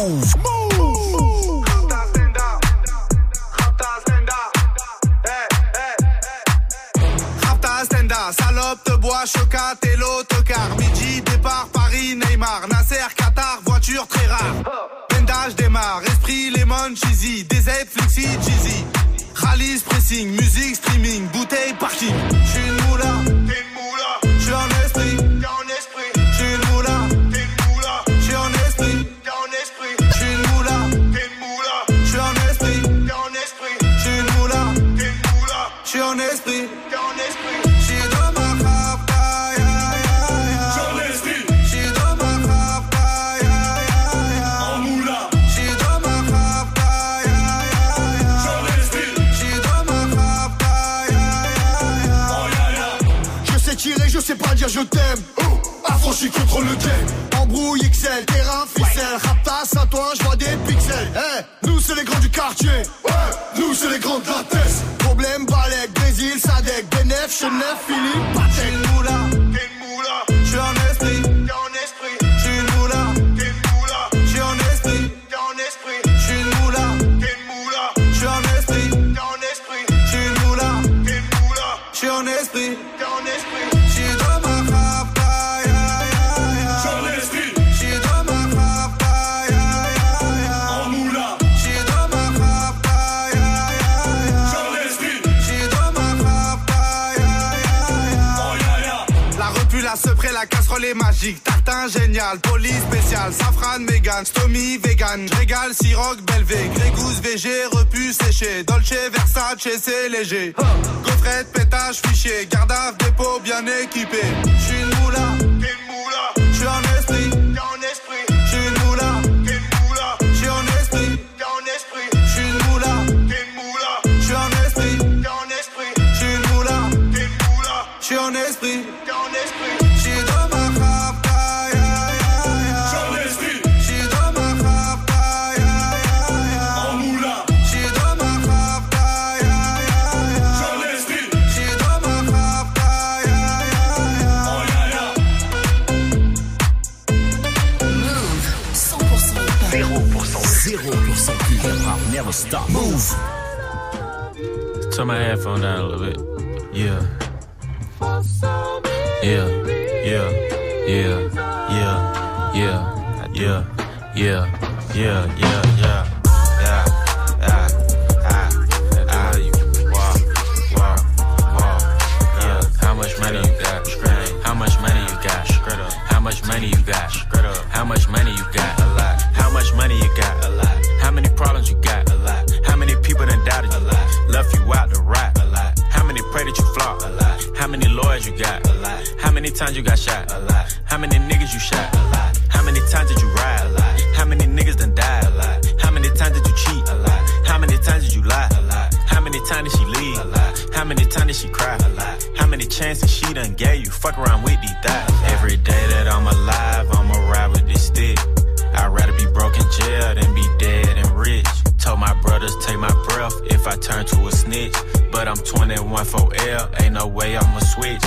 Move. Move. Rapta Stenda, salope te bois, chocat et l'autocar. Midi, départ, Paris, Neymar, Nasser, Qatar, voiture très rare. Pendage démarre, esprit, lemon, cheesy, D Z, flexi, cheesy. Rallye, pressing, musique, streaming, bouteille, parking. J'suis une moula, t'es une moula. J'suis en esprit, t'es en esprit. J'suis une moula, t'es une moula. J'suis en esprit, t'es en esprit. J'suis une moula, t'es une moula. J'suis en esprit, t'es en esprit. J'suis une moula, t'es une moula. J'suis en esprit, t'es en esprit. J'suis dans ma rapta, ya ya ya. J'suis en esprit. J'suis dans ma rapta, ya ya ya. En moula. J'suis dans ma rapta, ya ya ya. J'suis en esprit. J'suis dans ma rapta, ya ya ya. Oh ya ya. Je sais tirer, je sais pas dire je t'aime. Affranchi contre le game. Embrouille X L, terrain, ficelle. Raptas à toi, je vois des pixels. Hey, nous c'est les grands du quartier. Ouais, nous c'est les grands de la tête. Problème, Balek, Brésil, Sadek, Benef, Chenef, Philippe, Patek. J'suis une moula, t'es une moula. J'suis en esprit, t'es en esprit. J'suis une moula, t'es une moula. J'suis en esprit, t'es en esprit. J'suis une moula, t'es une moula. J'suis en esprit, t'es en esprit. J'suis une moula, t'es une moula. J'suis en esprit, t'es en esprit. J'suis dans ma rapta, ya ya ya. J'suis en esprit. J'suis dans ma rapta, ya ya ya. En moula. J'suis dans ma rapta, ya ya ya. J'suis en esprit. J'suis dans ma rapta, ya ya ya. Oh ya ya. La repu, la sepré, la casserole est magique. Tartin génial, police spécial, safran, mégan, stomy, vegan. J'régale, siroc, belvé, grégousse, V G, repu, séché. Dolce, Versace, c'est léger. Gaufrette, pétage, fichier, garde à dépôt bien équipé. J'suis une moula, t'es une moula. J'suis en esprit, t'es en esprit. J'suis une moula, t'es une moula. J'suis en esprit, t'es en esprit. J'suis une moula, t'es une moula. J'suis en esprit, t'es en esprit. J'suis une moula, t'es une moula. J'suis en esprit, t'es en esprit. J'suis dans ma rapta, ya ya ya. J'suis en esprit. J'suis dans ma rapta, ya ya ya. En moula. J'suis dans ma rapta, ya ya ya. J'suis en esprit. J'suis dans ma rapta, ya ya ya. Oh ya ya. Move, cent pour cent hip-hop. zéro pour cent. zéro pour cent hip-hop. Never stop. Move. Turn my headphone down a little bit. Yeah. Yeah. Yeah. Yeah. Yeah. Yeah. Yeah. Yeah. Yeah. Yeah. Yeah. Yeah. Ah. Ah. Ah. You walk. Walk. Walk. Yeah. How much money you got? How much money you got? How much money you got? How much money you got? A lot. How much money you got? A lot. How many problems you got? A lot. How many people done doubted you? A lot. Left you out to rot? A lot. How many pray that you flop? A lot. How many lawyers you got? A lot. How many times you got shot? A lot. How many niggas you shot? A lot. How many times did you ride? A lot. How many niggas done died? A lot. How many times did you cheat? A lot. How many times did you lie? A lot. How many times did she leave? A lot. How many times did she cry? A lot. How many chances she done gave you? Fuck around with these thighs. Every day that I'm alive, I'ma ride with this stick. I'd rather be broke in jail than be dead and rich. Told my brothers take my breath if I turn to a snitch. But I'm twenty-one for L, ain't no way I'ma switch.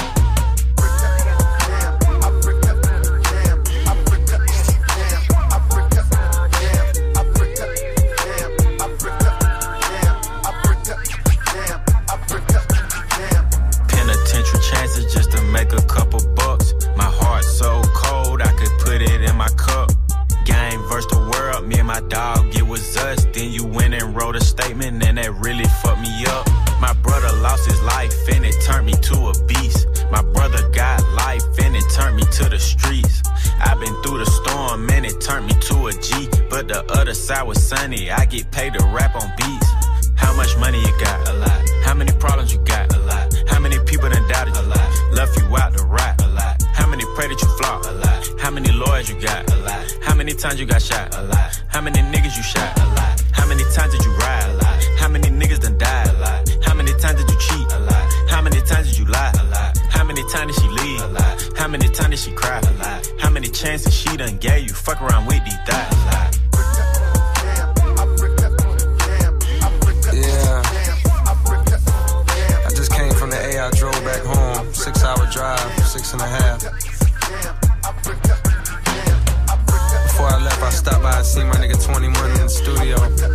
Penitentiary chances just to make a couple bucks. My heart so cold I could put it in my cup. Game versus the world, me and my dog, it was us. Then you went and wrote a statement and that really fucked me up. My brother lost his life and it turned me to a beast. My brother got life and it turned me to the streets. I've been through the storm and it turned me to a G. But the other side was sunny, I get paid to rap on beats. How much money you got? A lot. How many problems you got? A lot. How many people done doubted you? A lot. Left you out to rot? A lot. How many pray that you flop? A lot. How many lawyers you got? A lot. How many times you got shot? A lot. How many niggas you shot? A lot. How many times did you ride? A lot. How many niggas done died? A lot. How many times did you cheat? A lot. How many times did you lie? A lot. How many times did she leave? A lot. How many times did she cry? A lot. How many chances she done gave you? Fuck around with these thighs. A lot. Yeah. I just came from the A, I drove back home. Six hour drive, six and a half. Before I left, I stopped by I seen my nigga twenty-one in the studio.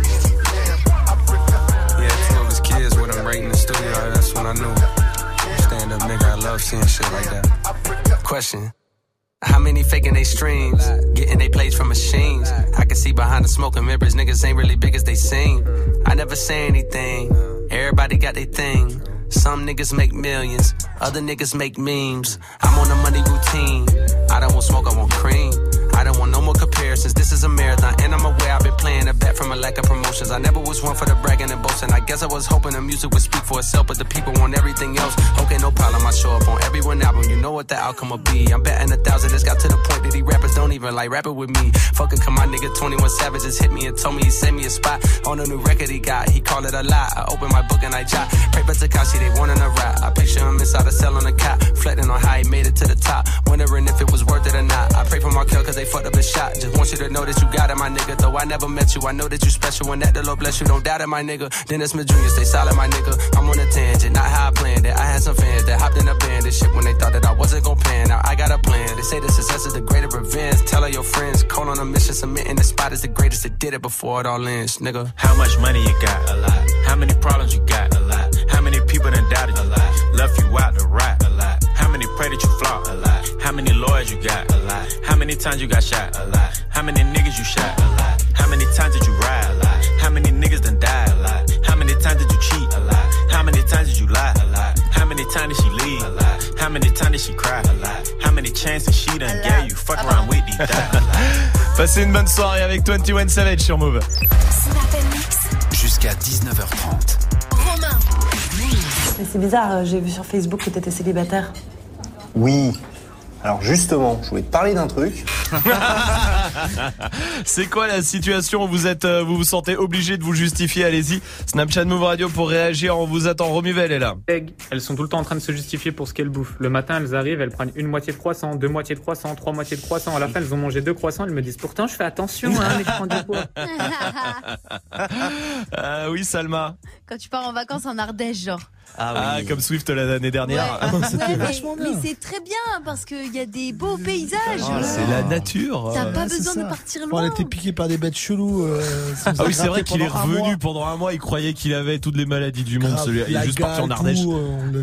Yeah, two of his kids with him right in the studio. That's when I knew. Stand up nigga, I love seeing shit like that. Question. How many faking they streams? Getting they plays from machines. I can see behind the smoke and mirrors, niggas ain't really big as they seem. I never say anything. Everybody got their thing. Some niggas make millions, other niggas make memes. I'm on a money routine. I don't want smoke, I want cream. I don't want no more comparisons. This is a marathon, and I'm aware I've been playing a bet from a lack of promotions. I never was one for the bragging and boasting. I guess I was hoping the music would speak for itself, but the people want everything else. Okay, no problem, I show up on every one album. You know what the outcome will be. I'm betting a thousand. It's got to the point that these rappers don't even like rapping with me. Fuck it, come my nigga twenty-one Savage just hit me and told me he sent me a spot on a new record he got. He called it a lie. I opened my book and I jot. Pray for Takashi, they wanting a rap. I picture him inside a cell on a cot, reflecting on how he made it to the top, wondering if it was worth it or not. I pray for Markel cause they fucked up his shot. Just want you to know that you got it, my nigga. Though I never met you, I know that you special and that the Lord bless you. Don't doubt it, my nigga. Dennis Smith Junior, stay solid, my nigga. I'm on a tangent, not how I planned it. I had some fans that hopped in a band and shit when they thought that I wasn't gon' plan. Now I got a plan. They say the success is the greater revenge. Tell all your friends, call on a mission, submitting the spot is the greatest. It did it before it all ends, nigga. How much money you got? A lot. How many problems you got? A lot. How many people done doubted you? A lot. Left you out to rot? A lot. How many pray that you flop? A lot. How many lawyers you got? A lot. How many times you got shot? A lot. How many niggas you shot? A lot. How many times did you ride? A lot. How many niggas done died? A lot. How many times did you cheat? A lot. How many times did you lie? A lot. How many times did she leave? A lot. How many times did she cry? A lot. How many chances she done gave you? Fuck around with these die. Passez une bonne soirée avec twenty-one Savage sur Move. Jusqu'à dix-neuf heures trente. Romain. Mais c'est bizarre, j'ai vu sur Facebook que t'étais célibataire. Oui. Alors justement, je voulais te parler d'un truc. C'est quoi la situation? Vous êtes, euh, vous vous sentez obligé de vous justifier? Allez-y, Snapchat Move Radio pour réagir. On vous attend. Romuvel est là. Elles sont tout le temps en train de se justifier pour ce qu'elles bouffent. Le matin, elles arrivent, elles prennent une moitié de croissant, deux moitiés de croissant, trois moitiés de croissant. À la fin, elles ont mangé deux croissants. Elles me disent pourtant, je fais attention, hein, mais je prends du poids. euh, oui, Salma. Quand tu pars en vacances en Ardèche, genre. Ah, oui. Ah, comme Swift l'année dernière. Ouais. Ouais, mais, mais c'est très bien parce qu'il y a des beaux paysages. Oh, c'est la nature. T'as pas Ouais, besoin c'est de ça. partir On loin. a été piqué par des bêtes cheloues. Euh, ça nous a Ah oui, c'est vrai gratté qu'il est pendant un revenu mois. pendant un mois. Il croyait qu'il avait toutes les maladies du monde. Grave, Celui-là. Il est la juste parti en gale, Ardèche. tout, euh, on le-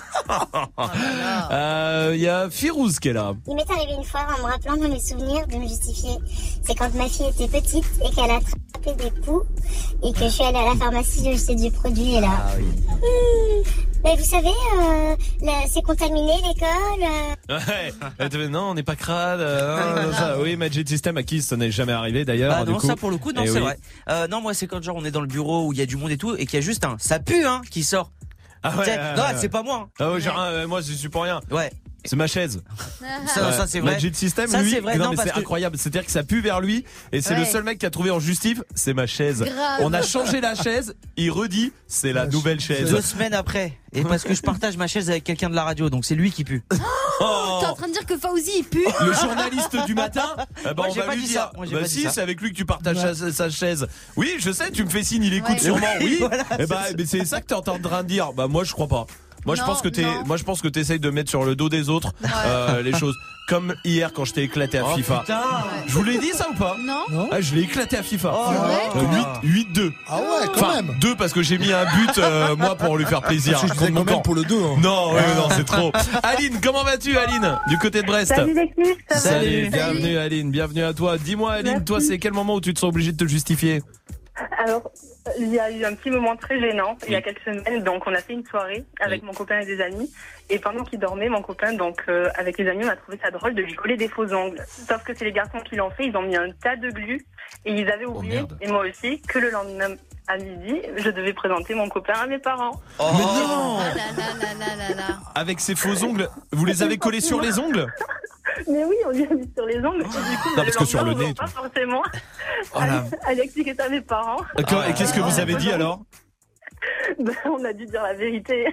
Euh, Il y a Firouz qui est là. Il m'est arrivé une fois en me rappelant dans mes souvenirs de me justifier. C'est quand ma fille était petite et qu'elle a attrapé des poux et que je suis allée à la pharmacie acheter du produit et là. Ah oui. Hum, mais vous savez, euh, là, c'est contaminé l'école. euh. Ouais. Elle te fait, non, on n'est pas crade. euh, non, ça. Oui, Magic System à qui ça n'est jamais arrivé d'ailleurs. Bah du non, coup. ça pour le coup, non, Eh c'est oui. vrai. Euh, non, moi c'est quand genre on est dans le bureau où il y a du monde et tout et qu'il y a juste un ça pue hein qui sort. Ah ouais, T'sais, ouais, non, ouais. c'est pas moi. Ah ouais, genre, euh, moi je suis pour rien. Ouais. C'est ma chaise. Ça, ça, c'est vrai. Magic System, Ça, lui, c'est vrai, non, non, mais parce c'est que- incroyable. C'est-à-dire que ça pue vers lui et c'est Ouais. le seul mec qui a trouvé en justif, c'est ma chaise. Grave. On a changé la chaise, il redit, c'est la nouvelle chaise. Deux semaines après. Et parce que je partage ma chaise avec quelqu'un de la radio, donc c'est lui qui pue. Oh. T'es en train de dire que Fauzi il pue? Le journaliste du matin, eh ben, Moi, on j'ai va pas lui dit dire. ça. Moi, j'ai Bah pas dit si, ça. c'est avec lui que tu partages sa, sa chaise. Oui, je sais, tu me fais signe, il écoute Ouais. sûrement. Oui. Voilà, Eh c'est ben, ça. mais c'est ça que t'es en train de dire. Bah moi je crois pas. Moi je Non, pense que t'es, non. moi je pense que t'essayes de mettre sur le dos des autres euh, les choses. Comme hier quand je t'ai éclaté à Oh, FIFA. putain. Je vous l'ai dit ça ou pas? Non. Ah, je l'ai éclaté à FIFA. Oh, Euh, ouais. huit deux. Ah ouais, quand Enfin, même. deux parce que j'ai mis un but euh, moi pour lui faire plaisir. Parce que je disais contre mon quand même camp. pour le deux. Hein. Non, ouais, non, c'est trop. Aline, comment vas-tu, Aline, du côté de Brest? Salut l'équipe, ça va? Salut, bienvenue Aline, bienvenue à toi. Dis-moi Aline, Merci. toi c'est quel moment où tu te sens obligé de te justifier? Alors, il y a eu un petit moment très gênant il y a quelques semaines. Donc, on a fait une soirée avec mon copain et des amis. Et pendant qu'il dormait, mon copain, donc euh, avec les amis, on a trouvé ça drôle de lui coller des faux ongles. Sauf que c'est les garçons qui l'ont fait. Ils ont mis un tas de glu et ils avaient oublié, merde. et moi aussi, que le lendemain à midi, je devais présenter mon copain à mes parents. Mais non. Ah là là là là là là. Avec ces faux ongles, vous les avez collés sur les ongles? Mais oui, on lui a mis sur les ongles. Et du coup, Non, parce le que sur lendemain, le on nez, va pas tout. forcément Oh là. aller, aller expliquer ça à mes parents. D'accord, et qu'est-ce que vous avez dit alors? Ben, on a dû dire la vérité.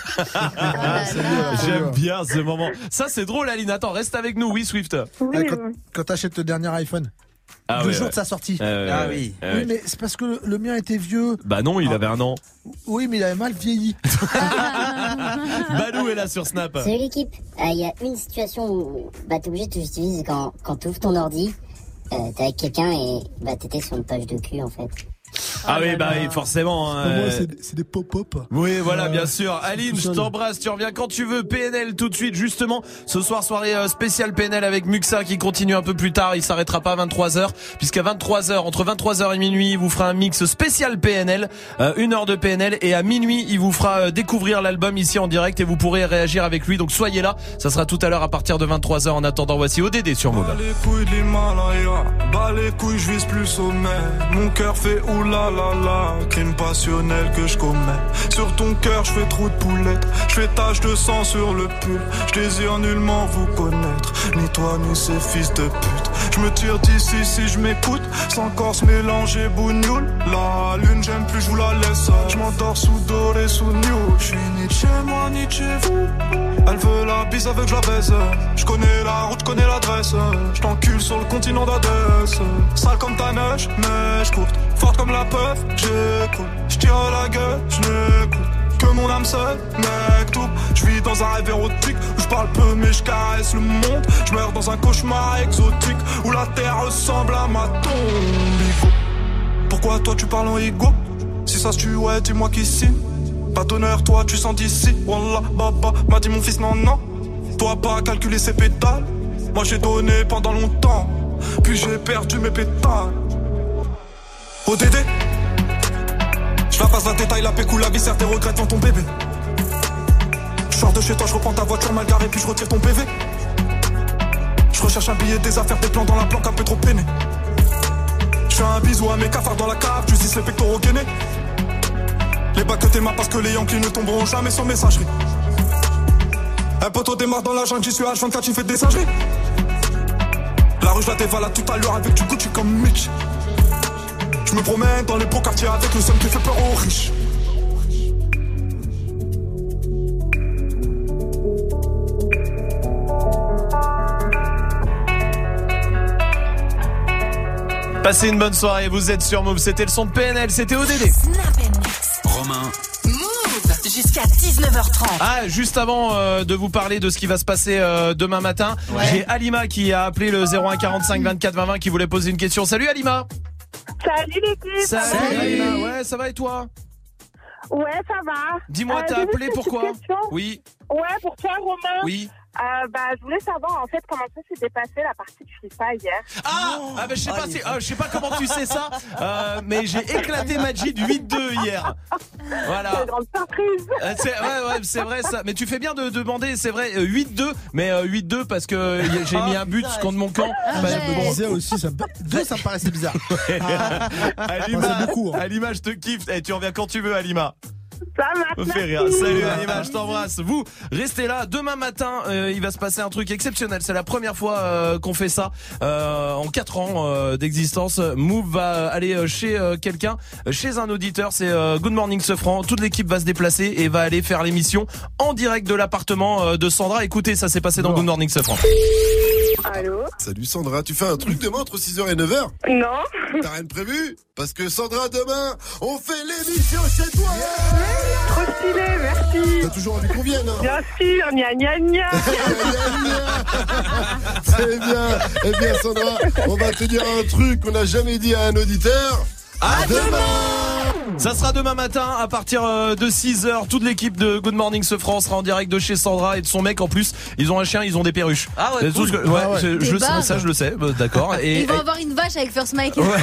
Ah, c'est bien, c'est J'aime bien. bien ce moment. Ça c'est drôle Aline, attends, reste avec nous, oui Swift. Oui, Ouais, quand, euh, quand t'achètes le dernier iPhone, Ah deux ouais, jours ouais. de sa sortie. Euh, Ah ouais, oui. ouais, Oui, ouais. mais c'est parce que le, le mien était vieux. Bah non, il avait un an. Oui, mais il avait mal vieilli. Balou est là sur Snap. Salut l'équipe. Il y a une situation où bah, t'es obligé de te justifier, c'est quand, quand t'ouvres ton ordi euh, t'es avec quelqu'un et bah t'étais sur une page de cul en fait. Ah oui, bah oui, forcément. Hein, Moi, euh... c'est, c'est des pop-up. Oui, voilà, bien Euh, sûr. Aline, tout je seul. t'embrasse, tu reviens quand tu veux. P N L tout de suite, justement. Ce soir, soirée euh, spéciale P N L avec Muxa qui continue un peu plus tard. Il s'arrêtera pas à vingt-trois heures, puisqu'à vingt-trois heures, entre vingt-trois heures et minuit, il vous fera un mix spécial P N L, euh, une heure de P N L, et à minuit, il vous fera euh, découvrir l'album ici en direct et vous pourrez réagir avec lui. Donc soyez là. Ça sera tout à l'heure à partir de vingt-trois heures. En attendant, voici O D D sur Move. Bas les couilles de l'Himalaya, bas les couilles, je vise plus sommet. Mon cœur fait oulala, crime passionnel que je commets. Sur ton cœur, je fais trop de poulettes, je fais tache de sang sur le pull. Je désire nullement vous connaître, ni toi ni ces fils de pute. Je me tire d'ici si je m'écoute, sans corse mélanger bougnoule. La lune, j'aime plus, je vous la laisse. Je m'endors sous doré, sous new. Je suis ni de chez moi, ni de chez vous. Elle veut la bise avec je la baise. Je connais la route, je connais l'adresse. Je t'encule sur le continent d'Adès. Sale comme ta neige, neige courte. Forte comme la peur, j'écoute. Je tire à la gueule, je n'écoute que mon âme seule, mec tout. Je vis dans un rêve érotique où je parle peu mais je caresse le monde. Je meurs dans un cauchemar exotique où la terre ressemble à ma tombe. Igo. Pourquoi toi tu parles en ego? Si ça se tue, ouais, dis-moi qui signe. Pas d'honneur, toi tu sens d'ici. Wallah, baba, m'a dit mon fils, non, non. Toi pas calculer ses pétales. Moi j'ai donné pendant longtemps, puis j'ai perdu mes pétales. O D D, je la passe la détail, la pécou, la viscère, tes regrets devant ton bébé. Je sors de chez toi, je reprends ta voiture mal garée, puis je retire ton P V. Je recherche un billet, des affaires, des plans dans la planque, un peu trop peiné. Je fais un bisou à mes cafards dans la cave, tu zis les pectoraux gainés. Les bacs que t'es marre parce que les Yankees ne tomberont jamais sur messagerie. Un poteau démarre dans la jungle, j'y suis H vingt-quatre, il fait des singeries. La rue je la dévalade tout à l'heure avec du Gucci comme Mitch. Je me promène dans les beaux quartiers avec le seum qui fait peur aux riches. Passez une bonne soirée, vous êtes sur Move. C'était le son de P N L, c'était O D D. Romain. Move jusqu'à dix-neuf heures trente. Ah, juste avant euh, de vous parler de ce qui va se passer euh, demain matin, Ouais. j'ai Alima qui a appelé le zéro un quarante-cinq vingt-quatre vingt vingt qui voulait poser une question. Salut Alima. Salut l'équipe. Salut Alima, ouais, ça va et toi? Ouais, ça va. Dis-moi, Euh, t'as j'ai appelé juste une pourquoi? petite question. Oui. Ouais, pour toi, Romain. Oui. Euh, bah, je voulais savoir en fait comment ça s'était passé la partie de FIFA hier. Ah, ah bah, je sais pas, si, ah, je sais pas comment tu sais ça, euh, mais j'ai éclaté Majid huit deux hier. Voilà. C'est une grande surprise. Euh, c'est, ouais, ouais, c'est vrai ça. Mais tu fais bien de demander, c'est vrai, euh, huit deux, mais euh, huit deux parce que euh, y a- j'ai mis un but contre mon camp. Ah, Bah, je bon. me disais aussi, ça me... deux, ça me paraissait bizarre. Alima, c'est beaucoup, hein. Alima, je te kiffe. Eh, tu reviens quand tu veux, Alima. Ça marche. Me fait rire. Salut Alima, je t'embrasse. Vous, restez là. Demain matin, euh, il va se passer un truc exceptionnel. C'est la première fois euh, qu'on fait ça euh, en quatre ans euh, d'existence. Move va aller chez euh, quelqu'un, chez un auditeur. C'est euh, Good Morning Sofran. Toute l'équipe va se déplacer et va aller faire l'émission en direct de l'appartement euh, de Sandra. Écoutez, ça s'est passé dans Good Morning Sofran. Allô? Salut Sandra, tu fais un truc demain entre six heures et neuf heures? Non. T'as rien de prévu? Parce que Sandra, demain, on fait l'émission chez toi. Trop stylé, merci. T'as toujours envie qu'on vienne, hein? Bien sûr, gna gna gna. C'est bien. Eh bien Sandra, on va te dire un truc qu'on n'a jamais dit à un auditeur. À demain. Ça sera demain matin à partir euh, de six heures. Toute l'équipe de Good Morning Sofran sera en direct de chez Sandra et de son mec en plus. Ils ont un chien, ils ont des perruches. Ah ouais, C'est tout cool. ce que- ouais, Ah ouais. je, Des je le sais, barres. ça je le sais, euh, d'accord. Et, Ils vont et- avoir une vache avec First Mike. Ouais.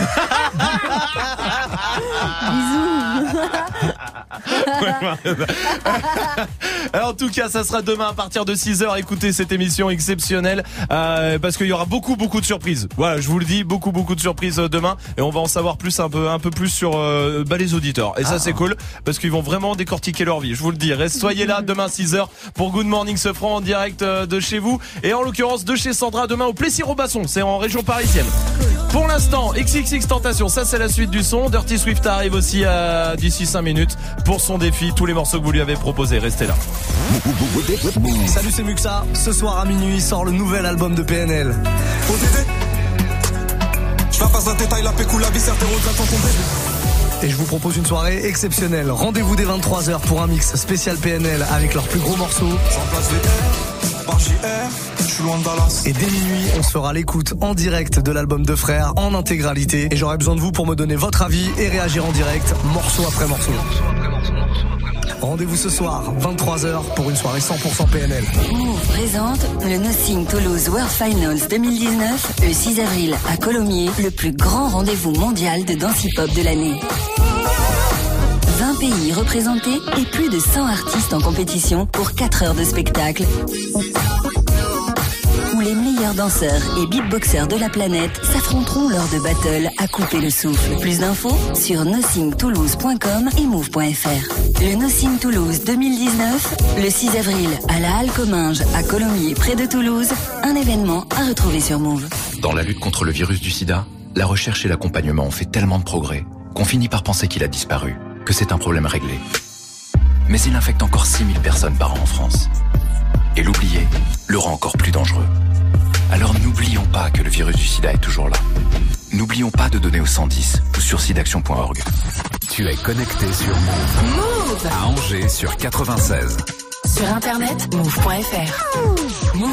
Bisous. Alors, en tout cas, ça sera demain à partir de six heures. Écoutez cette émission exceptionnelle euh, parce qu'il y aura beaucoup beaucoup de surprises. Voilà, je vous le dis, beaucoup beaucoup de surprises euh, demain et on va en savoir plus un peu un peu plus sur euh, bah, les auditeurs. Et ça Ah. c'est cool parce qu'ils vont vraiment décortiquer leur vie. Je vous le dis. Reste, soyez là demain six heures pour Good Morning Sofran en direct euh, de chez vous et en l'occurrence de chez Sandra demain au Plessis-Robasson. C'est en région parisienne. Pour l'instant, X X X Tentation, ça c'est la suite du son. Dirty Swift arrive aussi à d'ici cinq minutes pour son défi. Tous les morceaux que vous lui avez proposés, restez là. Salut, c'est Muxa. Ce soir à minuit sort le nouvel album de P N L. O D D, je la passe la détail, la pécou, la viscère, tes regrets devant ton bébé. Et je vous propose une soirée exceptionnelle. Rendez-vous dès vingt-trois heures pour un mix spécial P N L avec leurs plus gros morceaux. J'en place les airs. barre J R, je suis loin de Dallas. Et dès minuit, on se fera l'écoute en direct de l'album de Frères en intégralité. Et j'aurai besoin de vous pour me donner votre avis et réagir en direct, morceau après morceau. Rendez-vous ce soir, vingt-trois heures, pour une soirée cent pour cent P N L. Move présente le Nothing Toulouse World Finals deux mille dix-neuf, le six avril à Colomiers, le plus grand rendez-vous mondial de danse hip-hop de l'année. vingt pays représentés et plus de cent artistes en compétition pour quatre heures de spectacle. Où les meilleurs danseurs et beatboxers de la planète s'affronteront lors de battles à couper le souffle. Plus d'infos sur nothing toulouse point com et move point f r. Le Nothing Toulouse deux mille dix-neuf, le six avril à la Halle Comminges à Colomiers près de Toulouse, un événement à retrouver sur Move. Dans la lutte contre le virus du sida, la recherche et l'accompagnement ont fait tellement de progrès qu'on finit par penser qu'il a disparu, que c'est un problème réglé. Mais il infecte encore six mille personnes par an en France. Et l'oublier le rend encore plus dangereux. Alors n'oublions pas que le virus du sida est toujours là. N'oublions pas de donner au cent dix ou sur sidaction point org. Tu es connecté sur Move. Move À Angers sur quatre-vingt-seize. Sur internet, move point f r. Move.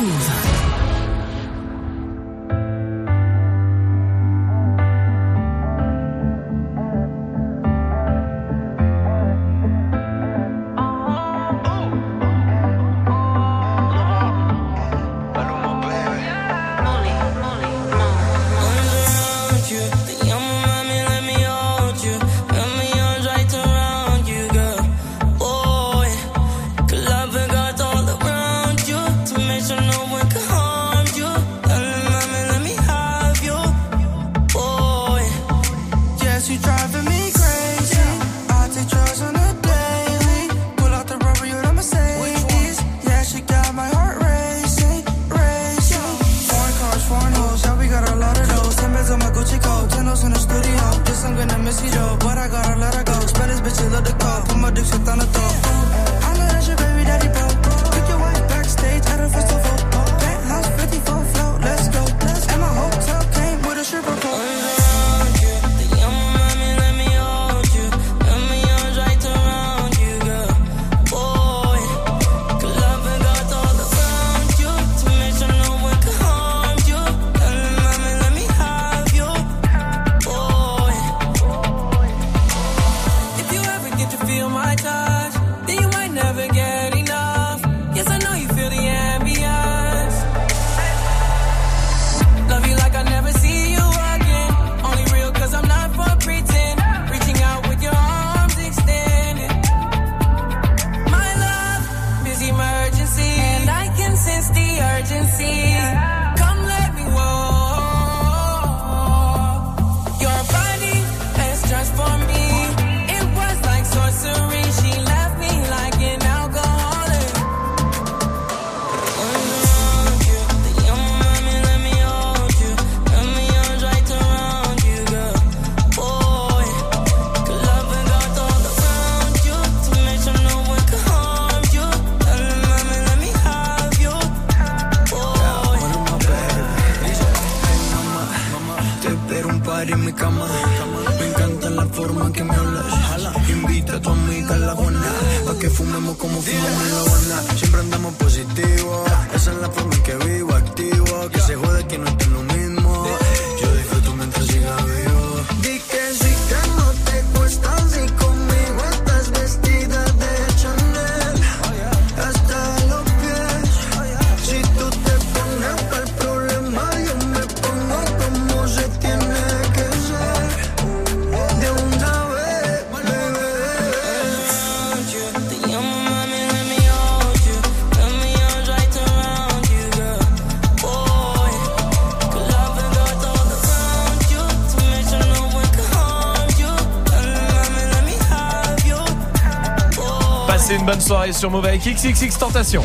Une bonne soirée sur Move avec X X X Tentation.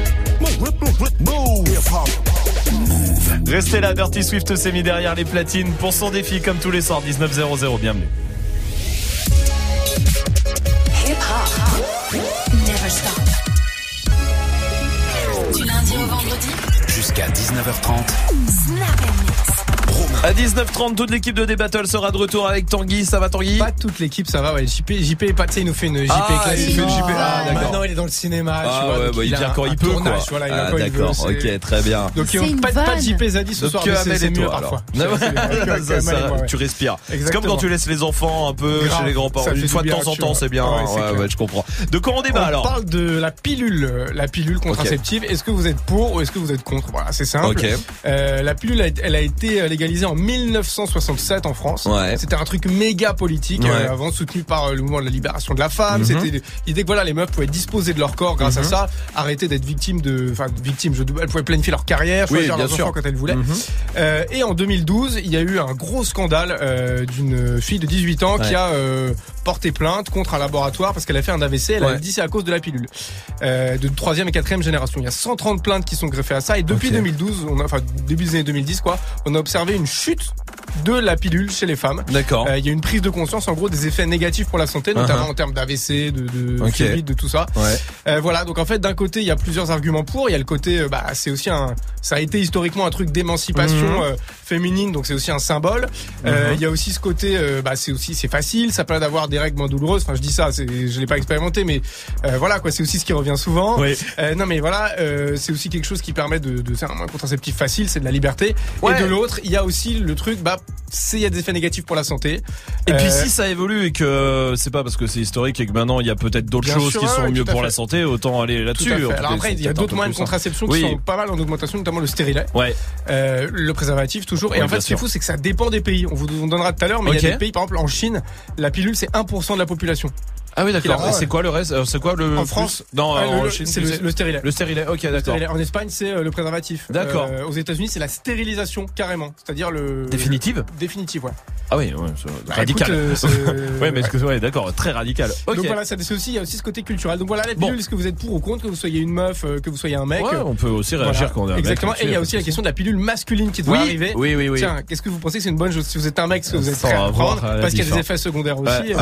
Restez là, Dirty Swift s'est mis derrière les platines pour son défi comme tous les soirs, dix-neuf zéro zéro, bienvenue. Hip hop, never stop. Du lundi au vendredi, jusqu'à dix-neuf heures trente. Snap and Mix. Romain. À dix-neuf trente, toute l'équipe de D-Battle sera de retour avec Tanguy. Ça va, Tanguy? Pas toute l'équipe, ça va, ouais. J P, J P est pas, tu sais, il nous fait une J P ah, classique. Il fait une J P. Ah, d'accord. Maintenant, il est dans le cinéma, ah, tu vois. Ouais, donc bah, il, il vient a quand un, il peut, tournage, quoi. Voilà, il ah, quand d'accord, il veut, ok, très bien. Donc, pas, pas de J P Zadie ce donc, soir, que mais c'est, c'est mieux toi, parfois. ça, ça, ouais. Tu respires. Exactement. C'est comme quand tu laisses les enfants un peu Grave, chez les grands-parents. Une fois de temps en temps, c'est bien. Ouais, ouais, ouais, je comprends. De quoi on débat alors? On parle de la pilule, la pilule contraceptive. Est-ce que vous êtes pour ou est-ce que vous êtes contre? Voilà, c'est simple. La pilule, elle a été légalisée en mille neuf cent soixante-sept en France. Ouais. C'était un truc méga politique, ouais. euh, avant soutenu par le mouvement de la libération de la femme. Mm-hmm. C'était l'idée que voilà, les meufs pouvaient disposer de leur corps grâce mm-hmm. à ça, arrêter d'être victimes de, enfin victimes, je, elles pouvaient planifier leur carrière, choisir oui, leurs sûr. enfants quand elles voulaient. Mm-hmm. Euh, et en deux mille douze, il y a eu un gros scandale euh, d'une fille de dix-huit ans ouais. qui a euh, porté plainte contre un laboratoire parce qu'elle a fait un A V C. Elle ouais. a dit c'est à cause de la pilule euh, de troisième et quatrième génération. Il y a cent trente plaintes qui sont greffées à ça et depuis okay. deux mille douze, on a, enfin début des années deux mille dix quoi, on a observé une chute de la pilule chez les femmes. D'accord. Il euh, y a une prise de conscience en gros des effets négatifs pour la santé, notamment uh-huh. en termes d'A V C, de, de okay. fluide, de tout ça. Ouais. Euh, voilà, donc en fait d'un côté il y a plusieurs arguments pour, il y a le côté euh, bah c'est aussi un, ça a été historiquement un truc d'émancipation mmh. euh, féminine, donc c'est aussi un symbole. Il mmh. euh, y a aussi ce côté, euh, bah c'est aussi c'est facile, ça permet d'avoir des règles moins douloureuses. Enfin je dis ça, c'est, je l'ai pas expérimenté, mais euh, voilà quoi, c'est aussi ce qui revient souvent. Oui. Euh, non mais voilà, euh, c'est aussi quelque chose qui permet de, de faire un contraceptif facile, c'est de la liberté. Ouais. Et de l'autre, il y a aussi le truc, bah c'est il y a des effets négatifs pour la santé. Et euh, puis si si ça évolue et que c'est pas parce que c'est historique et que maintenant il y a peut-être d'autres Bien choses sûr, qui sont ouais, mieux pour fait. la santé, autant aller là-dessus. Alors après il y a d'autres moyens de contraception qui oui. sont pas mal en augmentation, notamment le stérilet. Ouais. Euh, le préservatif toujours. Et oui, en fait ce qui est fou c'est que ça dépend des pays. On vous on donnera tout à l'heure, mais il okay. y a des pays par exemple en Chine, la pilule c'est un pour cent de la population. Ah oui d'accord. Et c'est quoi le reste? C'est quoi le en France? Non, ah, en le, Chine, c'est le, le stérilet. Le stérilet. OK, d'accord. Stérilet. En Espagne, c'est euh, le préservatif. D'accord. Euh, aux États-Unis, c'est la stérilisation carrément, c'est-à-dire le définitive. Définitive, ouais. Ah oui, ouais, c'est bah, radical. Écoute, euh, ouais, mais est-ce que ouais, d'accord, très radical. OK. Donc voilà, ça c'est aussi il y a aussi ce côté culturel. Donc voilà, la pilule, bon. Est-ce que vous êtes pour ou contre, que vous soyez une meuf, que vous soyez un mec? Ouais, on peut aussi réagir voilà. quand on est un Exactement. mec. Et il y a aussi la question de la pilule masculine qui doit oui, arriver. Oui, oui, oui. Tiens, qu'est-ce que vous pensez que c'est une bonne chose si vous êtes un mec, est-ce que vous êtes prêt à prendre parce qu'il y a des effets secondaires aussi.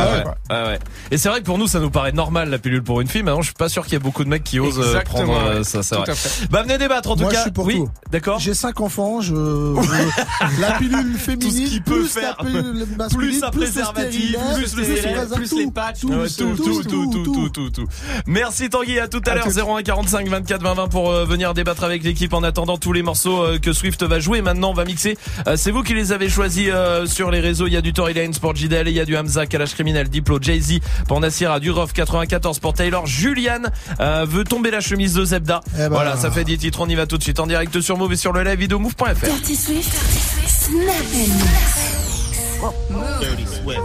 Et c'est vrai que pour nous ça nous paraît normal la pilule pour une fille. Maintenant, je suis pas sûr qu'il y ait beaucoup de mecs qui osent Exactement, prendre ouais. ça. C'est vrai. Bah venez débattre en tout Moi, cas. Je suis pour oui, tout. D'accord. J'ai cinq enfants. Je, je... la pilule féminine, tout ce qu'il peut faire, plus un préservatif, plus le stérilet, plus les patchs, tout, tout, tout, tout, tout, tout, tout. Merci Tanguy. À tout à l'heure. zéro un quarante-cinq vingt-quatre vingt vingt pour venir débattre avec l'équipe. En attendant tous les morceaux que Swift va jouer. Maintenant, on va mixer. C'est vous qui les avez choisis sur les réseaux. Il y a du Tory Lanez pour J D L, il y a du Hamza, Kalash Criminel, Diplo, Jay-Z pour Nassira, du Rof quatre-vingt-quatorze pour Taylor. Julian euh, veut tomber la chemise de Zebda. Eh ben... Voilà, ça fait dix titres, on y va tout de suite en direct sur Move et sur le live vidéo move point f r. Dirty Swift, Dirty Swift, Move. Dirty Swift.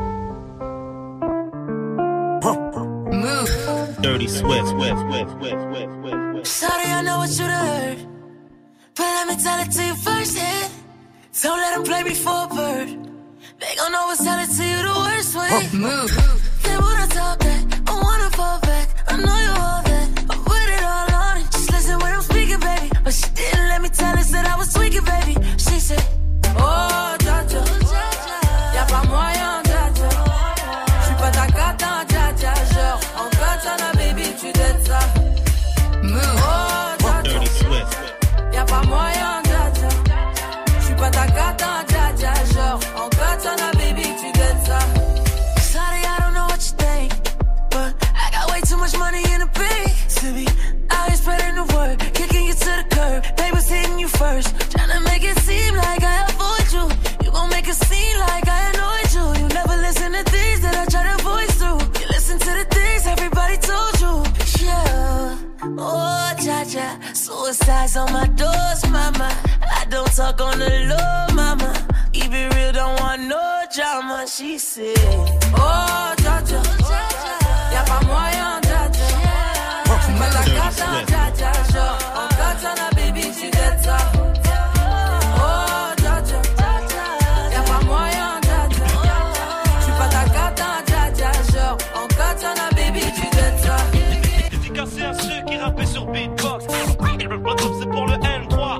Move. Dirty Swift, Swift, Swift, Swift, Swift. Sorry, I know what you heard, but let me tell it to you first hand. Don't let them play me for a bird. They gon' always tell it to you the worst way. Move. They wanna talk back, I wanna fall back. I know you all that, I put it all on it. Just listen when I'm speaking, baby. But she didn't let me tell her that I was tweaking, baby. She said, oh, dja-dja, y'a pas moyen, dja-dja. J'suis pas ta cata, dja-dja. Genre, en katana, baby, tu dettes ça. Oh, dja-dja, y'a pas moyen, dja-dja. J'suis pas ta cata, dja-dja. Genre, en katana, baby, tu dettes ça. Sorry, I don't know what you think, but I got way too much money in the bank to be out here spreading the word, kicking you to the curb. Neighbors hitting you first, trying to make it seem like I avoid you. You gon' make it seem like I annoyed you. You never listen to things that I try to voice through. You listen to the things everybody told you. Yeah, oh, ja-ja, suicide's on my doors, mama. I don't talk on the low, mama. Keep it real, don't want no drama. She said, oh, ja-ja, y'a pas moyen, ja-ja. J'suis pas ta cata, ja-ja, genre, en katana, baby, tu dettes ça. Oh, ja-ja, y'a pas moyen, ja-ja. J'suis pas ta cata, ja-ja, genre, en katana, baby, tu dettes ça. Efficace et un ceux qui rappaient sur beatbox. Et le plot c'est pour le N trois.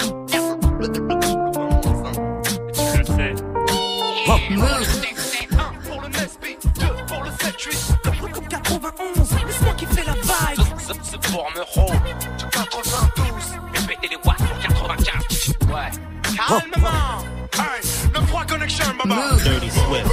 Tu le sais. un pour le Nesby, deux pour le sept huit. Le truc comme quatre-vingt-onze, c'est moi qui fais la vibe. C'est pour me rôle, quatre-vingt-douze. Et péter les watts pour quatre-vingt-quatre. Ouais. Calmement. Hey, conviction, baba. Dirty Swift.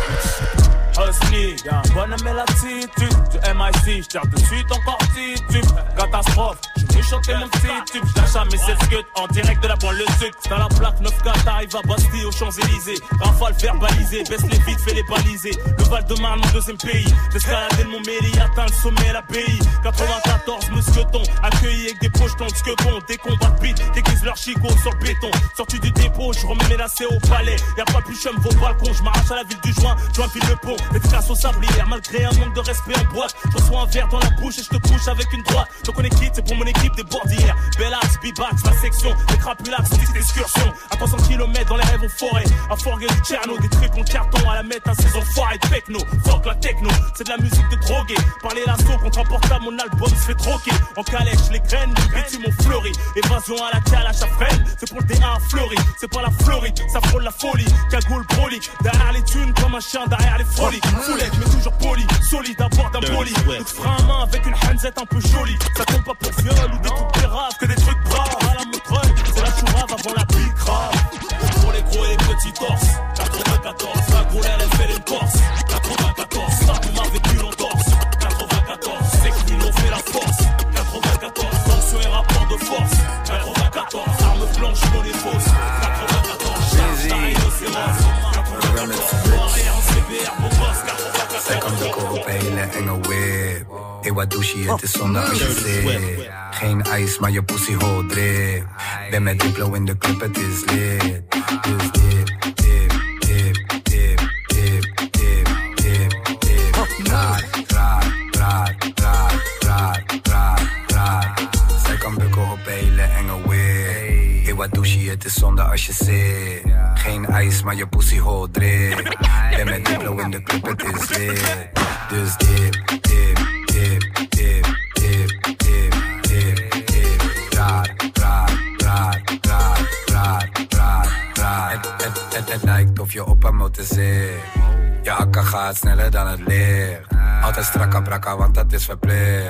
Husky, y'a un bonhomme l'attitude. Du M I C, j'tire de suite encore titube. Catastrophe, j'vais chanter mon petit tube. J'lâche à mes sept scuds en direct de la banlieue sud. Dans la plaque neuf K, t'arrives à Bastille aux Champs-Élysées. Rafale verbalisée, baisse les vides, fais les baliser. Le Val-de-Marne, mon deuxième pays. J'escaladais mon mairie, atteint le sommet, l'abbaye. quatre-vingt-quatorze, mousquetons, accueillis avec des pochetons de squebons. Des combats de beat, déguisent leur chicot sur le béton. Sorti du dépôt, j'remets mes lacets au palais. Y'a pas plus chum, vos balcons, j'm'arrache à la ville du joint, joint file le pont. Efficace au sablière, malgré un manque de respect en boîte. Je reçois un verre dans la bouche et je te couche avec une droite. Donc on est quitte, c'est pour mon équipe des bordières. Bellax, B-Bax, ma section, des crapulax, petite excursion. À trois cents kilomètres dans les rêves en forêt. À Forguer du Tcherno, des trucs en carton à la mettre à saison foire et techno. Fuck la techno, c'est de la musique de drogué. Parler l'assaut contre un portable, mon album se fait troquer. En calèche, les graines, les bêtis m'ont fleuri. Évasion à la calèche à freine, c'est pour le D un fleuri. C'est pas la Floride, ça frôle la folie. Cagoule broli, derrière les thunes comme un chien derrière les folies. Foulette, mais toujours poli, solide à bord d'un poli. Le frein à main avec une handsette un peu jolie. Ça tombe pas pour viol ou des trucs péraves, que des trucs braves. À la montreuil, c'est la chourave avant la pique grave. Pour les gros et les petits torses. quatre-vingt-quatorze, la gros elle fait les torses. quatre-vingt-quatorze, ça vous m'avez plus l'entorse. quatre-vingt-quatorze, c'est qu'ils l'ont fait la force. quatre-vingt-quatorze, tension et rapport de force. quatre-vingt-quatorze, arme blanche, non les fausses. quatre-vingt-quatorze, charge d'un rhinocéros. quatre-vingt-quatorze, en C B R, mon boss. Zij kan de kopen, hele enge whip. Hey, wat doe je? Het is zondag als je zit. Geen ijs, maar je pussy hol drip. Ben met Diplo in de club, het is lit. Dus dip, dip, dip, dip, dip, dip, dip, dip. Raar, raar, raar, raar, raar, raar, raar. Zij kan bukken op hele enge whip. Hey, wat doe je? Het is zondag als je zit. Geen ijs, maar je pussy hol drip. Ben met Diplo in de club, het is lit. Dus dip, dip, dip, dip, dip, dip, dip, dip. Raar, raar, raar, raar, raar, raar, raar. Het, het, het, het lijkt of je op een motor zit. Je akka gaat sneller dan het licht. Altijd strakka brakka, want dat is verplicht.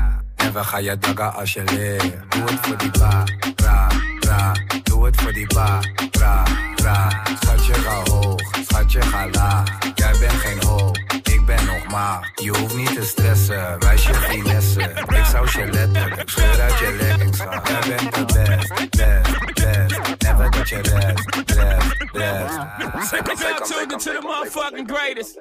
En we gaan je daggen als je ligt. Doe het voor die ba, bra, bra. Doe het voor die ba, bra, bra. Schatje ga hoog, schatje ga laag. Jij bent geen hoog, ik ben nog maag. Je hoeft niet te stressen, wijs je finesse. Ik zou je letten, ik scheur uit je leggings gaan. Jij bent de best, best, best. Never dat je rest, rest, rest. Take us out tuned into the motherfucking greatest.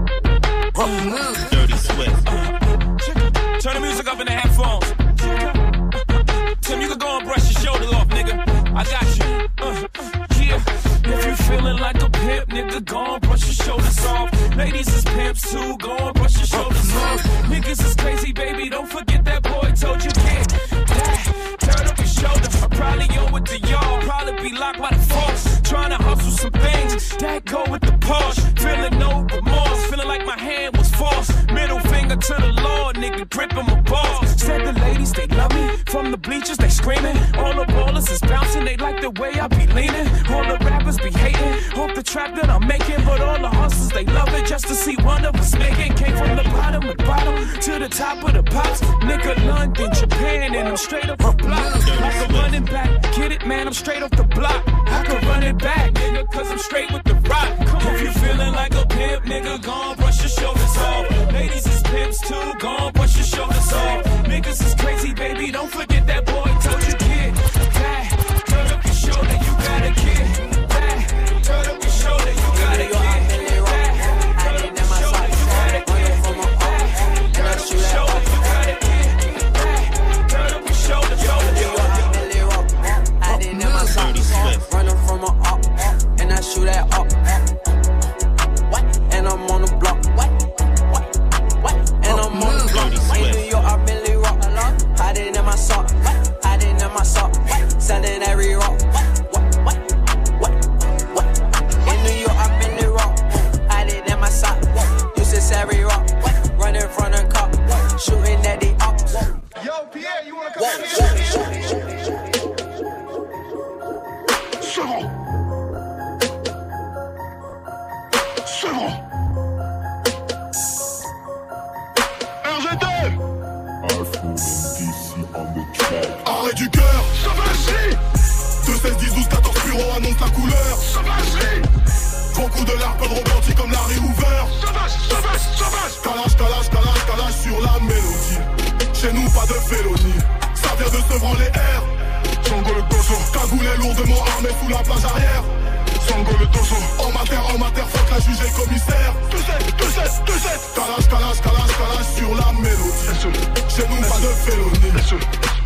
Dirty Swift. Turn the music up in the headphones. Tim, you can go and brush your shoulder off, nigga. I got you. Uh, yeah. If you feeling like a pimp, nigga, go and brush your shoulders off. Ladies is pimps too, go and brush your shoulders off. Niggas is crazy, baby, don't forget that boy told you get that. Turn up your shoulder, I probably owe it to y'all. Probably be locked by the force. Trying to hustle some things that go with the Porsche. Feeling no remorse, feeling like my hand was forced. Middle finger to the Lord, nigga, gripping my balls. Said the ladies, they love me. From the bleachers, they screaming. All the ballers is bouncing, they like the way I be leaning. All the rappers be hating, hope the trap that I'm making. But all the hustlers, they love it just to see one of us making. Came from the bottom of the bottom to the top of the pops. Nigga, London, Japan, and I'm straight up the block. Like a running back, get it, man, I'm straight off the block. I can run it back, nigga, cause I'm straight with the rock. If you feeling like a pimp, nigga, gon' brush your shoulders off. Ladies is pimps too, gon' brush your shoulders off. Niggas is crazy, baby, don't forget that boy told you kid. That, turn up your shoulder, you got a kid. That, turn up your shoulder, you got a kid. peu de rebondi comme Larry Hoover. Sauvage, sauvage, sauvage. Calage, calage, calage, calage sur la mélodie. Chez nous pas de félonie, ça vient de Sevran les airs. Sango le dojo, cagoulé lourdement armé sous la plage arrière. Sango le dojo, en mater, en mater, fuck la juge et le commissaire. Tout sais, tout sais, tout sais. Calage, calage, calage, calage sur la mélodie. Chez nous pas de félonie.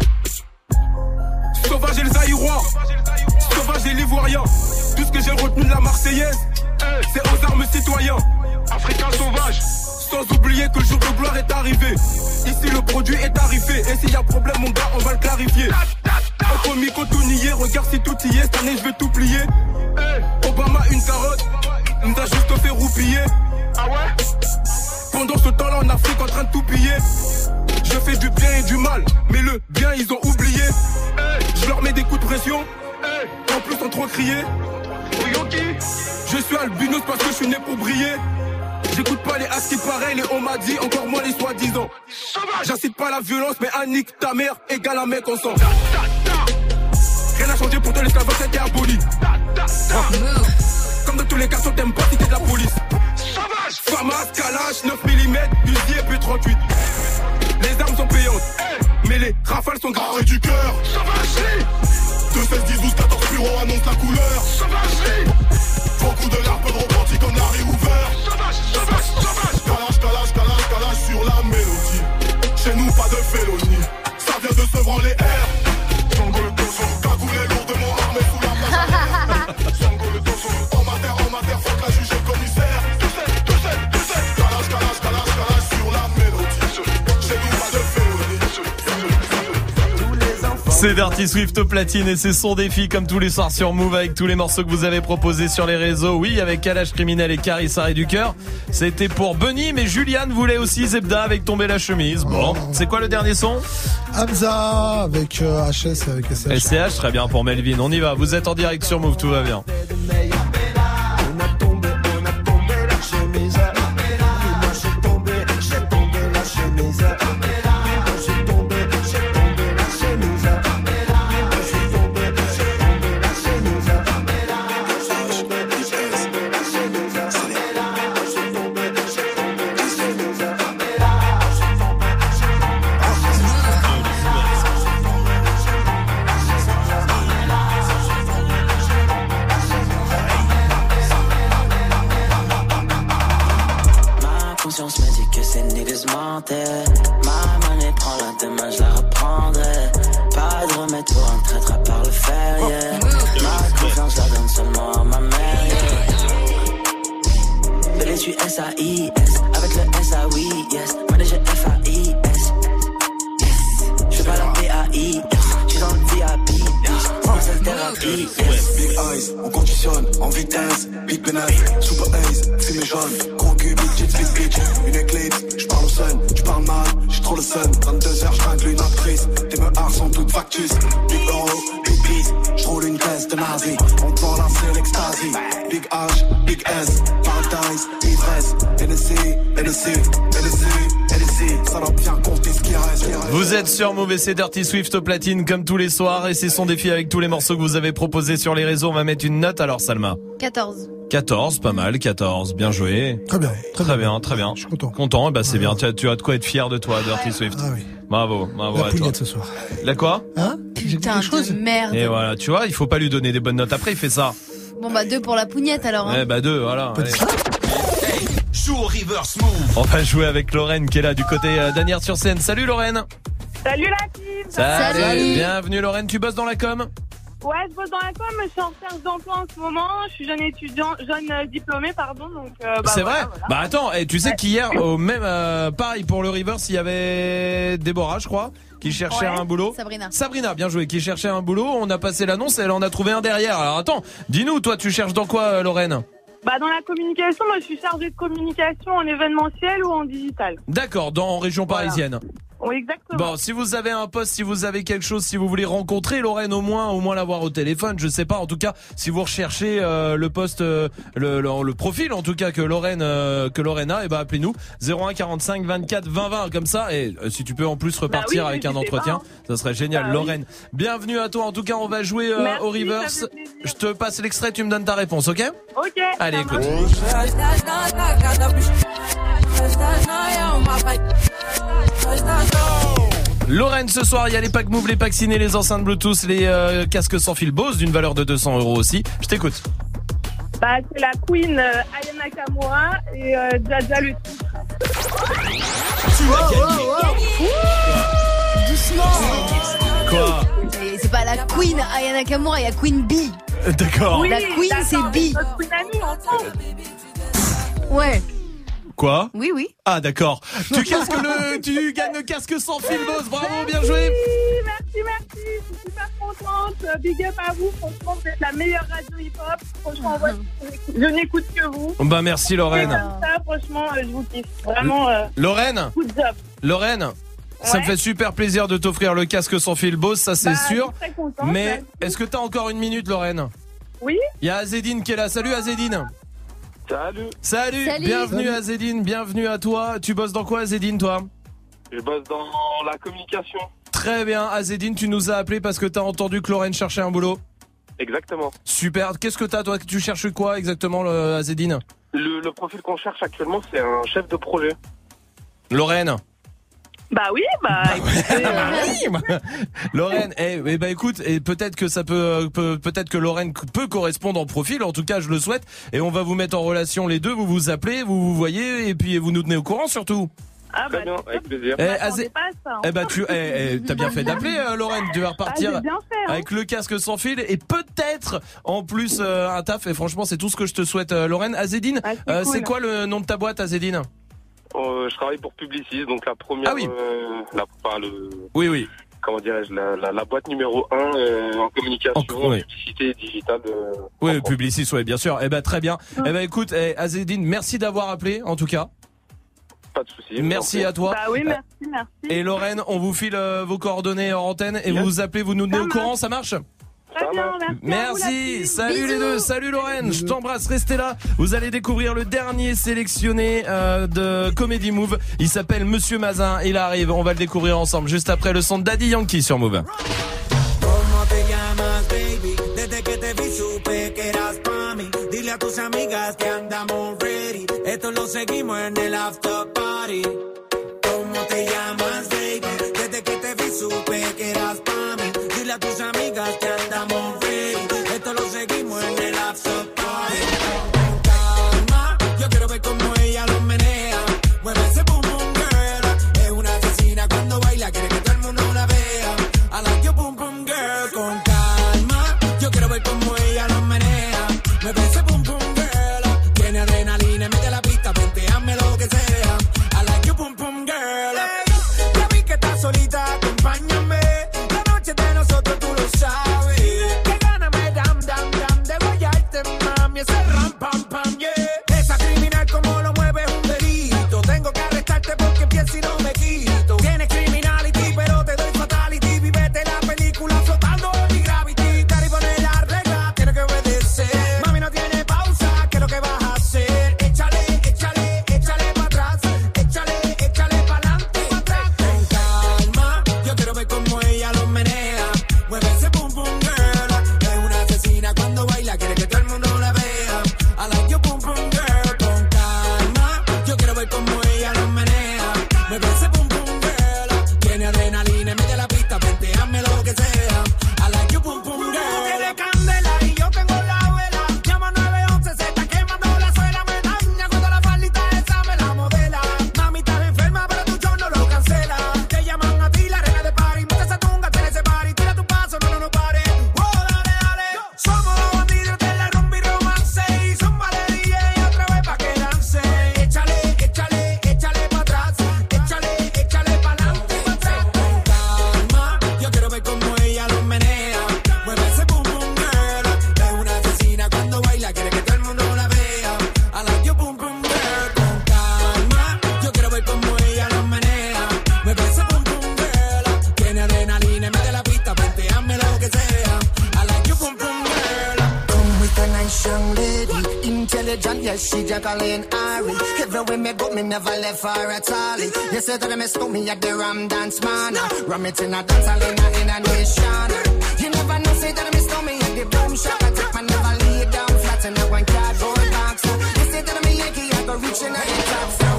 Sauvage et les Aïrois, sauvage et l'Ivoirien. Tout ce que j'ai retenu de la Marseillaise, c'est aux armes citoyens. Africain sauvage. Sans oublier que le jour de gloire est arrivé. Ici le produit est tarifé. Et s'il y a problème mon gars on va le clarifier. Entre Miko tout nier, regarde si tout y est. Cette année je vais tout plier. Obama une carotte, il nous a juste fait roupiller. Ah ouais? Pendant ce temps là en Afrique en train de tout piller. Je fais du bien et du mal, mais le bien ils ont oublié. Je leur mets des coups de pression, en plus sans trop crier. Je suis albinos parce que je suis né pour briller. J'écoute pas les as qui pareil, les on m'a dit, encore moins les soi-disant. J'incite pas la violence, mais un nique ta mère égale un mec en sang. Rien n'a changé pour toi, l'esclavage c'était aboli. Comme dans tous les cas, on t'aime pas si t'es de la police. Famas, Kalash, neuf millimètres, Uzi et P trente-huit. Les armes sont payantes, mais les rafales sont graves. Arrêt du cœur, deux, seize, dix, douze, quatorze bureaux annoncent la couleur. Beaucoup de larmes, peu de rebondi comme Larry Hoover. Calage, calage, calage, calage sur la mélodie. Chez nous pas de félonie, ça vient de Sevran les airs. Sango le dojo, cagoulé lourdement armé sous la plage. Sango le dojo, en mater, en mater, fuck la juge et le commissaire. Tout sais, tout sais, tout sais. Calage, calage, calage, calage sur la mélodie. Chez nous pas de félonie. C'est Dirty Swift au platine et c'est son défi comme tous les soirs sur Move avec tous les morceaux que vous avez proposés sur les réseaux. Oui, avec Kalash Criminel et Caris Arrêt du Cœur. C'était pour Bunny, mais Juliane voulait aussi Zebda avec Tomber la chemise. Bon, c'est quoi le dernier son? Hamza avec euh, H S et avec S C H. S C H, très bien pour Melvin. On y va, vous êtes en direct sur Move, tout va bien. Ma monnaie prend la demain, je la reprendrai. Pas de remède pour un traître à part le fer, yeah. Ma confiance la donne seulement à ma mère, yeah. Bébé, je suis S A I S, avec le S A oui, yes. Manager F A I S, yes. Je fais pas la P A I S, je suis dans le V I P, yes. C'est thérapie, yes. Big eyes, on conditionne, en vitesse. Big pénètre, super ace, fumée jaune. Gros cul, big jet, big bitch. Une éclipse, j'parle au sun, j'parle mal, j'ai trop le sun. vingt-deux heures, j'tringle une actrice. Tes meurs sont toutes factus. Big euro, big peace, j'roule une caisse de nazi. On te vend la c'est l'extasie. Big H, big S, paradise, ivresse. N S C, N S C, N S C, N S C. Ça doit bien compter ce qui reste. Vous êtes sur Move et c'est Dirty Swift au platine comme tous les soirs. Et c'est son défi avec tous les morceaux que vous avez proposés sur les réseaux. On va mettre une note alors, Salma. quatorze. quatorze, pas mal, quatorze, bien joué. Très bien. Très, très bien, très bien. Je suis content. Content, bah c'est bien, tu as, tu as de quoi être fier de toi, Dirty Swift. Ah oui. Bravo, bravo La à toi. pougnette ce soir. La quoi? Hein? Putain de merde. Et voilà, tu vois, il faut pas lui donner des bonnes notes. Après, il fait ça. Bon bah deux pour la pougnette alors. Hein. Eh bah deux, voilà. Allez. Hey, joue au reverse move. On va jouer avec Lorraine qui est là du côté euh, d'Anières-sur-Seine. Salut Lorraine. Salut la team. Salut. Salut. Bienvenue Lorraine, tu bosses dans la com? Ouais, je bosse dans la com, je suis en recherche d'emploi en ce moment. Je suis jeune étudiant, jeune euh, diplômée, pardon. Donc, euh, bah, c'est voilà, vrai voilà. Bah attends, et tu sais Ouais. qu'hier, au même, euh, pareil pour le Reverse, il y avait Déborah, je crois, qui cherchait Ouais. un boulot. Sabrina. Sabrina, bien joué, qui cherchait un boulot. On a passé l'annonce et elle en a trouvé un derrière. Alors attends, dis-nous, toi, tu cherches dans quoi, euh, Lorraine? Bah, dans la communication, moi, je suis chargée de communication en événementiel ou en digital. D'accord, dans en région Voilà. parisienne. Oui, exactement. Bon, si vous avez un poste, si vous avez quelque chose, si vous voulez rencontrer Lorraine au moins, au moins l'avoir au téléphone, je sais pas. En tout cas, si vous recherchez euh, le poste, euh, le, le, le profil en tout cas que Lorraine euh, que Lorraine a, et ben appelez-nous zéro un quarante-cinq vingt-quatre vingt vingt comme ça. Et euh, si tu peux en plus repartir bah oui, avec un entretien, pas, hein. Ça serait génial. Bah Lorraine, oui. Bienvenue à toi. En tout cas, on va jouer euh, Merci, au reverse. Je te passe l'extrait, tu me donnes ta réponse, ok? Ok. Allez, écoute. Lorraine, ce soir, il y a les packs Move, les packs ciné, les enceintes Bluetooth, les euh, casques sans fil Bose d'une valeur de deux cents euros aussi. Je t'écoute. Bah, c'est la Queen euh, Aya Nakamura et euh, Jaja le titre. Tu vas gagner. Wow, wow, wow. Doucement. Quoi? C'est pas la Queen Aya Nakamura, il y a Queen Bee. D'accord. Oui, la Queen, c'est Bee. Ouais. Quoi? Oui, oui. Ah, d'accord. Tu casques le, tu gagnes le casque sans fil, Boss. Bravo, bien joué. Merci, merci. Je suis super contente. Big up à vous. Franchement, vous êtes la meilleure radio hip-hop. Franchement, uh-huh. je n'écoute que vous. Bah, merci, Lorraine. Ça, franchement, je vous kiffe. Vraiment. Euh, Lorraine. Good job. Lorraine. Ouais. Ça me fait super plaisir de t'offrir le casque sans fil Boss, ça c'est bah, sûr. Je suis très contente, mais merci. Est-ce que t'as encore une minute, Lorraine? Oui. Il y a Azedine qui est là. Salut Azedine. Salut. Salut. Salut. Bienvenue Salut. Azedine, bienvenue à toi. Tu bosses dans quoi Azedine, toi? Je bosse dans la communication. Très bien Azedine, tu nous as appelé parce que t'as entendu que Lorraine cherchait un boulot. Exactement. Super. Qu'est-ce que t'as toi? Tu cherches quoi exactement, le, Azedine? le, le profil qu'on cherche actuellement, c'est un chef de projet. Lorraine. Bah oui, bah. Écoutez, euh... Lorraine, eh, eh ben écoute, et peut-être que ça peut, peut, peut-être que Lorraine peut correspondre en profil. En tout cas, je le souhaite. Et on va vous mettre en relation les deux. Vous vous appelez, vous vous voyez, et puis vous nous tenez au courant surtout. Ah bah, très bien, avec plaisir. Eh, Azé... pas ça, hein. Eh bah tu, eh, eh, t'as bien fait d'appeler, euh, Lorraine. Tu vas repartir ah, bien fait, hein. avec le casque sans fil et peut-être en plus euh, un taf. Et franchement, c'est tout ce que je te souhaite, euh, Lorraine. Azedine, ah, c'est, euh, cool. C'est quoi le nom de ta boîte, Azedine? Euh, je travaille pour Publicis, donc la première, ah oui. euh, la, enfin, le, oui, oui. Comment dirais-je, la, la, la boîte numéro un euh, en communication, en, oui. publicité digitale. Euh, oui, Publicis, oui, bien sûr. Eh ben très bien. Mmh. Eh ben écoute, eh, Azedine, merci d'avoir appelé, en tout cas. Pas de souci. Merci à toi. Bah oui, merci, merci. Et Lorraine, on vous file euh, vos coordonnées en antenne et yes. Vous vous appelez, vous nous tenez au courant, ça marche? Très bien, merci. Merci. Salut Bisous. les deux. Salut Lorraine. Je t'embrasse. Restez là. Vous allez découvrir le dernier sélectionné euh, de Comedy Move. Il s'appelle Monsieur Mazin. Il arrive. On va le découvrir ensemble juste après le son de Daddy Yankee sur Move. A tus amigas que andamos ready. Esto lo seguimos en el after party. Con calma, yo quiero ver cómo ella lo menea. Mueve ese boom boom girl. Es una asesina cuando baila, quiere que todo el mundo la vea. I like your boom boom girl. Con calma, yo quiero ver cómo ella lo menea. Mueve ese boom boom girl. Tiene adrenalina, mete la pista, ponteame lo que sea. I like your boom boom girl. Hey, ya vi que estás solita, acompáñame. diligent, yes, she Jacqueline Ari. Everywhere me go, me never left her at all. You say that I miss me at the Ram Dance Man. Ram it in a dance, I in a nation. You never know, say that I miss me at the Boom Shop. I take my never lay down flat in a one cardboard box. You say that I'm a Yankee, I go reaching out the top. So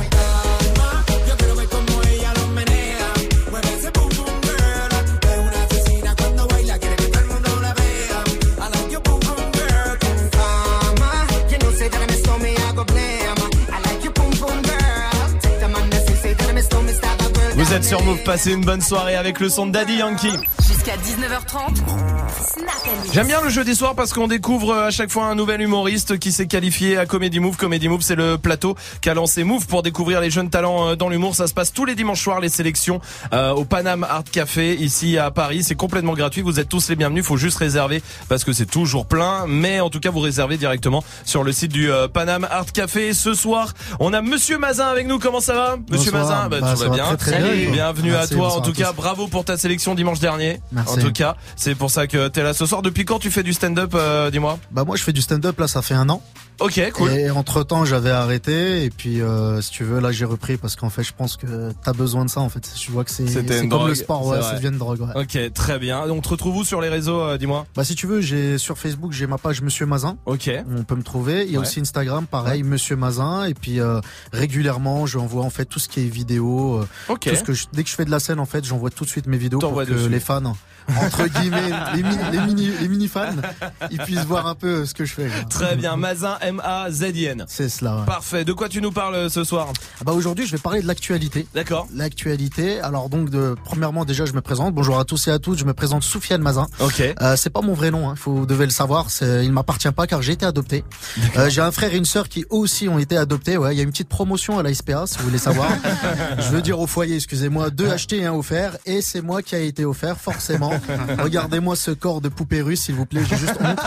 yo quiero ver como ella lo menea. Mueve ese boom boom girl. Es una asesina cuando baila, quiere que todo el mundo la vea. I like your boom boom girl. Mama, you know say that I miss me, I go blame. I like your boom boom girl. Take the man that say that I miss me, stop a girl. Vous êtes sur Move, passez une bonne soirée avec le son de Daddy Yankee. Jusqu'à dix-neuf heures trente, Snap and Mix. J'aime bien le jeudi soir parce qu'on découvre à chaque fois un nouvel humoriste qui s'est qualifié à Comedy Move. Comedy Move, c'est le plateau qu'a lancé Move pour découvrir les jeunes talents dans l'humour. Ça se passe tous les dimanches soirs, les sélections euh, au Paname Art Café ici à Paris. C'est complètement gratuit. Vous êtes tous les bienvenus. Faut juste réserver parce que c'est toujours plein. Mais en tout cas, vous réservez directement sur le site du euh, Paname Art Café. Ce soir, on a Monsieur Mazin avec nous. Comment ça va, Monsieur Bonsoir. Mazin? Bah, bah, tout va bien. Très, très Salut. bien. Bienvenue Merci, à toi. En bonsoir tout à cas, tous. bravo pour ta sélection dimanche dernier. Merci. En tout cas, c'est pour ça que t'es là ce soir. Depuis quand tu fais du stand-up, euh, dis-moi? Bah moi je fais du stand-up là, ça fait un an. Ok, cool. Et entre temps j'avais arrêté et puis euh, si tu veux là j'ai repris parce qu'en fait je pense que t'as besoin de ça en fait. Je vois que c'est C'était c'est une comme drogue, le sport, ouais, c'est ça vrai. devient une drogue. Ouais. Ok, très bien. Donc, te retrouve où sur les réseaux, euh, dis-moi? Bah si tu veux, j'ai sur Facebook j'ai ma page Monsieur Mazin. Ok. On peut me trouver. Il y a Ouais. aussi Instagram, pareil Monsieur Mazin. Et puis euh, régulièrement j'envoie en fait tout ce qui est vidéo. euh, Ok. Tout ce que je, dès que je fais de la scène en fait, j'envoie tout de suite mes vidéos pour T'envoies que dessus. les fans entre guillemets les mini les mini les mini fans ils puissent voir un peu ce que je fais. quoi. Très bien. Mazin, M A Z I N. C'est cela. Ouais. Parfait. De quoi tu nous parles euh, ce soir? Ah bah aujourd'hui, je vais parler de l'actualité. D'accord. L'actualité. Alors donc, de, premièrement, déjà, je me présente. Bonjour à tous et à toutes. Je me présente Soufiane Mazin. Ok. Euh, c'est pas mon vrai nom. Hein. Vous devez le savoir. C'est, il ne m'appartient pas car j'ai été adopté. Euh, j'ai un frère et une sœur qui eux aussi ont été adoptés. Ouais, il y a une petite promotion à la S P A si vous voulez savoir. Je veux dire au foyer, excusez-moi, deux achetés et un offert. Et c'est moi qui a été offert, forcément. Regardez-moi ce corps de poupée russe, s'il vous plaît. J'ai juste honte.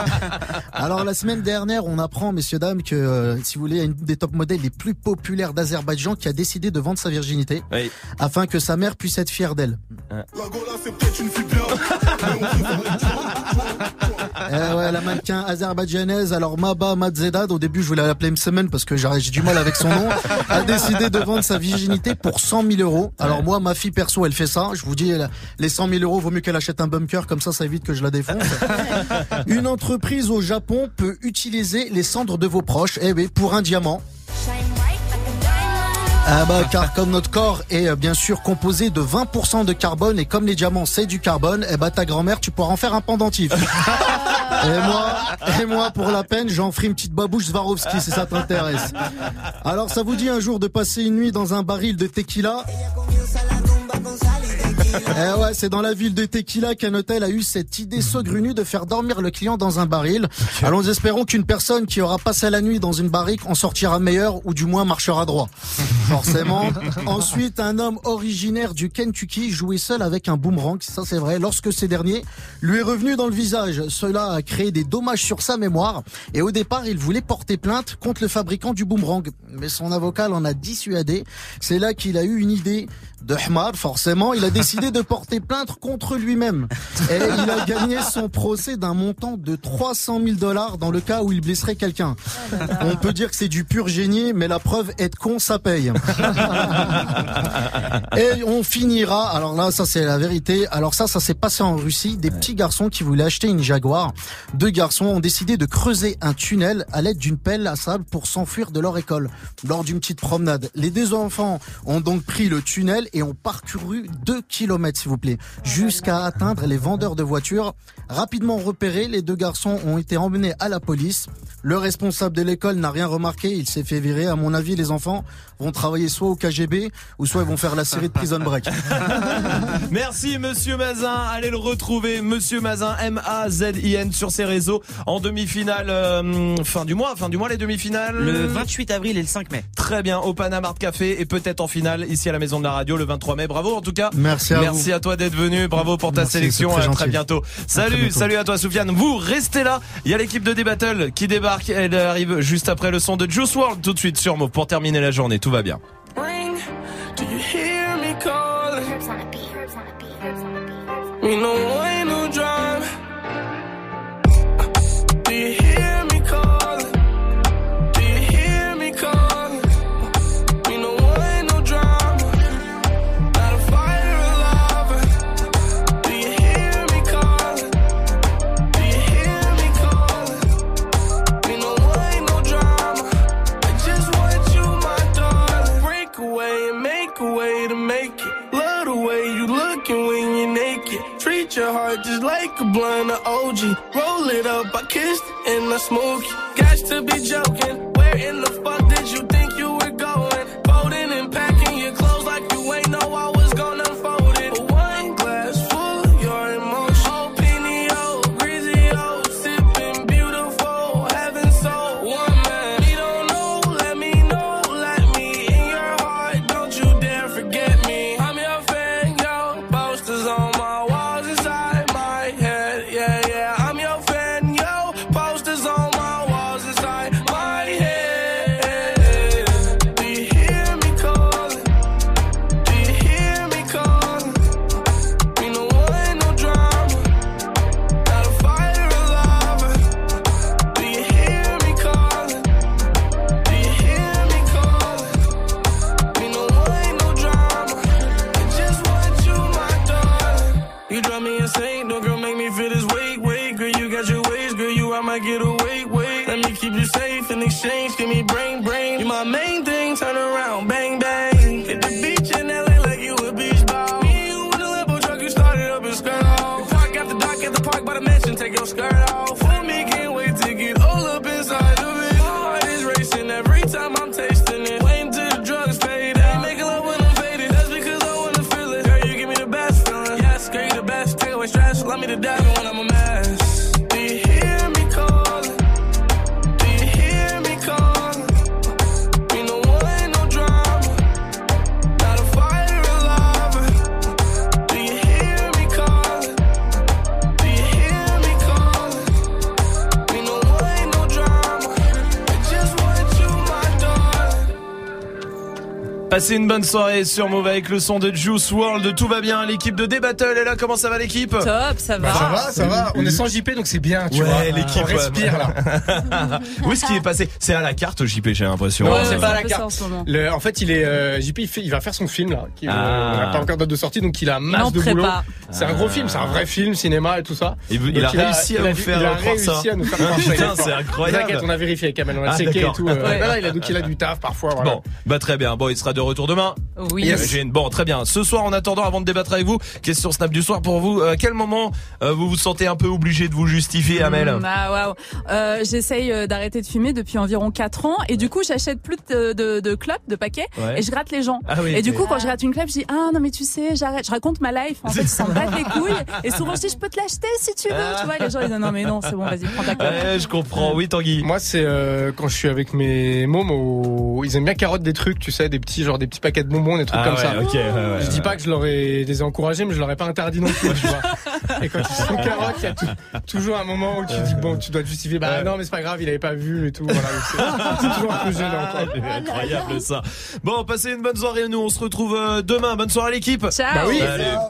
Alors la semaine dernière, on apprend, messieurs dames, que euh, si vous voulez, il y a une des top modèles les plus populaires d'Azerbaïdjan qui a décidé de vendre sa virginité Oui. afin que sa mère puisse être fière d'elle. La Gola, c'est peut-être une fille bien. Eh ouais, la mannequin azerbaïdjanaise, alors Maba Madzedad, au début je voulais l'appeler Msemen parce que j'ai j'ai du mal avec son nom, a décidé de vendre sa virginité pour cent mille euros. Alors moi, ma fille perso, elle fait ça. Je vous dis, elle- les cent mille euros, vaut mieux qu'elle achète un bunker, comme ça, ça évite que je la défonce. Une entreprise au Japon peut utiliser les cendres de vos proches, eh oui, pour un diamant. Ah bah, car comme notre corps est euh, bien sûr composé de vingt pour cent de carbone et comme les diamants c'est du carbone, eh bah ta grand-mère tu pourras en faire un pendentif. Et moi, et moi pour la peine j'en ferai une petite babouche Swarovski si ça t'intéresse. Alors ça vous dit un jour de passer une nuit dans un baril de tequila? Eh ouais, c'est dans la ville de Tequila qu'un hôtel a eu cette idée saugrenue de faire dormir le client dans un baril. Alors nous espérons qu'une personne qui aura passé la nuit dans une barrique en sortira meilleure ou du moins marchera droit. Forcément. Ensuite, un homme originaire du Kentucky jouait seul avec un boomerang, ça c'est vrai, lorsque ces derniers lui est revenu dans le visage. Cela a créé des dommages sur sa mémoire et au départ, il voulait porter plainte contre le fabricant du boomerang. Mais son avocat l'en a dissuadé. C'est là qu'il a eu une idée de Hmar, forcément, il a décidé de porter plainte contre lui-même. Et il a gagné son procès d'un montant de trois cent mille dollars dans le cas où il blesserait quelqu'un. On peut dire que c'est du pur génie, mais la preuve, être con, ça paye. Et on finira, alors là, ça c'est la vérité. Alors ça, ça s'est passé en Russie. Des petits garçons qui voulaient acheter une Jaguar. Deux garçons ont décidé de creuser un tunnel à l'aide d'une pelle à sable pour s'enfuir de leur école lors d'une petite promenade. Les deux enfants ont donc pris le tunnel et ont parcouru deux kilomètres, s'il vous plaît, jusqu'à atteindre les vendeurs de voitures. Rapidement repérés, les deux garçons ont été emmenés à la police. Le responsable de l'école n'a rien remarqué, il s'est fait virer. À mon avis, les enfants vont travailler soit au K G B ou soit ils vont faire la série de Prison Break. Merci Monsieur Mazin, allez le retrouver, Monsieur Mazin, M A Z I N sur ses réseaux en demi-finale euh, fin du mois, fin du mois les demi-finales. Le vingt-huit avril et le cinq mai. Très bien, au Paname Art Café et peut-être en finale ici à la Maison de la Radio le vingt-trois mai. Bravo en tout cas. Merci à Merci vous. à toi d'être venu, bravo pour ta Merci, sélection, c'est très à très gentil. bientôt. À Salut, très bientôt. salut à toi Soufiane. Vous restez là, il y a l'équipe de D-Battle qui débarque, elle arrive juste après le son de Juice world tout de suite sur Move pour terminer la journée, tout va bien. Ring, do you hear me calling? We know way no drive. Do you hear me calling? your heart just like a blunt of O G. Roll it up, I kissed and I smoked you. Got to be joking. Where in the fuck did you think you were going? Folding and packing your clothes like you ain't know I was gonna unfold it. A wine glass full of your emotion. Oh, Pinio, Grizio, sipping beautiful, heaven so one man. We don't know, let me know, let me in your heart. Don't you dare forget me. I'm your fan, yo. Posters on my walls inside my head. Yeah, yeah. I'm your fan, yo. Posters on my walls inside my head. Do you hear me calling? Do you hear me calling? We no want no drama. Got a fire alive. Do you hear me calling? Do you hear me calling? We no want no drama. I just want you, my darling. You drive me insane, no girl, make me feel this weight, weight. Girl, you got your ways, girl, you I might get away, wait. Let me keep you safe in exchange, give me brain, brain. You my main thing, turn around, bang, bang. Hit the beach in L A like you a beach ball. Me and you in the Lambo truck, you started up and skirt off. Park after dock at the park by the mansion, take your skirt off. For me, can't wait to get all up inside of it. My heart is racing every time I'm tasting it. Waiting till the drugs fade out. Making love when I'm faded, that's because I wanna feel it. Girl, you give me the best feeling. Yes, girl, you the best. Take away stress, allow me to dive in when I'm a mess. Do you hear me calling? Do you hear me calling? We no want no drama. Got a fire alive. Do you hear me calling? Do you hear me calling? We no want no drama. I just want you, my darling. Passez une bonne soirée sur Move avec le son de Juice world. Tout va bien, l'équipe de D-Battle est là. Comment ça va l'équipe? Top, ça va. Bah, ça va, ça va. On est sans J P donc c'est bien, tu ouais, vois. l'équipe On respire là. Où est-ce qu'il est passé? C'est à la carte J P, j'ai l'impression. Non, Ouais, c'est ouais. pas à la carte. En, le, en fait, il est euh, J P, il, fait, il va faire son film là. Qui, Ah. euh, on n'a pas encore date de sortie, donc il a masse en de prépa. boulot. C'est un gros Ah. film, c'est un vrai film, cinéma et tout ça. Il, Donc, il a réussi à il a, vous faire il a croire réussi ça. à nous faire croire ça. Putain, c'est incroyable. T'inquiète, on a vérifié avec Kamel, on a Ah, checké et d'accord. tout. Euh, Ouais. voilà, il a, donc il a du taf parfois. Voilà. Bon, bah très bien. Bon, il sera de retour demain. Oui. J'imagine. Bon, très bien. Ce soir, en attendant, avant de débattre avec vous, question Snap du soir pour vous. À quel moment euh, vous vous sentez un peu obligé de vous justifier, Amel? Mm, ah, waouh. Euh, j'essaye euh, d'arrêter de fumer depuis environ quatre ans et du coup j'achète plus de, de, de clopes, de paquets Ouais. et je gratte les gens. Ah oui, et du ok. coup quand je gratte une clope je dis ah non mais tu sais j'arrête, je raconte ma life. En fait ils s'en battent les couilles et souvent je dis je peux te l'acheter si tu veux. Tu vois les gens ils disent non mais non c'est bon vas-y prends ta clope. Ouais, je comprends. Oui, Tanguy. Moi, c'est euh, quand je suis avec mes mômes, au... ils aiment bien carotte des trucs, tu sais, des petits genre des petits paquets de bonbons, des trucs Ah comme ouais, ça. ok, ouais, ouais, je dis ouais. pas que je leur ai, je les ai encouragés, mais je leur ai pas interdit non plus, tu vois. Et quand ils sont carottes, il y a tout- toujours un moment où tu dis bon, tu dois te justifier. Bah non, mais c'est pas grave, il avait pas vu et tout. Voilà, donc c'est, c'est toujours un peu gênant. Quoi. C'est incroyable ça. Bon, passez une bonne soirée. Nous, on se retrouve euh, demain. Bonne soirée l'équipe. Ciao. Bah oui. Salut.